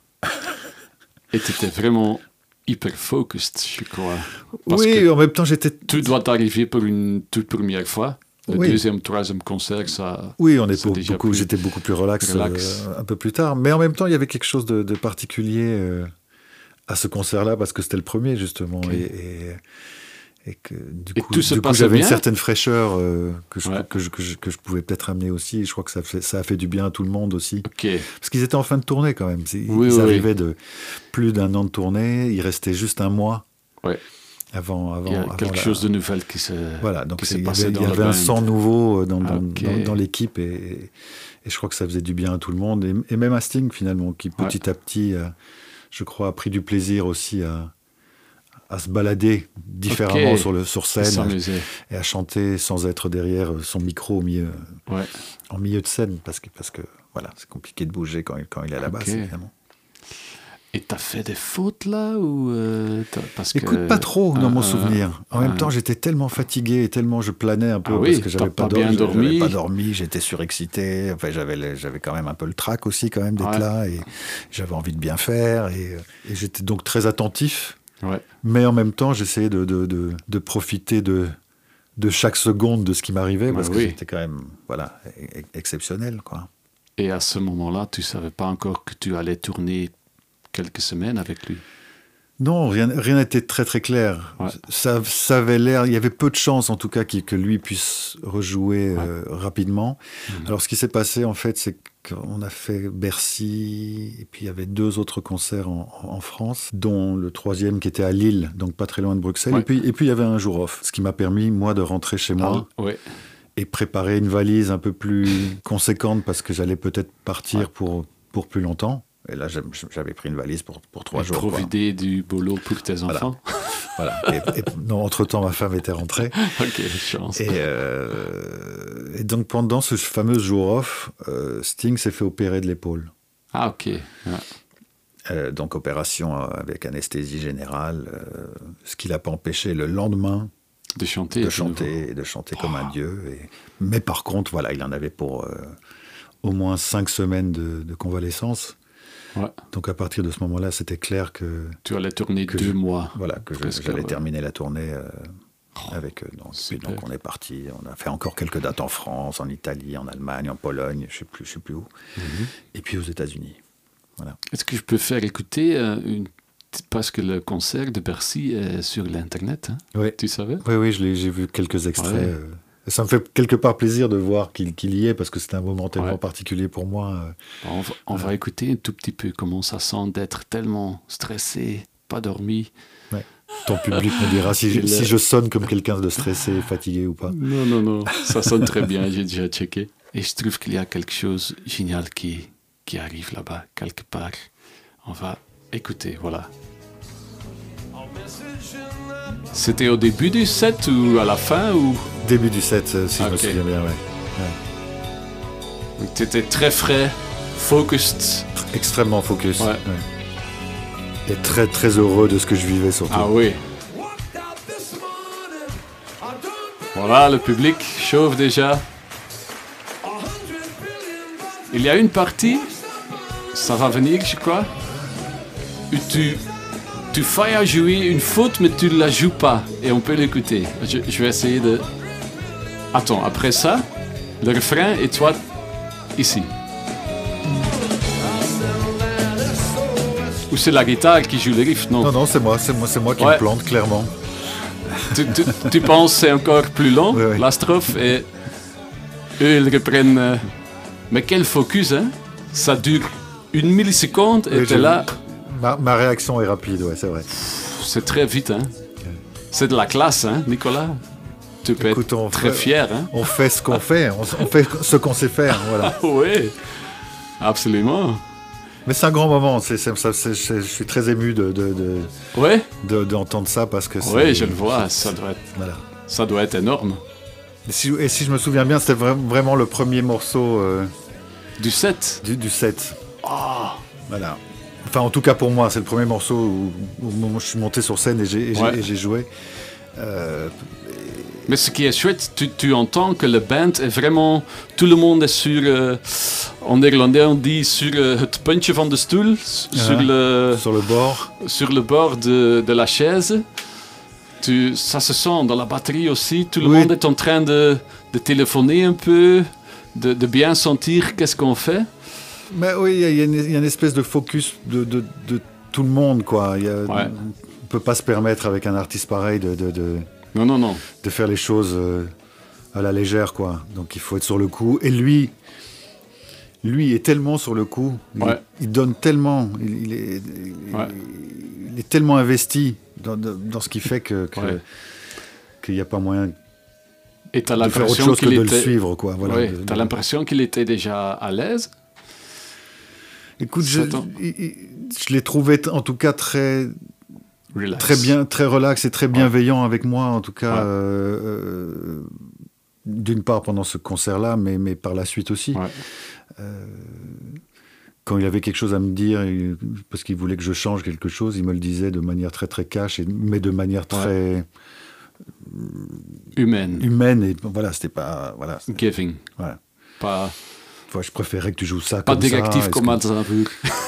[SPEAKER 1] Et tu étais vraiment hyper focused, je crois.
[SPEAKER 2] Parce oui, en même temps, j'étais...
[SPEAKER 1] Tout doit arriver pour une toute première fois. Le oui. deuxième, troisième concert, ça...
[SPEAKER 2] Oui, on est pour, beaucoup, plus, j'étais beaucoup plus relax, relax. Euh, un peu plus tard. Mais en même temps, il y avait quelque chose de, de particulier... Euh, à ce concert-là, parce que c'était le premier, justement, okay. et, et, et que du
[SPEAKER 1] et
[SPEAKER 2] coup, du coup j'avais
[SPEAKER 1] bien.
[SPEAKER 2] une certaine fraîcheur euh, que, je,
[SPEAKER 1] ouais.
[SPEAKER 2] que, je, que, je, que je pouvais peut-être amener aussi, et je crois que ça, fait, ça a fait du bien à tout le monde aussi.
[SPEAKER 1] Okay.
[SPEAKER 2] Parce qu'ils étaient en fin de tournée, quand même. Ils
[SPEAKER 1] oui, oui,
[SPEAKER 2] arrivaient
[SPEAKER 1] oui.
[SPEAKER 2] de plus d'un an de tournée, il restait juste un mois.
[SPEAKER 1] Ouais.
[SPEAKER 2] Avant, avant,
[SPEAKER 1] il y a
[SPEAKER 2] avant
[SPEAKER 1] quelque
[SPEAKER 2] la...
[SPEAKER 1] chose de nouvel qui se
[SPEAKER 2] voilà, donc
[SPEAKER 1] qui
[SPEAKER 2] c'est,
[SPEAKER 1] s'est
[SPEAKER 2] il y
[SPEAKER 1] passé
[SPEAKER 2] avait,
[SPEAKER 1] dans
[SPEAKER 2] il y avait
[SPEAKER 1] le
[SPEAKER 2] un
[SPEAKER 1] band.
[SPEAKER 2] sang nouveau dans, dans,
[SPEAKER 1] okay.
[SPEAKER 2] dans, dans l'équipe, et, et je crois que ça faisait du bien à tout le monde, et, et même à Sting, finalement, qui petit ouais. à petit... Euh, je crois, a pris du plaisir aussi à, à se balader différemment okay. sur, le, sur scène et, et à chanter sans être derrière son micro au milieu,
[SPEAKER 1] ouais.
[SPEAKER 2] en milieu de scène, parce que, parce que voilà, c'est compliqué de bouger quand il, quand il est à la okay. basse, évidemment.
[SPEAKER 1] Et t'as fait des fautes là ou euh, parce
[SPEAKER 2] Écoute,
[SPEAKER 1] que...
[SPEAKER 2] pas trop dans
[SPEAKER 1] euh,
[SPEAKER 2] mon souvenir. En euh, même temps, j'étais tellement fatigué et tellement je planais un peu
[SPEAKER 1] ah
[SPEAKER 2] parce
[SPEAKER 1] oui,
[SPEAKER 2] que j'avais pas,
[SPEAKER 1] pas, bien dormi.
[SPEAKER 2] j'avais pas dormi, j'étais surexcité. Enfin, j'avais, j'avais quand même un peu le trac aussi quand même d'être ouais. là et j'avais envie de bien faire et, et j'étais donc très attentif.
[SPEAKER 1] Ouais.
[SPEAKER 2] Mais en même temps, j'essayais de, de, de, de profiter de, de chaque seconde de ce qui m'arrivait ouais, parce oui. que c'était quand même voilà, exceptionnel, quoi.
[SPEAKER 1] Et à ce moment-là, tu savais pas encore que tu allais tourner quelques semaines avec lui?
[SPEAKER 2] Non, rien rien n'était très très clair. Ouais. Ça, ça avait l'air, il y avait peu de chances en tout cas que lui puisse rejouer ouais. euh, rapidement. Mmh. Alors ce qui s'est passé en fait, c'est qu'on a fait Bercy et puis il y avait deux autres concerts en, en France, dont le troisième qui était à Lille, donc pas très loin de Bruxelles. Ouais. Et puis et puis il y avait un jour off, ce qui m'a permis moi de rentrer chez moi.
[SPEAKER 1] Ah, ouais.
[SPEAKER 2] Et préparer une valise un peu plus conséquente parce que j'allais peut-être partir ouais. pour, pour plus longtemps. Et là, j'avais pris une valise pour, pour trois
[SPEAKER 1] et
[SPEAKER 2] jours.
[SPEAKER 1] Profiter du boulot pour tes enfants.
[SPEAKER 2] Voilà. voilà. Et, et, non, entre-temps, ma femme était rentrée.
[SPEAKER 1] Ok, chance.
[SPEAKER 2] Et, euh, et donc, pendant ce fameux jour off, euh, Sting s'est fait opérer de l'épaule.
[SPEAKER 1] Ah, ok. Ouais.
[SPEAKER 2] Euh, donc, opération avec anesthésie générale, euh, ce qui ne l'a pas empêché le lendemain
[SPEAKER 1] de chanter,
[SPEAKER 2] de chanter, et de chanter oh. comme un dieu. Et... Mais par contre, voilà, il en avait pour euh, au moins cinq semaines de, de convalescence.
[SPEAKER 1] Ouais.
[SPEAKER 2] Donc à partir de ce moment-là, c'était clair que...
[SPEAKER 1] Tu allais tourner deux
[SPEAKER 2] je,
[SPEAKER 1] mois.
[SPEAKER 2] Voilà, que je, j'allais ouais. terminer la tournée euh, oh, avec eux. Donc, puis, donc on est parti, on a fait encore quelques dates en France, en Italie, en Allemagne, en Pologne, je ne sais plus, je sais plus où. Mm-hmm. Et puis aux États-Unis. Voilà.
[SPEAKER 1] Est-ce que je peux faire écouter euh, une... Parce que le concert de Bercy est sur l'Internet, hein?
[SPEAKER 2] Oui.
[SPEAKER 1] Tu savais?
[SPEAKER 2] Oui, oui, je l'ai, j'ai vu quelques extraits.
[SPEAKER 1] Ouais.
[SPEAKER 2] Euh, ça me fait quelque part plaisir de voir qu'il, qu'il y est, parce que c'était un moment tellement
[SPEAKER 1] ouais.
[SPEAKER 2] particulier pour moi.
[SPEAKER 1] Euh, on va, on euh, va écouter un tout petit peu comment ça sent d'être tellement stressé, pas dormi.
[SPEAKER 2] Ouais. Ton public me dira si, je, si je sonne comme quelqu'un de stressé, fatigué ou pas.
[SPEAKER 1] Non, non, non, ça sonne très bien, j'ai déjà checké. Et je trouve qu'il y a quelque chose de génial qui, qui arrive là-bas, quelque part. On va écouter, voilà. C'était au début du set ou à la fin ou...
[SPEAKER 2] Début du set, si okay. je me souviens bien, ouais. ouais.
[SPEAKER 1] Donc tu étais très frais, focused.
[SPEAKER 2] Extrêmement focus.
[SPEAKER 1] Ouais.
[SPEAKER 2] Ouais. Et très très heureux de ce que je vivais surtout.
[SPEAKER 1] Ah oui. Voilà, le public chauffe déjà. Il y a une partie ça va venir, je crois. Tu, tu fais à jouer une faute, mais tu ne la joues pas. Et on peut l'écouter. Je, je vais essayer de... Attends, après ça, le refrain et toi, ici. Ou c'est la guitare qui joue le riff, non?
[SPEAKER 2] Non, non, c'est moi, c'est moi, c'est moi qui
[SPEAKER 1] Ouais.
[SPEAKER 2] me plante, clairement.
[SPEAKER 1] Tu, tu, tu penses que c'est encore plus long,
[SPEAKER 2] Oui, oui.
[SPEAKER 1] la strophe, et eux, ils reprennent... euh, Mais quel focus, hein? Ça dure une milliseconde et
[SPEAKER 2] Oui,
[SPEAKER 1] t'es
[SPEAKER 2] je-
[SPEAKER 1] là...
[SPEAKER 2] Ma, ma réaction est rapide, ouais, c'est vrai.
[SPEAKER 1] C'est très vite, hein? C'est de la classe, hein, Nicolas? Tu peux
[SPEAKER 2] Écoute, on
[SPEAKER 1] être très
[SPEAKER 2] fait-
[SPEAKER 1] fier, hein?
[SPEAKER 2] On fait ce qu'on fait, on, on fait ce qu'on sait faire, voilà.
[SPEAKER 1] Oui, absolument.
[SPEAKER 2] Mais c'est un grand moment, c'est, c'est, ça, c'est- c'est- je suis très ému de, de, de,
[SPEAKER 1] Oui,
[SPEAKER 2] de- d'entendre ça parce que c'est...
[SPEAKER 1] oui, je le vois, ça doit être,
[SPEAKER 2] Voilà.
[SPEAKER 1] ça doit être énorme.
[SPEAKER 2] Et si, et si je me souviens bien, c'était vra- vraiment le premier morceau euh,
[SPEAKER 1] Du set.
[SPEAKER 2] du, du set.
[SPEAKER 1] Ah,
[SPEAKER 2] Voilà. Enfin, en tout cas pour moi, c'est le premier morceau où, où moi, je suis monté sur scène et j'ai, et j'ai,
[SPEAKER 1] Ouais.
[SPEAKER 2] et j'ai joué. Euh,
[SPEAKER 1] mais ce qui est chouette, tu, tu entends que le band est vraiment... Tout le monde est sur... euh, en néerlandais, on dit sur euh, het puntje van de stoel. s- Sur,
[SPEAKER 2] Ah.
[SPEAKER 1] le,
[SPEAKER 2] sur le bord.
[SPEAKER 1] sur le bord de, de la chaise. Tu, ça se sent dans la batterie aussi. Tout le
[SPEAKER 2] Oui.
[SPEAKER 1] monde est en train de, de téléphoner un peu, de, de bien sentir qu'est-ce qu'on fait.
[SPEAKER 2] Mais oui, il y, a- il y a une- il y a une espèce de focus de, de, de tout le monde, quoi. Il y a-
[SPEAKER 1] Ouais.
[SPEAKER 2] On ne peut pas se permettre avec un artiste pareil de, de, de,
[SPEAKER 1] Non, non, non.
[SPEAKER 2] de faire les choses euh, à la légère, quoi. Donc il faut être sur le coup. Et lui, lui est tellement sur le coup. Il,
[SPEAKER 1] Ouais.
[SPEAKER 2] il donne tellement. Il, il est, il-
[SPEAKER 1] Ouais.
[SPEAKER 2] il est tellement investi dans, dans- dans ce qu'il fait que, que-
[SPEAKER 1] Ouais.
[SPEAKER 2] qu'il n'y a pas moyen
[SPEAKER 1] Et tu as
[SPEAKER 2] de faire autre
[SPEAKER 1] l'impression
[SPEAKER 2] chose que
[SPEAKER 1] qu'il
[SPEAKER 2] de
[SPEAKER 1] était...
[SPEAKER 2] le suivre, quoi. Voilà.
[SPEAKER 1] Ouais,
[SPEAKER 2] De-
[SPEAKER 1] t'as
[SPEAKER 2] de-
[SPEAKER 1] l'impression qu'il était déjà à l'aise.
[SPEAKER 2] Écoute, je,
[SPEAKER 1] Attends.
[SPEAKER 2] il- il- je l'ai trouvé t- en tout cas très,
[SPEAKER 1] Relax.
[SPEAKER 2] très bien, très relax et très bienveillant avec moi, en tout cas.
[SPEAKER 1] Ouais.
[SPEAKER 2] euh, euh, d'une part pendant ce concert-là, mais, mais par la suite aussi.
[SPEAKER 1] Ouais.
[SPEAKER 2] Euh, quand il avait quelque chose à me dire, il- parce qu'il voulait que je change quelque chose, il me le disait de manière très très cash, et, mais de manière très
[SPEAKER 1] Humaine.
[SPEAKER 2] humaine. Et voilà, c'était pas. Voilà, c'était-
[SPEAKER 1] Giving.
[SPEAKER 2] voilà.
[SPEAKER 1] Pas,
[SPEAKER 2] Enfin, je préférais que tu joues ça
[SPEAKER 1] pas
[SPEAKER 2] comme ça.
[SPEAKER 1] directif
[SPEAKER 2] est-ce
[SPEAKER 1] comme
[SPEAKER 2] que-
[SPEAKER 1] Aznavour.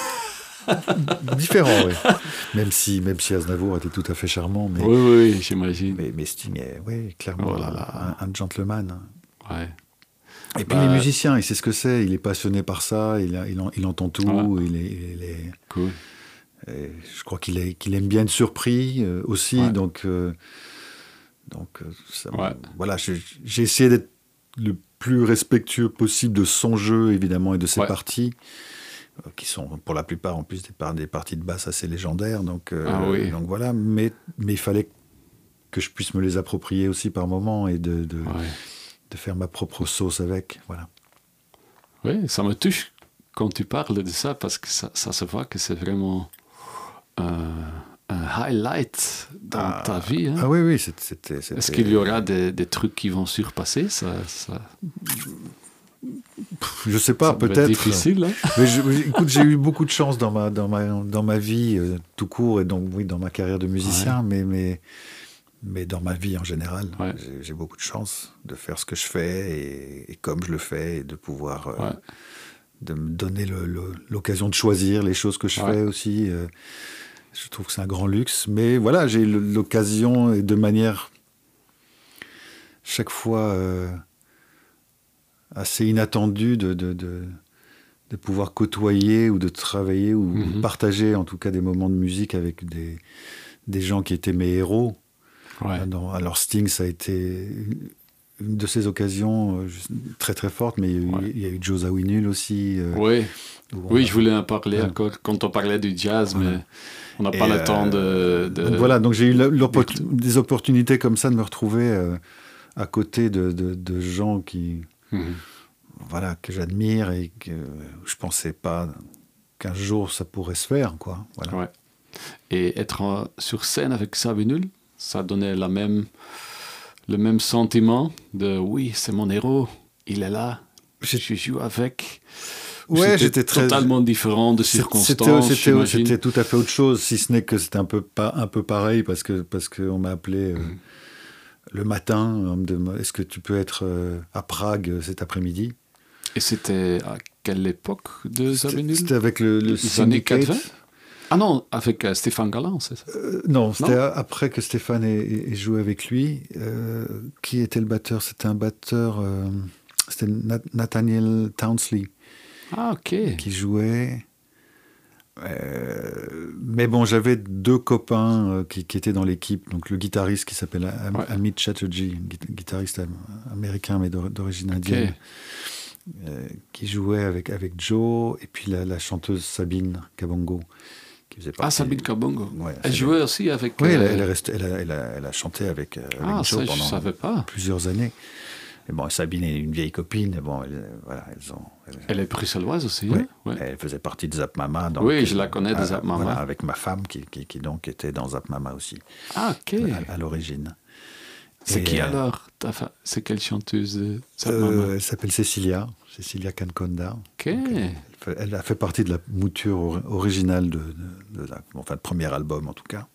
[SPEAKER 2] Différent, oui. Même si, même si Aznavour était tout à fait charmant, mais.
[SPEAKER 1] Oui, oui, oui, j'imagine.
[SPEAKER 2] Mais, mais Sting est, oui, clairement,
[SPEAKER 1] Oh là là.
[SPEAKER 2] Un, un gentleman.
[SPEAKER 1] Ouais.
[SPEAKER 2] Et puis
[SPEAKER 1] Bah,
[SPEAKER 2] les musiciens, il sait ce que c'est, il est passionné par ça, il, a- il, en- il entend tout,
[SPEAKER 1] Ouais.
[SPEAKER 2] il est, il est-
[SPEAKER 1] Cool.
[SPEAKER 2] et je crois qu'il est- qu'il aime bien être surpris euh, aussi,
[SPEAKER 1] Ouais.
[SPEAKER 2] donc, euh, donc euh, ça me-
[SPEAKER 1] Ouais.
[SPEAKER 2] voilà, j'ai j'ai essayé d'être le plus respectueux possible de son jeu, évidemment, et de ses
[SPEAKER 1] Ouais.
[SPEAKER 2] parties, euh, qui sont pour la plupart en plus des, par- des parties de basse assez légendaires, donc, euh,
[SPEAKER 1] Ah oui.
[SPEAKER 2] donc voilà, mais, mais il fallait que je puisse me les approprier aussi par moment et de, de,
[SPEAKER 1] Ouais.
[SPEAKER 2] de faire ma propre sauce avec, voilà.
[SPEAKER 1] Oui, ça me touche quand tu parles de ça parce que ça, ça se voit que c'est vraiment euh, un highlight dans
[SPEAKER 2] Ah,
[SPEAKER 1] ta vie. Hein.
[SPEAKER 2] Ah oui, oui, c'était... c'était-
[SPEAKER 1] Est-ce
[SPEAKER 2] c'était-
[SPEAKER 1] qu'il y aura des, des trucs qui vont surpasser ça, ça,
[SPEAKER 2] Je sais pas,
[SPEAKER 1] ça doit être
[SPEAKER 2] peut-être.
[SPEAKER 1] difficile. Hein.
[SPEAKER 2] Mais je- écoute, j'ai eu beaucoup de chance dans ma, dans ma, dans ma vie, euh, tout court, et donc oui, dans ma carrière de musicien, mais, mais, mais dans ma vie en général.
[SPEAKER 1] Ouais.
[SPEAKER 2] J'ai- J'ai beaucoup de chance de faire ce que je fais et, et comme je le fais, et de pouvoir... euh,
[SPEAKER 1] Ouais.
[SPEAKER 2] de me donner le- le- l'occasion de choisir les choses que je
[SPEAKER 1] Ouais.
[SPEAKER 2] fais aussi. euh, je trouve que c'est un grand luxe. Mais voilà, j'ai eu l'occasion, et de manière chaque fois euh, assez inattendue, de, de, de, de pouvoir côtoyer ou de travailler ou
[SPEAKER 1] Mhm.
[SPEAKER 2] partager en tout cas des moments de musique avec des, des gens qui étaient mes héros.
[SPEAKER 1] Ouais.
[SPEAKER 2] Dans- alors Sting, ça a été une de ces occasions euh, juste très très forte, mais il y a eu,
[SPEAKER 1] Ouais.
[SPEAKER 2] il y a eu Joe Zawinul aussi. euh,
[SPEAKER 1] Oui,
[SPEAKER 2] où on
[SPEAKER 1] oui,
[SPEAKER 2] a-
[SPEAKER 1] je voulais en parler
[SPEAKER 2] Ouais.
[SPEAKER 1] encore quand on parlait du jazz, mais on n'a
[SPEAKER 2] Et,
[SPEAKER 1] pas le
[SPEAKER 2] euh,
[SPEAKER 1] temps de... de-
[SPEAKER 2] Donc voilà, donc j'ai eu la- l'oppor-
[SPEAKER 1] Virtu-
[SPEAKER 2] des opportunités comme ça de me retrouver euh, à côté de, de- de gens qui,
[SPEAKER 1] Mhm.
[SPEAKER 2] voilà, que j'admire et que je pensais pas qu'un jour ça pourrait se faire, quoi. Voilà.
[SPEAKER 1] Ouais. Et être en- sur scène avec Zawinul, ça donnait la même, le même sentiment de oui, c'est mon héros, il est là,
[SPEAKER 2] J'ai-
[SPEAKER 1] je joue avec. Ou
[SPEAKER 2] Ouais,
[SPEAKER 1] c'était
[SPEAKER 2] j'étais très
[SPEAKER 1] totalement différent de
[SPEAKER 2] C'était-
[SPEAKER 1] circonstances.
[SPEAKER 2] C'était
[SPEAKER 1] j'imagine.
[SPEAKER 2] c'était tout à fait autre chose, si ce n'est que c'était un peu, pas, un peu pareil, parce que parce qu'on m'a appelé euh,
[SPEAKER 1] Mhm.
[SPEAKER 2] le matin, on me demande, est-ce que tu peux être euh, à Prague euh, cet après-midi?
[SPEAKER 1] Et c'était à quelle époque de Zawinul?
[SPEAKER 2] C'était avec le, le Syndicate.
[SPEAKER 1] Ah non, avec euh, Stéphane Galland, c'est ça?
[SPEAKER 2] euh, Non, c'était non après que Stéphane ait, ait joué avec lui. Euh, qui était le batteur? C'était un batteur... Euh, c'était Nat- Nathaniel Townsley.
[SPEAKER 1] Ah, ok.
[SPEAKER 2] Qui jouait... Euh, mais bon, j'avais deux copains euh, qui, qui étaient dans l'équipe. Donc le guitariste qui s'appelle Am- ouais. Amit Chatterjee, guitariste am- américain mais d'origine indienne, okay. euh, qui jouait avec, avec Joe, et puis la, la chanteuse Sabine Kabongo. Qui faisait partie...
[SPEAKER 1] Ah, Sabine Kabongo.
[SPEAKER 2] Ouais,
[SPEAKER 1] elle jouait aussi avec...
[SPEAKER 2] Oui,
[SPEAKER 1] euh...
[SPEAKER 2] elle, elle, est restée, elle, a, elle, a, elle a chanté avec, avec
[SPEAKER 1] ah,
[SPEAKER 2] Joe
[SPEAKER 1] ça,
[SPEAKER 2] pendant
[SPEAKER 1] je savais pas.
[SPEAKER 2] plusieurs années. Et bon, Sabine est une vieille copine. Bon, elle, voilà, elles ont,
[SPEAKER 1] elle... elle est bruxelloise aussi.
[SPEAKER 2] Oui,
[SPEAKER 1] hein ouais.
[SPEAKER 2] Elle faisait partie de Zap Mama. Donc,
[SPEAKER 1] oui, je la connais de Zap Mama.
[SPEAKER 2] Voilà, avec ma femme qui, qui, qui donc était dans Zap Mama aussi.
[SPEAKER 1] Ah, ok.
[SPEAKER 2] À, à l'origine.
[SPEAKER 1] C'est
[SPEAKER 2] et
[SPEAKER 1] qui
[SPEAKER 2] euh,
[SPEAKER 1] alors ta fa... C'est quelle chanteuse de Zap
[SPEAKER 2] euh,
[SPEAKER 1] Mama?
[SPEAKER 2] Elle s'appelle Cecilia. Cecilia Canconda.
[SPEAKER 1] Ok.
[SPEAKER 2] Donc, elle, fait, elle a fait partie de la mouture or, originale de, de, de la, enfin, de premier album en tout cas.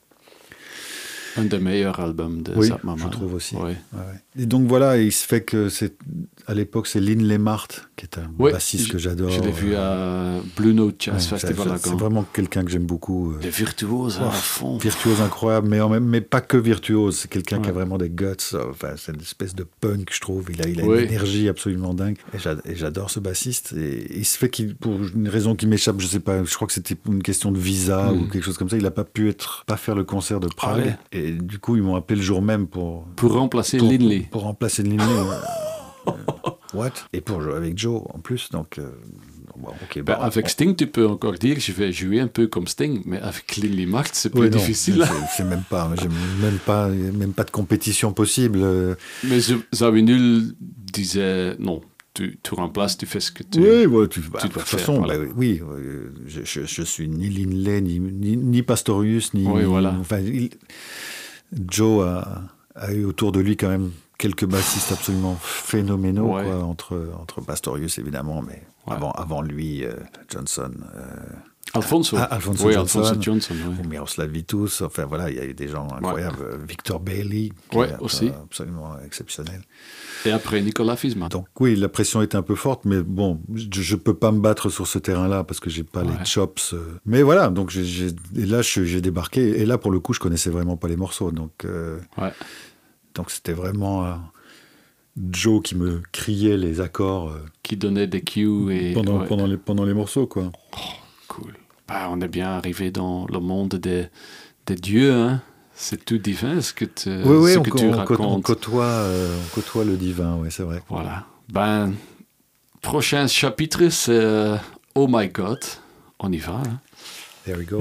[SPEAKER 1] Un des meilleurs albums de
[SPEAKER 2] oui,
[SPEAKER 1] Zap Mama.
[SPEAKER 2] je trouve aussi.
[SPEAKER 1] Oui.
[SPEAKER 2] Ouais, ouais. Et donc voilà, il se fait que c'est à l'époque c'est Lynn Lemart qui est un
[SPEAKER 1] oui,
[SPEAKER 2] bassiste
[SPEAKER 1] je,
[SPEAKER 2] que j'adore.
[SPEAKER 1] Je l'ai vu à Blue Note Jazz ouais, Festival.
[SPEAKER 2] C'est vraiment quelqu'un que j'aime beaucoup.
[SPEAKER 1] Des virtuoses oh, à fond.
[SPEAKER 2] Virtuose incroyable, mais, en même, mais pas que virtuose. C'est quelqu'un ouais. qui a vraiment des guts. Enfin, c'est une espèce de punk, je trouve. Il a, il a oui. une énergie absolument dingue. Et j'adore ce bassiste. Et il se fait qu'il, pour une raison qui m'échappe, je sais pas. Je crois que c'était une question de visa mm. ou quelque chose comme ça. Il n'a pas pu être, pas faire le concert de Prague. Ah ouais. Et du coup, ils m'ont appelé le jour même pour
[SPEAKER 1] pour remplacer
[SPEAKER 2] pour,
[SPEAKER 1] Lindley.
[SPEAKER 2] Pour, pour remplacer Lindley. euh, what? Et pour jouer avec Joe en plus. Donc. Euh, Bon, okay,
[SPEAKER 1] ben,
[SPEAKER 2] bon,
[SPEAKER 1] avec
[SPEAKER 2] on...
[SPEAKER 1] Sting, tu peux encore dire je vais jouer un peu comme Sting, mais avec Lindley Mart, c'est plus
[SPEAKER 2] oui,
[SPEAKER 1] difficile.
[SPEAKER 2] C'est même pas, j'ai même pas, même pas de compétition possible.
[SPEAKER 1] Mais Zawinul disait non. Tu, tu remplaces, tu fais ce que tu
[SPEAKER 2] Oui, ouais, tu, bah,
[SPEAKER 1] tu
[SPEAKER 2] de toute façon, voilà. bah, oui, je, je, je suis ni Lindley, ni, ni, ni Pastorius, ni.
[SPEAKER 1] Oui, voilà.
[SPEAKER 2] Enfin, il, Joe a, a eu autour de lui quand même quelques bassistes absolument phénoménaux, ouais. quoi, entre, entre Pastorius évidemment, mais ouais. avant, avant lui, euh, Johnson. Euh,
[SPEAKER 1] Alfonso.
[SPEAKER 2] Ah, Alfonso
[SPEAKER 1] oui,
[SPEAKER 2] Johnson,
[SPEAKER 1] Alfonso Johnson, oui.
[SPEAKER 2] ou Miroslav Vitous, enfin voilà, il y a eu des gens incroyables. Ouais. Victor Bailey, qui
[SPEAKER 1] ouais,
[SPEAKER 2] est
[SPEAKER 1] aussi.
[SPEAKER 2] absolument exceptionnel.
[SPEAKER 1] Et après, Nicolas Fiesmann.
[SPEAKER 2] Donc oui, la pression était un peu forte, mais bon, je ne peux pas me battre sur ce terrain-là parce que je n'ai pas ouais. les chops. Euh... Mais voilà, donc j'ai, j'ai... Et là, j'ai débarqué, et là, pour le coup, je ne connaissais vraiment pas les morceaux, donc... Euh...
[SPEAKER 1] Ouais.
[SPEAKER 2] Donc c'était vraiment euh, Joe qui me criait les accords. Euh,
[SPEAKER 1] qui donnait des cues et...
[SPEAKER 2] Pendant,
[SPEAKER 1] ouais.
[SPEAKER 2] pendant, les, pendant les morceaux, quoi.
[SPEAKER 1] Oh, cool. Bah, on est bien arrivé dans le monde des, des dieux, hein. C'est tout divin ce que, te,
[SPEAKER 2] oui, oui,
[SPEAKER 1] ce
[SPEAKER 2] on,
[SPEAKER 1] que tu
[SPEAKER 2] on,
[SPEAKER 1] racontes.
[SPEAKER 2] On côtoie, euh, on côtoie le divin, oui, c'est vrai.
[SPEAKER 1] Voilà. Ben, prochain chapitre, c'est euh, Oh My God. On y va. Hein.
[SPEAKER 2] There we go.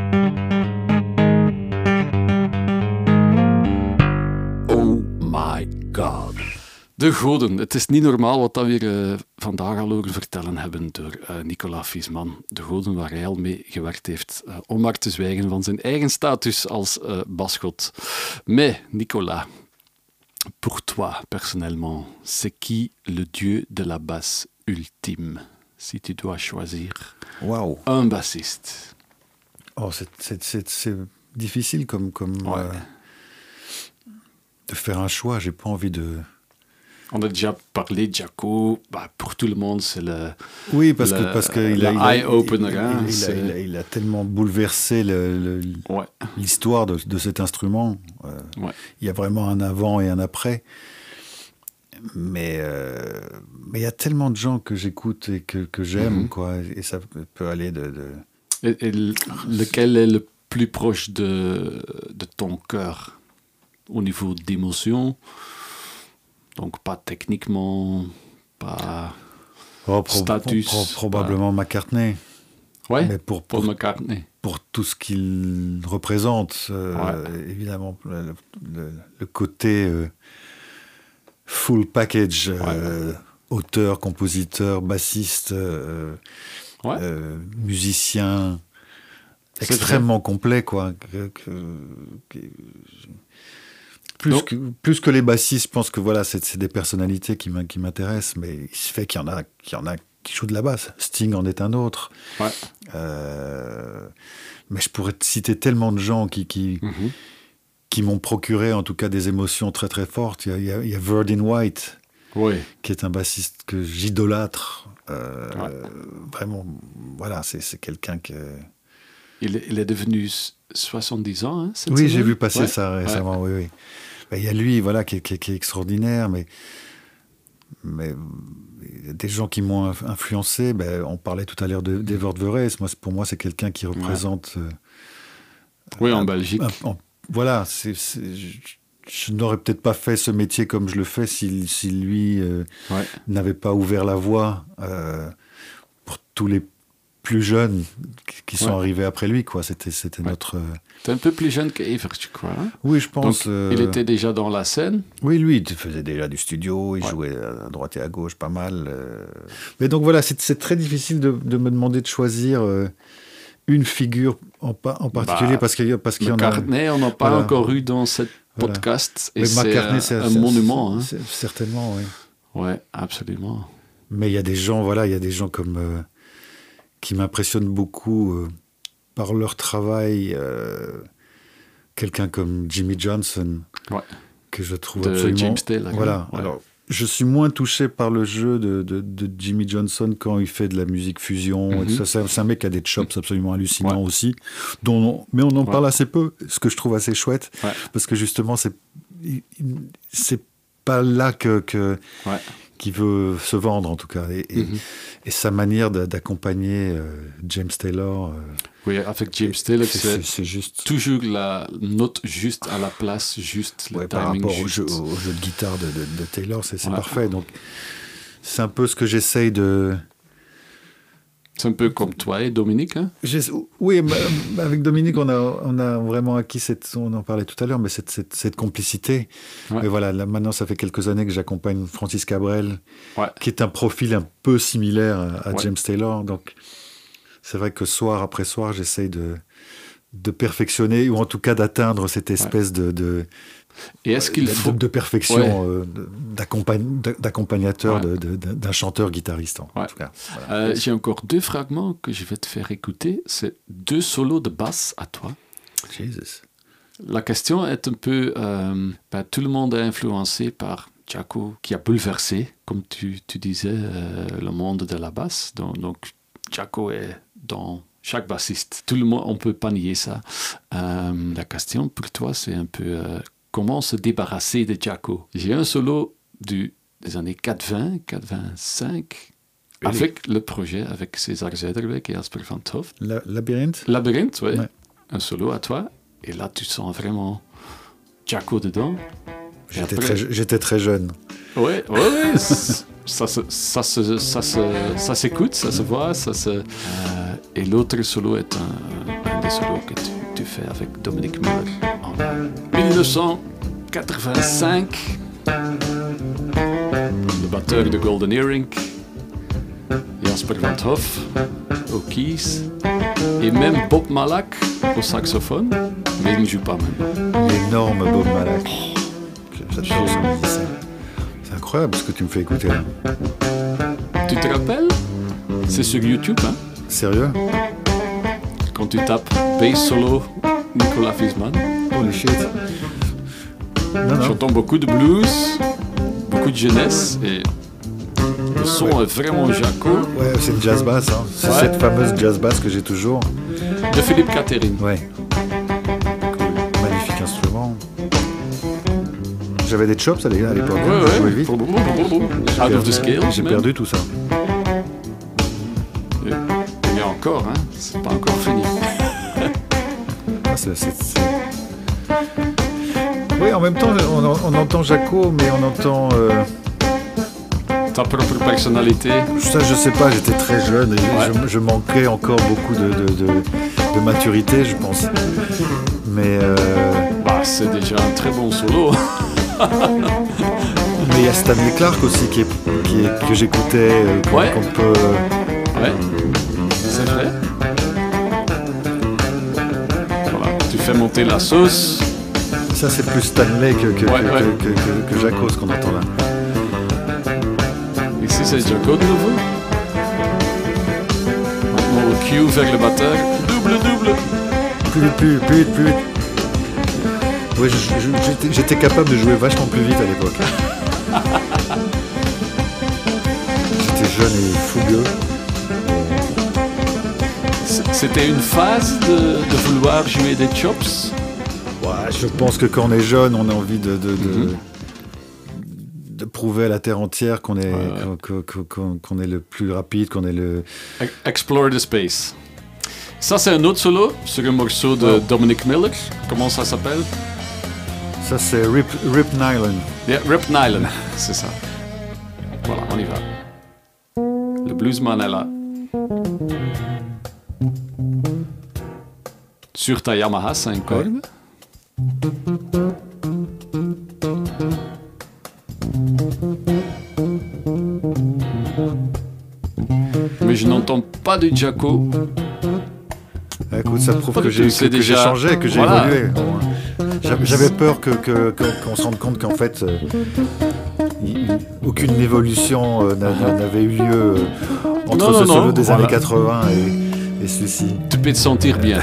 [SPEAKER 1] Oh my god. De goden. Het is niet normaal wat dat we uh, vandaag al horen vertellen hebben door uh, Nicolas Fiesmann. De goden waar hij al mee gewerkt heeft. Uh, om maar te zwijgen van zijn eigen status als uh, basgod. Mais, Nicolas, pour toi, personnellement, c'est qui le dieu de la basse ultime? Si tu dois choisir
[SPEAKER 2] wow.
[SPEAKER 1] un bassiste.
[SPEAKER 2] Oh, c'est, c'est, c'est, c'est difficile comme... comme
[SPEAKER 1] ouais.
[SPEAKER 2] euh, de faire un choix. J'ai pas envie de...
[SPEAKER 1] On a déjà parlé de Jaco, bah, pour tout le monde, c'est le.
[SPEAKER 2] Oui, parce
[SPEAKER 1] le,
[SPEAKER 2] que parce que il a,
[SPEAKER 1] eye-opener.
[SPEAKER 2] Il,
[SPEAKER 1] hein,
[SPEAKER 2] il, il, il, il a tellement bouleversé le, le,
[SPEAKER 1] ouais.
[SPEAKER 2] l'histoire de, de cet instrument. Euh,
[SPEAKER 1] ouais.
[SPEAKER 2] Il y a vraiment un avant et un après. Mais euh, mais il y a tellement de gens que j'écoute et que, que j'aime, mm-hmm. quoi. Et ça peut aller de. de...
[SPEAKER 1] Et, et lequel est le plus proche de de ton cœur au niveau d'émotion? Donc pas techniquement, pas
[SPEAKER 2] oh, pro-
[SPEAKER 1] status.
[SPEAKER 2] Pro- pro- probablement pas... McCartney.
[SPEAKER 1] Ouais,
[SPEAKER 2] mais pour, pour,
[SPEAKER 1] Paul McCartney.
[SPEAKER 2] Pour tout ce qu'il représente, euh, ouais. évidemment, le, le, le côté euh, full package, euh, ouais. auteur, compositeur, bassiste, euh,
[SPEAKER 1] ouais.
[SPEAKER 2] euh, musicien, c'est extrêmement vrai. complet, quoi. Que, que, que, Plus que, plus que les bassistes, je pense que voilà, c'est, c'est des personnalités qui, qui m'intéressent, mais il se fait qu'il y en a, qu'il y en a qui jouent de la basse. Sting en est un autre.
[SPEAKER 1] Ouais.
[SPEAKER 2] Euh, mais je pourrais te citer tellement de gens qui, qui, mm-hmm. qui m'ont procuré, en tout cas, des émotions très très fortes. Il y a, il y a, il y a Verdin White,
[SPEAKER 1] oui.
[SPEAKER 2] qui est un bassiste que j'idolâtre. Euh,
[SPEAKER 1] ouais.
[SPEAKER 2] Vraiment, voilà, c'est, c'est quelqu'un que...
[SPEAKER 1] Il est, il est devenu soixante-dix ans, hein, cette
[SPEAKER 2] Oui,
[SPEAKER 1] semaine.
[SPEAKER 2] j'ai vu passer
[SPEAKER 1] ouais.
[SPEAKER 2] ça récemment,
[SPEAKER 1] ouais.
[SPEAKER 2] oui, oui. Ben, il y a lui, voilà, qui, qui, qui est extraordinaire, mais... mais des gens qui m'ont influencé, ben, on parlait tout à l'heure de, d'Evert Veres. Moi, pour moi, c'est quelqu'un qui représente...
[SPEAKER 1] Ouais.
[SPEAKER 2] Euh,
[SPEAKER 1] oui, en
[SPEAKER 2] un,
[SPEAKER 1] Belgique.
[SPEAKER 2] Un, en, voilà, c'est, c'est, je, je n'aurais peut-être pas fait ce métier comme je le fais si, si lui euh,
[SPEAKER 1] ouais.
[SPEAKER 2] n'avait pas ouvert la voie euh, pour tous les plus jeunes qui sont ouais. arrivés après lui, quoi. C'était, c'était
[SPEAKER 1] ouais.
[SPEAKER 2] notre... Euh...
[SPEAKER 1] T'es un peu plus jeune qu'Evert, tu crois, hein?
[SPEAKER 2] Oui, je pense.
[SPEAKER 1] Donc,
[SPEAKER 2] euh...
[SPEAKER 1] il était déjà dans la scène?
[SPEAKER 2] Oui, lui, il faisait déjà du studio, il ouais. jouait à droite et à gauche pas mal. Euh... Mais donc voilà, c'est, c'est très difficile de, de me demander de choisir euh, une figure en, en particulier, bah, parce qu'il, parce qu'il y en a...
[SPEAKER 1] McCartney, on n'a pas voilà. encore eu dans cette voilà. podcast, et Mais c'est, McCartney, c'est un, un monument. Hein.
[SPEAKER 2] C'est, certainement, oui.
[SPEAKER 1] Oui, absolument.
[SPEAKER 2] Mais il y a des gens, voilà, il y a des gens comme... Euh, qui m'impressionnent beaucoup euh, par leur travail. Euh, quelqu'un comme Jimmy Johnson,
[SPEAKER 1] ouais.
[SPEAKER 2] que je trouve
[SPEAKER 1] de
[SPEAKER 2] absolument...
[SPEAKER 1] James Taylor.
[SPEAKER 2] Voilà. Ouais. Alors, je suis moins touché par le jeu de, de, de Jimmy Johnson quand il fait de la musique fusion. Mm-hmm. Et tout ça. C'est, c'est un mec qui a des chops absolument hallucinants ouais. aussi. Dont on, mais on en ouais. parle assez peu, ce que je trouve assez chouette. Ouais. Parce que justement, c'est, c'est pas là que... que
[SPEAKER 1] ouais.
[SPEAKER 2] qui veut se vendre en tout cas, et, et, mm-hmm. et sa manière de, d'accompagner euh, James Taylor. Euh,
[SPEAKER 1] oui, avec James Taylor, c'est,
[SPEAKER 2] c'est, c'est juste
[SPEAKER 1] toujours la note juste à la place, juste le
[SPEAKER 2] ouais,
[SPEAKER 1] timing
[SPEAKER 2] par rapport
[SPEAKER 1] juste.
[SPEAKER 2] Au, jeu, au jeu de guitare de, de, de Taylor, c'est, c'est ouais. parfait. Donc c'est un peu ce que j'essaye de.
[SPEAKER 1] C'est un peu comme toi et Dominique, hein?
[SPEAKER 2] Oui, avec Dominique, on a, on a vraiment acquis cette, on en parlait tout à l'heure, mais cette, cette, cette complicité. Ouais. Mais voilà, là, maintenant, ça fait quelques années que j'accompagne Francis Cabrel, ouais. qui est un profil un peu similaire à, à ouais. James Taylor. Donc, c'est vrai que soir après soir, j'essaye de, de perfectionner, ou en tout cas d'atteindre cette espèce ouais. de, de
[SPEAKER 1] Et est-ce qu'il
[SPEAKER 2] de,
[SPEAKER 1] faut...
[SPEAKER 2] de perfection ouais. euh, d'accompagn... d'accompagnateur ouais. de, de, de, d'un chanteur-guitariste, en, ouais. en tout cas. Voilà.
[SPEAKER 1] Euh, j'ai encore deux fragments que je vais te faire écouter. C'est deux solos de basse à toi.
[SPEAKER 2] Jesus.
[SPEAKER 1] La question est un peu... Euh, bah, tout le monde est influencé par Jaco, qui a bouleversé, comme tu, tu disais, euh, le monde de la basse. Donc, donc Jaco est dans... chaque bassiste. Tout le monde, on ne peut pas nier ça. Euh, la question pour toi, c'est un peu... Euh, comment se débarrasser de Jaco? J'ai un solo du, des années quatre-vingts, quatre-vingt-cinq, really? Avec le projet, avec César Zuiderwijk et Jasper van 't Hof.
[SPEAKER 2] La, Labyrinthe
[SPEAKER 1] Labyrinthe, oui. Ouais. Un solo à toi. Et là, tu sens vraiment Jaco dedans.
[SPEAKER 2] J'étais, après... très, j'étais très jeune.
[SPEAKER 1] Oui, oui, oui. ça, se, ça, se, ça, se, ça s'écoute, ça se voit. Ça se, euh, et l'autre solo est un, un des solos que tu, tu fais avec Dominique Muller en dix-neuf cent quatre-vingt-cinq. Le batteur de Golden Earring, Jasper van 't Hof aux keys, et même Bob Malak au saxophone, mais il ne joue pas maintenant.
[SPEAKER 2] L'énorme Bob Malak. J'adore ce musicien. C'est incroyable ce que tu me fais écouter là.
[SPEAKER 1] Tu te rappelles? C'est sur YouTube, hein?
[SPEAKER 2] Sérieux?
[SPEAKER 1] Quand tu tapes bass solo Nicolas Wiesmann.
[SPEAKER 2] Holy shit. Non,
[SPEAKER 1] J'entends non. beaucoup de blues, beaucoup de jeunesse, et le son ouais. est vraiment Jaco.
[SPEAKER 2] Ouais, c'est une jazz bass, hein. C'est ouais. cette fameuse jazz bass que j'ai toujours.
[SPEAKER 1] De Philippe Catherine.
[SPEAKER 2] Ouais. Cool. Magnifique instrument. J'avais des chops à l'époque,
[SPEAKER 1] ouais,
[SPEAKER 2] hein,
[SPEAKER 1] ouais.
[SPEAKER 2] je jouais vite.
[SPEAKER 1] J'ai, Out of the scale,
[SPEAKER 2] j'ai perdu tout ça.
[SPEAKER 1] Et, mais encore, hein, c'est pas encore fini.
[SPEAKER 2] ah, c'est, c'est, c'est... Oui, en même temps, on, on entend Jaco, mais on entend... Euh...
[SPEAKER 1] Ta propre personnalité.
[SPEAKER 2] Ça, je sais pas, j'étais très jeune et ouais. je, je manquais encore beaucoup de, de, de, de maturité, je pense. Mais... Euh...
[SPEAKER 1] Bah, c'est déjà un très bon solo.
[SPEAKER 2] Mais il y a Stanley Clarke aussi qui est, qui est, que j'écoutais, euh, qu'on,
[SPEAKER 1] ouais.
[SPEAKER 2] qu'on peut...
[SPEAKER 1] Ouais, c'est vrai. Voilà, tu fais monter la sauce.
[SPEAKER 2] Ça, c'est plus Stanley que, que,
[SPEAKER 1] ouais,
[SPEAKER 2] que,
[SPEAKER 1] ouais.
[SPEAKER 2] que, que, que Jaco, ce qu'on entend là.
[SPEAKER 1] Ici, c'est Jaco de nouveau. Maintenant, au cue vers le batteur. Double, double.
[SPEAKER 2] Plus vite, plus vite, plus vite, plus vite. Oui, je, je, j'étais, j'étais capable de jouer vachement plus vite à l'époque. jeune et fougueux.
[SPEAKER 1] C'était une phase de, de vouloir jouer des chops?
[SPEAKER 2] Ouais, je pense que quand on est jeune, on a envie de, de, de,
[SPEAKER 1] mm-hmm.
[SPEAKER 2] de prouver à la terre entière qu'on est,
[SPEAKER 1] ouais.
[SPEAKER 2] qu'on, qu'on, qu'on est le plus rapide, qu'on est le...
[SPEAKER 1] Explore the space. Ça, c'est un autre solo sur un morceau de oh. Dominic Miller. Comment ça s'appelle?
[SPEAKER 2] Ça, c'est Rip, Rip Nylon.
[SPEAKER 1] Yeah, Rip Nylon, c'est ça. Voilà, on y va. Le bluesman est là. Sur ta Yamaha cinq cordes. Ouais. Mais je n'entends pas de Jaco.
[SPEAKER 2] Écoute, ça prouve que j'ai, que, déjà... que j'ai changé, que j'ai voilà. évolué. J'avais peur que, que, que, qu'on se rende compte qu'en fait, euh, il, aucune évolution euh, n'avait eu lieu euh, entre non, ce non, solo non, des voilà. années quatre-vingts et, et celui-ci.
[SPEAKER 1] Tu peux te sentir bien.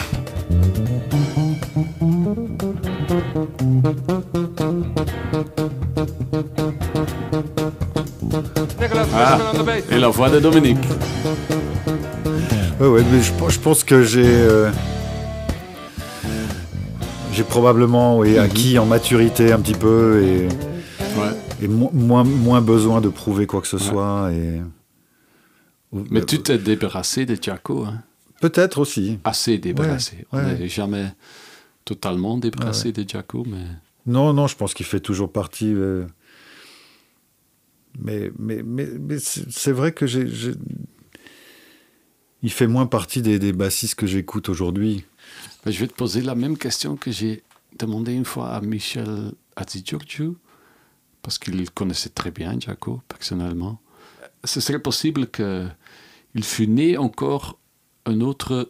[SPEAKER 1] Ah, et la voix de Dominique.
[SPEAKER 2] Ouais, ouais, mais je, je pense que j'ai, euh, j'ai probablement oui, acquis mm-hmm. en maturité un petit peu et,
[SPEAKER 1] ouais.
[SPEAKER 2] et mo- moins, moins besoin de prouver quoi que ce ouais. soit. Et...
[SPEAKER 1] Mais euh, tu t'es débarrassé de Jaco, hein?
[SPEAKER 2] Peut-être aussi.
[SPEAKER 1] Assez débarrassé.
[SPEAKER 2] Ouais,
[SPEAKER 1] On
[SPEAKER 2] ouais.
[SPEAKER 1] n'est jamais totalement débarrassé ouais, ouais. de Jaco, mais...
[SPEAKER 2] Non, non, je pense qu'il fait toujours partie... Euh... Mais, mais, mais, mais c'est, c'est vrai que j'ai, j'ai... il fait moins partie des, des bassistes que j'écoute aujourd'hui.
[SPEAKER 1] Je vais te poser la même question que j'ai demandé une fois à Michel Hadjigeorgiou, parce qu'il connaissait très bien Jaco, personnellement. Ce serait possible qu'il fût né encore un autre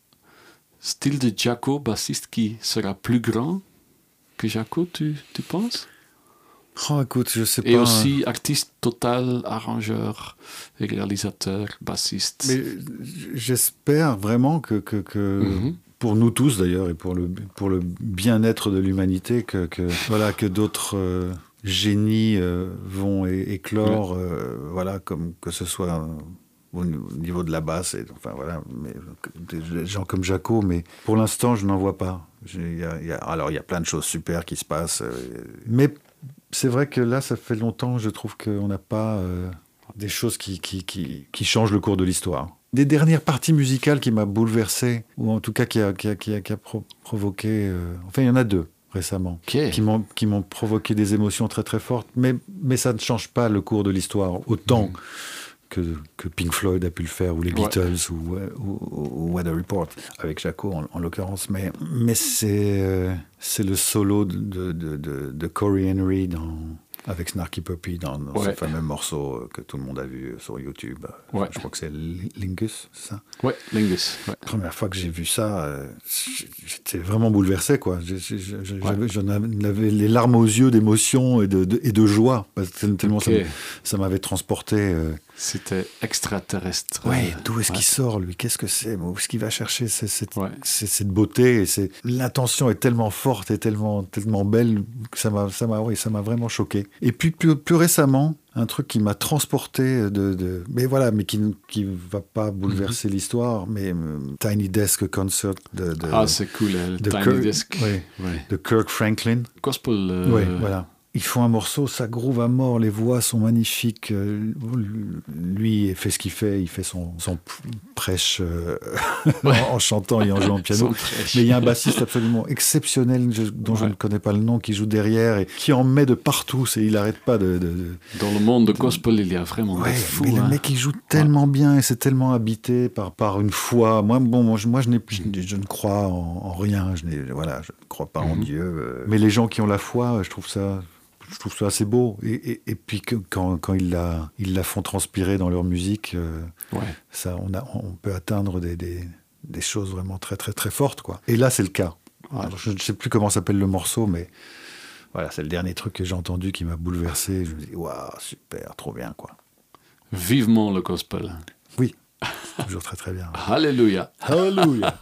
[SPEAKER 1] style de Jaco, bassiste, qui sera plus grand que Jaco, tu, tu penses?
[SPEAKER 2] Oh, écoute, je sais pas.
[SPEAKER 1] Et aussi artiste total, arrangeur, réalisateur, bassiste.
[SPEAKER 2] Mais j'espère vraiment que, que, que mm-hmm. pour nous tous d'ailleurs, et pour le, pour le bien-être de l'humanité, que, que, voilà, que d'autres euh, génies euh, vont é- éclore, ouais. euh, voilà, comme que ce soit euh, au niveau de la basse, et, enfin voilà, mais, des gens comme Jaco, mais pour l'instant, je n'en vois pas. Y a, y a, alors, il y a plein de choses super qui se passent, euh, mais c'est vrai que là, ça fait longtemps, je trouve qu'on n'a pas euh, des choses qui, qui, qui, qui changent le cours de l'histoire. Des dernières parties musicales qui m'a bouleversé, ou en tout cas qui a, qui a, qui a, qui a pro- provoqué... Euh, enfin, il y en a deux récemment,
[SPEAKER 1] okay. qui,
[SPEAKER 2] m'ont, qui m'ont provoqué des émotions très très fortes, mais, mais ça ne change pas le cours de l'histoire, autant... Mmh. Que, que Pink Floyd a pu le faire, ou les Beatles, ouais. ou, ou, ou Weather Report, avec Jaco en, en l'occurrence. Mais, mais c'est, euh, c'est le solo de, de, de, de Corey Henry dans, avec Snarky Puppy dans, dans ouais. ce fameux morceau que tout le monde a vu sur YouTube.
[SPEAKER 1] Ouais.
[SPEAKER 2] Je crois que c'est Lingus, c'est ça?
[SPEAKER 1] Oui, Lingus. Ouais.
[SPEAKER 2] La première fois que j'ai vu ça, euh, j'étais vraiment bouleversé, quoi. J'ai, j'ai, j'ai, ouais. J'en avais les larmes aux yeux d'émotion et de, de, et de joie, tellement okay. ça, ça m'avait transporté. Euh,
[SPEAKER 1] C'était extraterrestre.
[SPEAKER 2] Ouais, d'où est-ce ouais. qu'il sort, lui? Qu'est-ce que c'est? Où est-ce qu'il va chercher cette, cette, ouais. cette, cette beauté et c'est... L'intention est tellement forte et tellement, tellement belle que ça m'a, ça m'a, oui, ça m'a vraiment choqué. Et puis, plus, plus récemment, un truc qui m'a transporté de... de mais voilà, mais qui ne qui va pas bouleverser mm-hmm. l'histoire, mais euh, Tiny Desk Concert de... de
[SPEAKER 1] ah, c'est cool, le
[SPEAKER 2] de
[SPEAKER 1] Tiny
[SPEAKER 2] Kirk,
[SPEAKER 1] Desk.
[SPEAKER 2] Oui,
[SPEAKER 1] ouais.
[SPEAKER 2] de Kirk Franklin.
[SPEAKER 1] Gospel. Euh...
[SPEAKER 2] Oui, voilà. Ils font un morceau, ça groove à mort, les voix sont magnifiques. Lui, il fait ce qu'il fait, il fait son, son prêche euh, ouais. en, en chantant et en jouant au piano. Mais il y a un bassiste absolument exceptionnel, je, dont ouais. je ne connais pas le nom, qui joue derrière et qui en met de partout. C'est, il n'arrête pas de, de, de...
[SPEAKER 1] Dans le monde de gospel, il y a vraiment
[SPEAKER 2] ouais,
[SPEAKER 1] des fous.
[SPEAKER 2] Mais
[SPEAKER 1] hein.
[SPEAKER 2] le mec, il joue tellement ouais. bien et c'est tellement habité par, par une foi. Moi, bon, moi, je, moi je, n'ai, je, je ne crois en, en rien. Je, n'ai, voilà, je ne crois pas mm-hmm. en Dieu. Euh, mais les gens qui ont la foi, je trouve ça... Je trouve ça assez beau. Et, et, et puis que, quand, quand ils, la, ils la font transpirer dans leur musique, euh, ouais. ça, on, a, on peut atteindre des, des, des choses vraiment très, très, très fortes, quoi. Et là, c'est le cas. Ouais. Alors, je ne sais plus comment s'appelle le morceau, mais voilà, c'est le dernier truc que j'ai entendu qui m'a bouleversé. Je me dis, waouh, super, trop bien, quoi.
[SPEAKER 1] Vivement le gospel.
[SPEAKER 2] Oui, toujours très, très bien.
[SPEAKER 1] Alléluia.
[SPEAKER 2] Alléluia.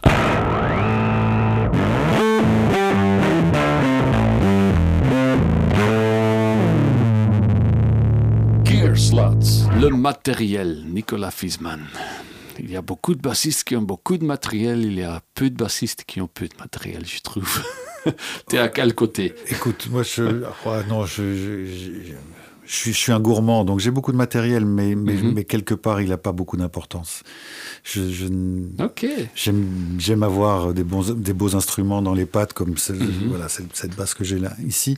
[SPEAKER 1] Slots, le matériel, Nicolas Fiesmann. Il y a beaucoup de bassistes qui ont beaucoup de matériel, il y a peu de bassistes qui ont peu de matériel, je trouve. T'es à quel côté?
[SPEAKER 2] Écoute, moi, je, ouais, non, je, je, je, je, suis, je suis un gourmand, donc j'ai beaucoup de matériel, mais, mais, mm-hmm. mais quelque part, il n'a pas beaucoup d'importance. Je, je,
[SPEAKER 1] ok.
[SPEAKER 2] J'aime, j'aime avoir des, bons, des beaux instruments dans les pattes, comme celle, mm-hmm. voilà, cette, cette basse que j'ai là, ici.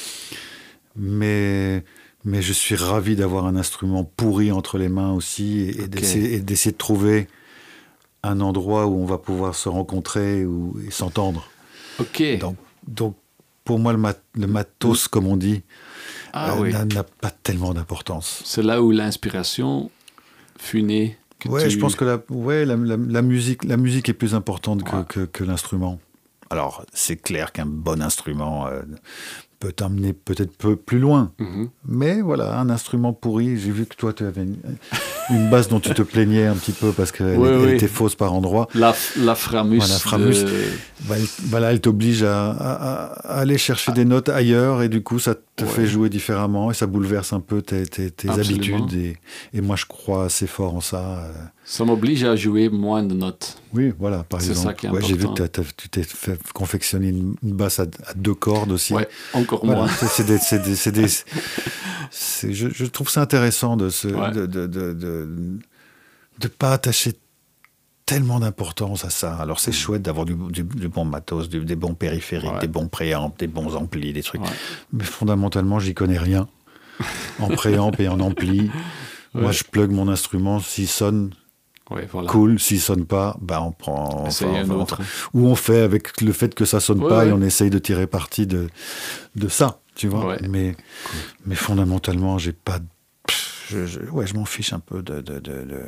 [SPEAKER 2] Mais, mais je suis ravi d'avoir un instrument pourri entre les mains aussi, et, okay. d'essayer, et d'essayer de trouver un endroit où on va pouvoir se rencontrer ou, et s'entendre.
[SPEAKER 1] Ok.
[SPEAKER 2] Donc, donc, pour moi, le, mat, le matos, comme on dit,
[SPEAKER 1] ah,
[SPEAKER 2] euh,
[SPEAKER 1] oui.
[SPEAKER 2] n'a, n'a pas tellement d'importance.
[SPEAKER 1] C'est là où l'inspiration fut née.
[SPEAKER 2] Oui, tu... je pense que la, ouais, la, la, la, musique, la musique est plus importante que,
[SPEAKER 1] ouais.
[SPEAKER 2] que, que l'instrument. Alors, c'est clair qu'un bon instrument euh, peut t'emmener peut-être peu plus loin. Mm-hmm. Mais voilà, un instrument pourri, j'ai vu que toi, tu avais une, une basse dont tu te plaignais un petit peu parce qu'elle
[SPEAKER 1] oui,
[SPEAKER 2] elle
[SPEAKER 1] oui.
[SPEAKER 2] était fausse par endroits.
[SPEAKER 1] La, la Framus.
[SPEAKER 2] Voilà, Framus.
[SPEAKER 1] De...
[SPEAKER 2] Voilà, voilà, elle t'oblige à, à, à aller chercher ah. des notes ailleurs et du coup, ça te ouais. fait jouer différemment et ça bouleverse un peu tes, tes, tes habitudes. Et, et moi, je crois assez fort en ça. Euh...
[SPEAKER 1] Ça m'oblige à jouer moins de notes.
[SPEAKER 2] Oui, voilà, par
[SPEAKER 1] c'est
[SPEAKER 2] exemple.
[SPEAKER 1] Ça qui est
[SPEAKER 2] ouais, j'ai vu que tu t'es fait confectionner une, une basse à, à deux cordes aussi.
[SPEAKER 1] Ouais, encore
[SPEAKER 2] voilà,
[SPEAKER 1] moins.
[SPEAKER 2] C'est, c'est des, c'est des, c'est des, c'est, je, je trouve ça intéressant de se, ouais. de, de, de, de, de pas attacher tellement d'importance à ça. Alors c'est mmh. chouette d'avoir du, du, du bon matos, du, des bons périphériques, ouais. des bons préamps, des bons amplis, des trucs. Ouais. Mais fondamentalement, j'y connais rien en préamp et en ampli. Ouais. Moi, je plug mon instrument, s'il sonne.
[SPEAKER 1] Ouais, voilà.
[SPEAKER 2] Cool, s'il sonne pas, bah on prend.
[SPEAKER 1] Enfin, un
[SPEAKER 2] enfin,
[SPEAKER 1] autre.
[SPEAKER 2] Ou on fait avec le fait que ça sonne
[SPEAKER 1] ouais,
[SPEAKER 2] pas
[SPEAKER 1] ouais.
[SPEAKER 2] et on essaye de tirer parti de de ça, tu vois.
[SPEAKER 1] Ouais.
[SPEAKER 2] Mais cool. mais fondamentalement, j'ai pas. Pff, je, je, ouais, je m'en fiche un peu de, de, de, de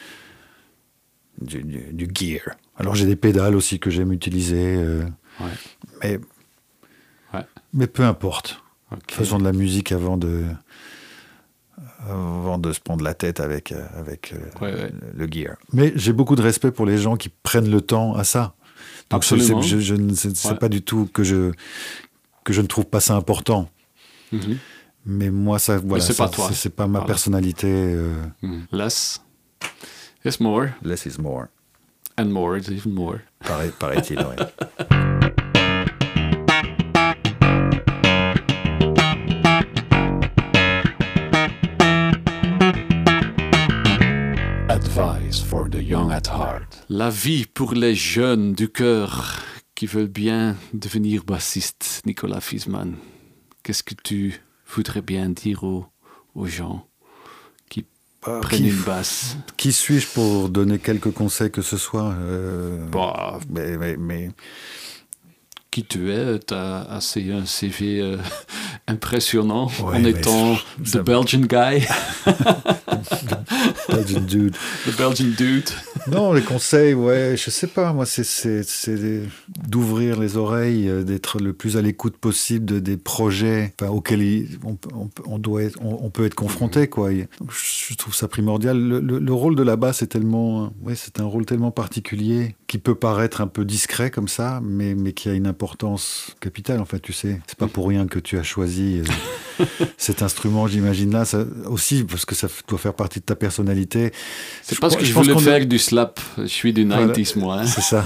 [SPEAKER 2] du, du, du gear. Alors j'ai des pédales aussi que j'aime utiliser, euh,
[SPEAKER 1] ouais.
[SPEAKER 2] mais
[SPEAKER 1] ouais.
[SPEAKER 2] mais peu importe.
[SPEAKER 1] Okay.
[SPEAKER 2] Faisons de la musique avant de. avant de se prendre la tête avec, euh, avec euh,
[SPEAKER 1] ouais, ouais.
[SPEAKER 2] le, le gear. Mais j'ai beaucoup de respect pour les gens qui prennent le temps à ça. Donc
[SPEAKER 1] Absolument.
[SPEAKER 2] Je, je, je, je, c'est, c'est ouais. pas du tout que je, que je ne trouve pas ça important. Mm-hmm. Mais moi, ça, voilà,
[SPEAKER 1] c'est,
[SPEAKER 2] ça,
[SPEAKER 1] pas toi.
[SPEAKER 2] C'est, c'est pas ma voilà. personnalité. Euh...
[SPEAKER 1] Mm. Less is more.
[SPEAKER 2] Less is more.
[SPEAKER 1] And more is even more.
[SPEAKER 2] Pareil, paraît-il, oui.
[SPEAKER 1] Advice for the young at heart. La vie pour les jeunes du cœur qui veulent bien devenir bassiste, Nicolas Fiesmann. Qu'est-ce que tu voudrais bien dire aux, aux gens qui bah, prennent
[SPEAKER 2] qui,
[SPEAKER 1] une basse?
[SPEAKER 2] Qui suis-je pour donner quelques conseils que ce soit euh,
[SPEAKER 1] bah,
[SPEAKER 2] mais, mais, mais...
[SPEAKER 1] Qui tu es? Tu as assez un C V euh, impressionnant
[SPEAKER 2] ouais,
[SPEAKER 1] en étant
[SPEAKER 2] ça...
[SPEAKER 1] the Belgian guy.
[SPEAKER 2] Belgian dude.
[SPEAKER 1] The Belgian dude.
[SPEAKER 2] Non, les conseils, ouais, je sais pas. Moi, c'est, c'est, c'est d'ouvrir les oreilles, d'être le plus à l'écoute possible de, des projets enfin, auxquels on, on, on, doit être, on, on peut être confronté, quoi. Donc, je trouve ça primordial. Le, le, le rôle de la basse est tellement, ouais, c'est un rôle tellement particulier qui peut paraître un peu discret comme ça, mais, mais qui a une importance capitale. En fait, tu sais, c'est pas pour rien que tu as choisi euh, cet instrument, j'imagine là, ça, aussi parce que ça doit faire partie de ta personnalité.
[SPEAKER 1] C'est je parce crois, que je, je voulais faire est... du slap. Je suis du
[SPEAKER 2] voilà,
[SPEAKER 1] nineties, moi. Hein.
[SPEAKER 2] C'est ça.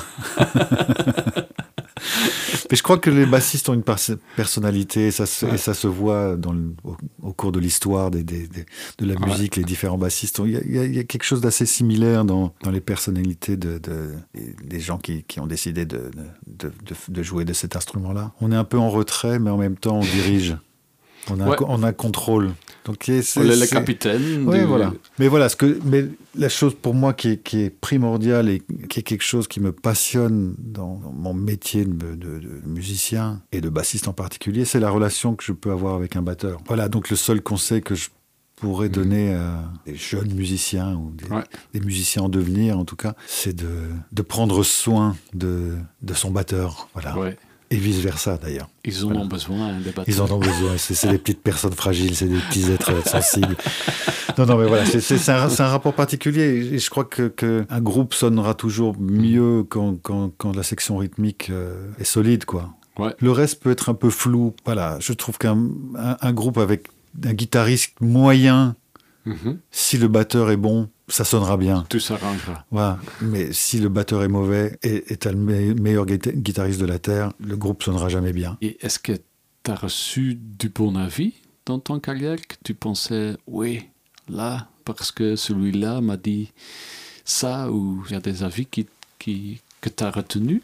[SPEAKER 2] Mais je crois que les bassistes ont une personnalité et ça se, ouais. et ça se voit dans le, au, au cours de l'histoire des, des, des, de la musique, ouais. les différents bassistes. Il y, a, il, y a, il y a quelque chose d'assez similaire dans, dans les personnalités de, de, des gens qui, qui ont décidé de, de, de, de jouer de cet instrument-là. On est un peu en retrait, mais en même temps, on dirige. On a, ouais. un, on a un contrôle. Donc, c'est,
[SPEAKER 1] on est le capitaine.
[SPEAKER 2] Oui,
[SPEAKER 1] du...
[SPEAKER 2] voilà. Mais voilà, ce que, mais la chose pour moi qui est, qui est primordiale et qui est quelque chose qui me passionne dans, dans mon métier de, de, de musicien et de bassiste en particulier, c'est la relation que je peux avoir avec un batteur. Voilà, donc le seul conseil que je pourrais donner à des jeunes musiciens ou des, ouais. des musiciens en devenir, en tout cas, c'est de, de prendre soin de, de son batteur. Voilà. Ouais. Et vice-versa, d'ailleurs.
[SPEAKER 1] Ils en voilà. ont besoin, des batteurs.
[SPEAKER 2] Ils en ont besoin. C'est, c'est des petites personnes fragiles, c'est des petits êtres sensibles. Non, non, mais voilà, c'est, c'est, c'est, un, c'est un rapport particulier. Et je crois que, que un groupe sonnera toujours mieux quand, quand, quand la section rythmique euh, est solide, quoi.
[SPEAKER 1] Ouais.
[SPEAKER 2] Le reste peut être un peu flou. Voilà, je trouve qu'un un, un groupe avec un guitariste moyen
[SPEAKER 1] Mm-hmm.
[SPEAKER 2] Si le batteur est bon, ça sonnera bien.
[SPEAKER 1] Tout s'arrangera.
[SPEAKER 2] Voilà. Mais si le batteur est mauvais et, et t'as le me- meilleur guita- guitariste de la Terre, le groupe sonnera jamais bien.
[SPEAKER 1] Et est-ce que tu as reçu du bon avis dans ton carrière, que tu pensais, oui, là, parce que celui-là m'a dit ça, ou il y a des avis qui, qui, que tu as retenus?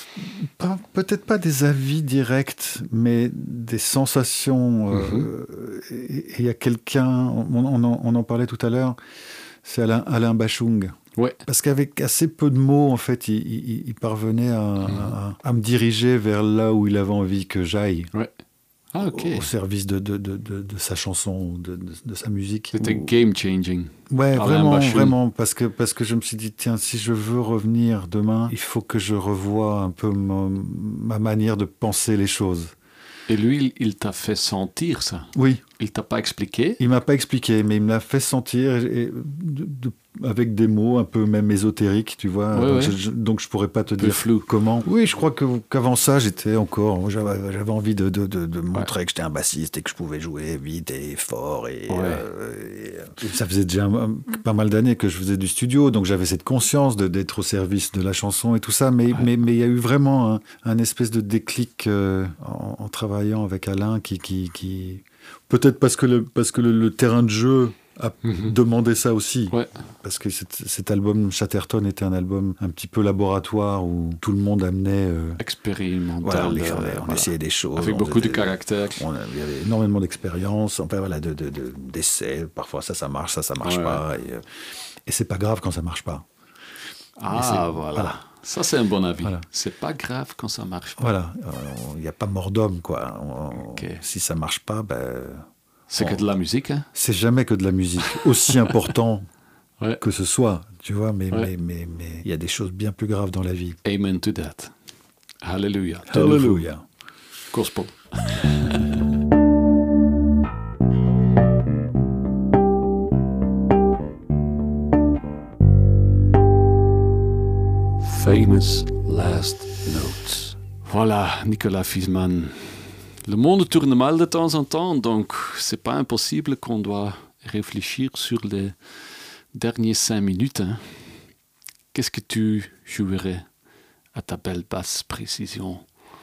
[SPEAKER 2] Pas- peut-être pas des avis directs, mais des sensations. euh, Et il y a quelqu'un, on, on en, on en parlait tout à l'heure, c'est Alain, Alain Bachung.
[SPEAKER 1] Ouais.
[SPEAKER 2] Parce qu'avec assez peu de mots, en fait, il, il- il parvenait à, à- à me diriger vers là où il avait envie que j'aille,
[SPEAKER 1] Ouais. Ah, ok.
[SPEAKER 2] au service de, de, de, de, de sa chanson, de, de, de sa musique.
[SPEAKER 1] C'était
[SPEAKER 2] Ou-
[SPEAKER 1] game-changing.
[SPEAKER 2] Ouais,
[SPEAKER 1] Alain
[SPEAKER 2] vraiment,
[SPEAKER 1] Bachung.
[SPEAKER 2] vraiment, parce que, parce que je me suis dit, tiens, si je veux revenir demain, il faut que je revoie un peu ma, ma manière de penser les choses.
[SPEAKER 1] Et lui, il, il t'a fait sentir ça.
[SPEAKER 2] Oui,
[SPEAKER 1] Il t'a pas expliqué.
[SPEAKER 2] il m'a pas expliqué, mais il me l'a fait sentir et, et de- de- avec des mots un peu même ésotériques, tu vois.
[SPEAKER 1] Ouais,
[SPEAKER 2] donc,
[SPEAKER 1] ouais.
[SPEAKER 2] Je, je- donc je pourrais pas te
[SPEAKER 1] Peu
[SPEAKER 2] dire
[SPEAKER 1] flou.
[SPEAKER 2] comment. Oui, je crois que, qu'avant ça, j'étais encore, j'avais, j'avais envie de, de, de, de montrer que j'étais un bassiste et que je pouvais jouer vite et fort. Et,
[SPEAKER 1] Ouais.
[SPEAKER 2] euh, et, et ça faisait déjà un- pas mal d'années que je faisais du studio, donc j'avais cette conscience de, d'être au service de la chanson et tout ça. Mais
[SPEAKER 1] Ouais.
[SPEAKER 2] mais mais il y a eu vraiment un, un espèce de déclic euh, en, en travaillant avec Alain qui qui, qui peut-être parce que le parce que le, le terrain de jeu a
[SPEAKER 1] Mhm.
[SPEAKER 2] demandé ça aussi.
[SPEAKER 1] Ouais.
[SPEAKER 2] Parce que cet, cet album Chatterton était un album un petit peu laboratoire où tout le monde amenait. euh,
[SPEAKER 1] Expérimental.
[SPEAKER 2] voilà, on,
[SPEAKER 1] euh,
[SPEAKER 2] on
[SPEAKER 1] voilà.
[SPEAKER 2] essayait des choses.
[SPEAKER 1] Avec
[SPEAKER 2] on
[SPEAKER 1] beaucoup de
[SPEAKER 2] faisait-
[SPEAKER 1] caractère.
[SPEAKER 2] on avait- il y avait énormément d'expérience, enfin voilà, de, de, de- d'essais. Parfois ça, ça marche, ça, ça marche
[SPEAKER 1] Ouais,
[SPEAKER 2] pas. Et, euh, et c'est pas grave quand ça marche pas.
[SPEAKER 1] Ah,
[SPEAKER 2] c'est-
[SPEAKER 1] voilà.
[SPEAKER 2] voilà.
[SPEAKER 1] Ça, c'est un bon avis.
[SPEAKER 2] Voilà.
[SPEAKER 1] C'est pas grave quand ça marche pas.
[SPEAKER 2] Voilà, il n'y a pas mort d'homme, quoi. On-
[SPEAKER 1] Ok.
[SPEAKER 2] Si ça marche pas, ben,
[SPEAKER 1] C'est que de la musique, hein?
[SPEAKER 2] c'est jamais que de la musique, aussi important
[SPEAKER 1] Ouais.
[SPEAKER 2] que ce soit, tu vois. Mais
[SPEAKER 1] Ouais.
[SPEAKER 2] mais mais mais il y a des choses bien plus graves dans la vie.
[SPEAKER 1] Amen to that. Hallelujah. De nouveau.
[SPEAKER 2] Hallelujah.
[SPEAKER 1] Gospel. Famous last notes. Voilà, Nicolas Fiesmann. Le monde tourne mal de temps en temps, donc c'est pas impossible qu'on doit réfléchir sur les derniers cinq minutes. Hein. Qu'est-ce que tu jouerais à ta belle basse précision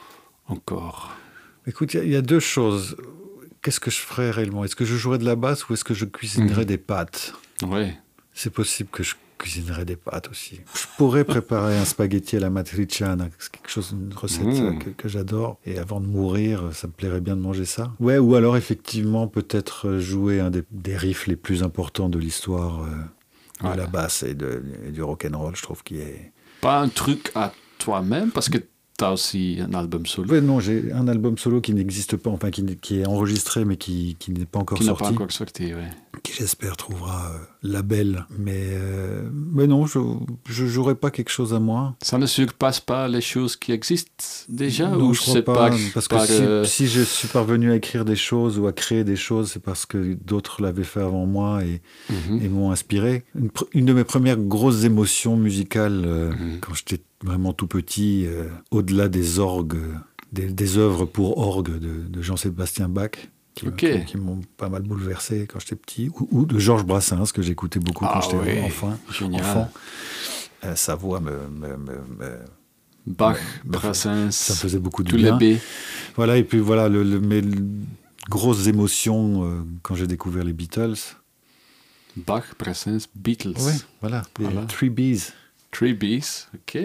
[SPEAKER 1] encore?
[SPEAKER 2] Écoute, il y, y a deux choses. Qu'est-ce que je ferais réellement? Est-ce que je jouerais de la basse ou est-ce que je cuisinerais
[SPEAKER 1] Mhm.
[SPEAKER 2] des pâtes?
[SPEAKER 1] Ouais.
[SPEAKER 2] C'est possible que je cuisinerais des pâtes aussi. Je pourrais préparer un spaghetti à la matriciana, c'est quelque chose, une recette
[SPEAKER 1] Mmh.
[SPEAKER 2] euh, que, que j'adore. Et avant de mourir, ça me plairait bien de manger ça. Ouais, ou alors effectivement peut-être euh, jouer un des, des riffs les plus importants de l'histoire euh, de
[SPEAKER 1] Ouais.
[SPEAKER 2] la basse et, de, et du rock'n'roll, je trouve qu'il est...
[SPEAKER 1] Pas un truc à toi-même, parce que tu as aussi un album solo
[SPEAKER 2] Ouais, non, j'ai un album solo qui n'existe pas, enfin qui, n'est- qui est enregistré mais qui, qui n'est pas encore
[SPEAKER 1] qui n'a
[SPEAKER 2] sorti.
[SPEAKER 1] pas encore sorti. Ouais.
[SPEAKER 2] Qui j'espère trouvera euh, label. Mais, euh, mais non, je ne jouerai pas quelque chose à moi.
[SPEAKER 1] Ça ne surpasse pas les choses qui existent déjà
[SPEAKER 2] Non,
[SPEAKER 1] ou
[SPEAKER 2] je crois
[SPEAKER 1] c'est
[SPEAKER 2] pas,
[SPEAKER 1] par,
[SPEAKER 2] parce que
[SPEAKER 1] par,
[SPEAKER 2] si,
[SPEAKER 1] euh,
[SPEAKER 2] si je suis parvenu à écrire des choses ou à créer des choses, c'est parce que d'autres l'avaient fait avant moi et,
[SPEAKER 1] mhm.
[SPEAKER 2] et m'ont inspiré. Une, pr- une de mes premières grosses émotions musicales, euh,
[SPEAKER 1] Mhm.
[SPEAKER 2] quand j'étais vraiment tout petit, euh, au-delà des orgues, des, des œuvres pour orgue de, de Jean-Sébastien Bach, qui,
[SPEAKER 1] Ok.
[SPEAKER 2] qui- qui m'ont pas mal bouleversé quand j'étais petit, ou, ou de Georges Brassens, que j'écoutais beaucoup
[SPEAKER 1] Ah
[SPEAKER 2] quand j'étais
[SPEAKER 1] oui,
[SPEAKER 2] enfant.
[SPEAKER 1] génial.
[SPEAKER 2] enfant. Euh, sa voix me, me, me, me-
[SPEAKER 1] Bach,
[SPEAKER 2] me-
[SPEAKER 1] Brassens,
[SPEAKER 2] ça me faisait beaucoup de
[SPEAKER 1] tous
[SPEAKER 2] bien.
[SPEAKER 1] les B.
[SPEAKER 2] Voilà, et puis voilà, le, le- mes grosses émotions euh, quand j'ai découvert les Beatles.
[SPEAKER 1] Bach, Brassens, Beatles.
[SPEAKER 2] Oui, voilà, les
[SPEAKER 1] Voilà.
[SPEAKER 2] Three Bs.
[SPEAKER 1] Three Bs, ok.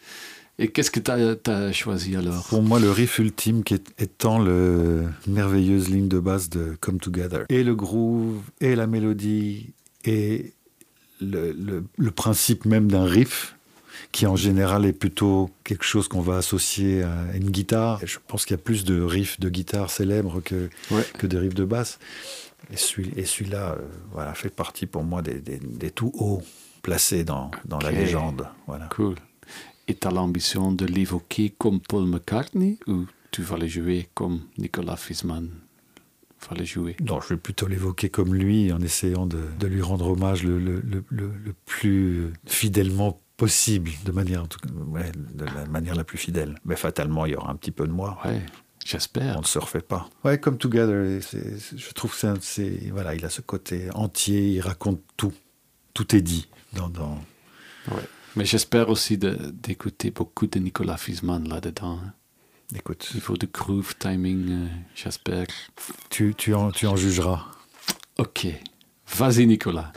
[SPEAKER 1] Et qu'est-ce que tu as choisi alors?
[SPEAKER 2] Pour moi, le riff ultime qui est, étant le merveilleuse ligne de basse de Come Together. Et le groove, et la mélodie, et le, le- le principe même d'un riff, qui en général est plutôt quelque chose qu'on va associer à une guitare. Et je pense qu'il y a plus de riffs de guitare célèbres que,
[SPEAKER 1] Ouais.
[SPEAKER 2] que de riffs de basse. Et, celui, et celui-là euh, voilà, fait partie pour moi des, des, des tout hauts placés dans, dans la
[SPEAKER 1] Ok.
[SPEAKER 2] légende. Voilà.
[SPEAKER 1] Cool. Et tu as l'ambition de l'évoquer comme Paul McCartney ou tu vas le jouer comme Nicolas Fiesmann va le jouer?
[SPEAKER 2] Non, je vais plutôt l'évoquer comme lui, en essayant de, de lui rendre hommage le, le, le, le, le plus fidèlement possible, de manière, en tout cas, ouais, de la manière la plus fidèle. Mais fatalement, il y aura un petit peu de moi.
[SPEAKER 1] Ouais. J'espère.
[SPEAKER 2] On ne se refait pas. Ouais, comme Together, c'est, c'est, je trouve que c'est, c'est, voilà, il a ce côté entier, il raconte tout. Tout est dit dans... dans...
[SPEAKER 1] Ouais. Mais j'espère aussi de, d'écouter beaucoup de Nicolas Wiesmann là-dedans. Hein.
[SPEAKER 2] Écoute.
[SPEAKER 1] Il faut de groove, timing, euh, j'espère.
[SPEAKER 2] Tu, tu, en, tu en jugeras.
[SPEAKER 1] Ok. Vas-y, Nicolas.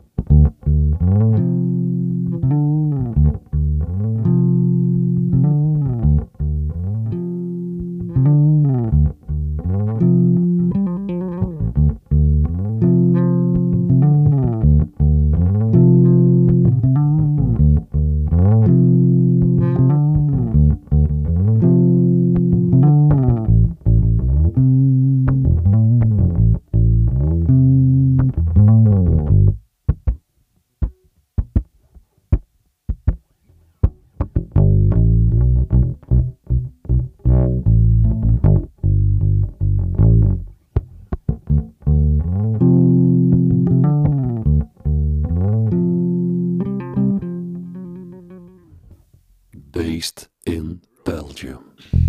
[SPEAKER 1] Based in Belgium.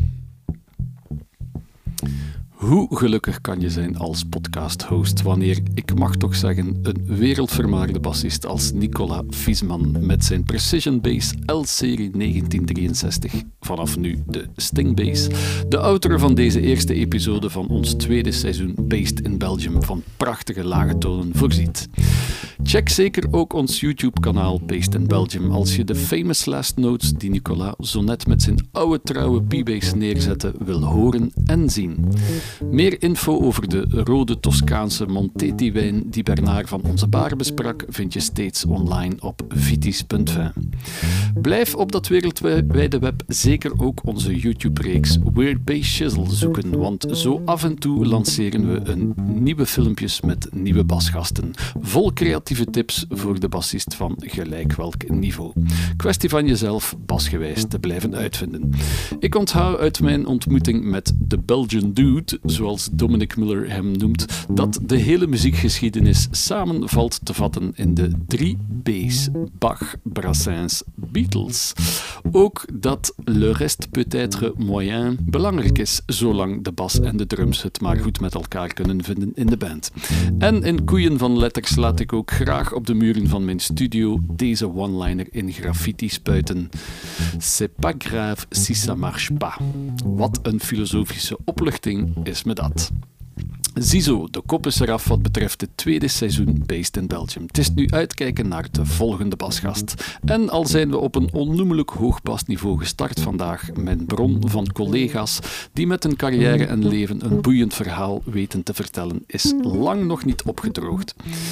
[SPEAKER 1] Hoe gelukkig kan je zijn als podcast-host wanneer, ik mag toch zeggen, een wereldvermaarde bassist als Nicolas Wiesmann met zijn Precision Bass L-serie negentien drieënzestig, vanaf nu de Sting Bass, de auteur van deze eerste episode van ons tweede seizoen Based in Belgium van prachtige lage tonen voorziet. Check zeker ook ons YouTube-kanaal Based in Belgium als je de famous last notes die Nicolas zo net met zijn oude trouwe P-Bass neerzette wil horen en zien. Meer info over de rode Toscaanse Monteti-wijn die Bernard van Onze Baar besprak vind je steeds online op vitis punt v. Blijf op dat wereldwijde web zeker ook onze YouTube-reeks Weird Bass Shizzle zoeken, want zo af en toe lanceren we een nieuwe filmpjes met nieuwe basgasten, vol creatieve tips voor de bassist van gelijk welk niveau. Kwestie van jezelf basgewijs te blijven uitvinden. Ik onthoud uit mijn ontmoeting met de Belgian Dude, zoals Dominic Miller hem noemt, dat de hele muziekgeschiedenis samen valt te vatten in de drie B's: Bach, Brassens, Beatles. Ook dat le reste peut-être moyen belangrijk is, zolang de bas en de drums het maar goed met elkaar kunnen vinden in de band. En in koeien van letters laat ik ook graag op de muren van mijn studio deze one-liner in graffiti spuiten. C'est pas grave si ça marche pas. Wat een filosofische opluchting is me dat. Ziezo, de kop is eraf wat betreft het tweede seizoen Based in Belgium. Het is nu uitkijken naar de volgende basgast. En al zijn we op een onnoemelijk hoog basniveau gestart vandaag, mijn bron van collega's die met hun carrière en leven een boeiend verhaal weten te vertellen, is lang nog niet opgedroogd.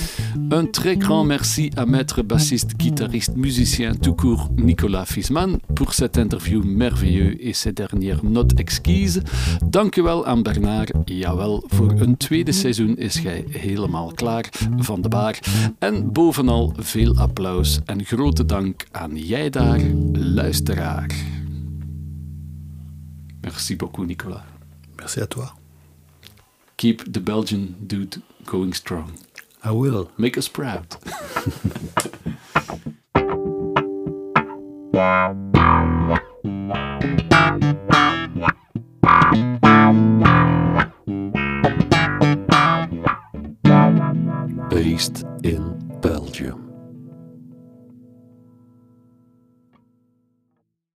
[SPEAKER 1] Un très grand merci à maître bassiste, guitariste, musicien tout court Nicolas Wiesmann pour cette interview merveilleux et ses dernières notes exquises. Dank u wel aan Bernard, jawel, voor een tweede seizoen is jij helemaal klaar van de baar. En bovenal veel applaus en grote dank aan jij daar, luisteraar. Merci beaucoup, Nicolas.
[SPEAKER 2] Merci à toi.
[SPEAKER 1] Keep the Belgian dude going strong.
[SPEAKER 2] I will.
[SPEAKER 1] Make us proud. Based in Belgium.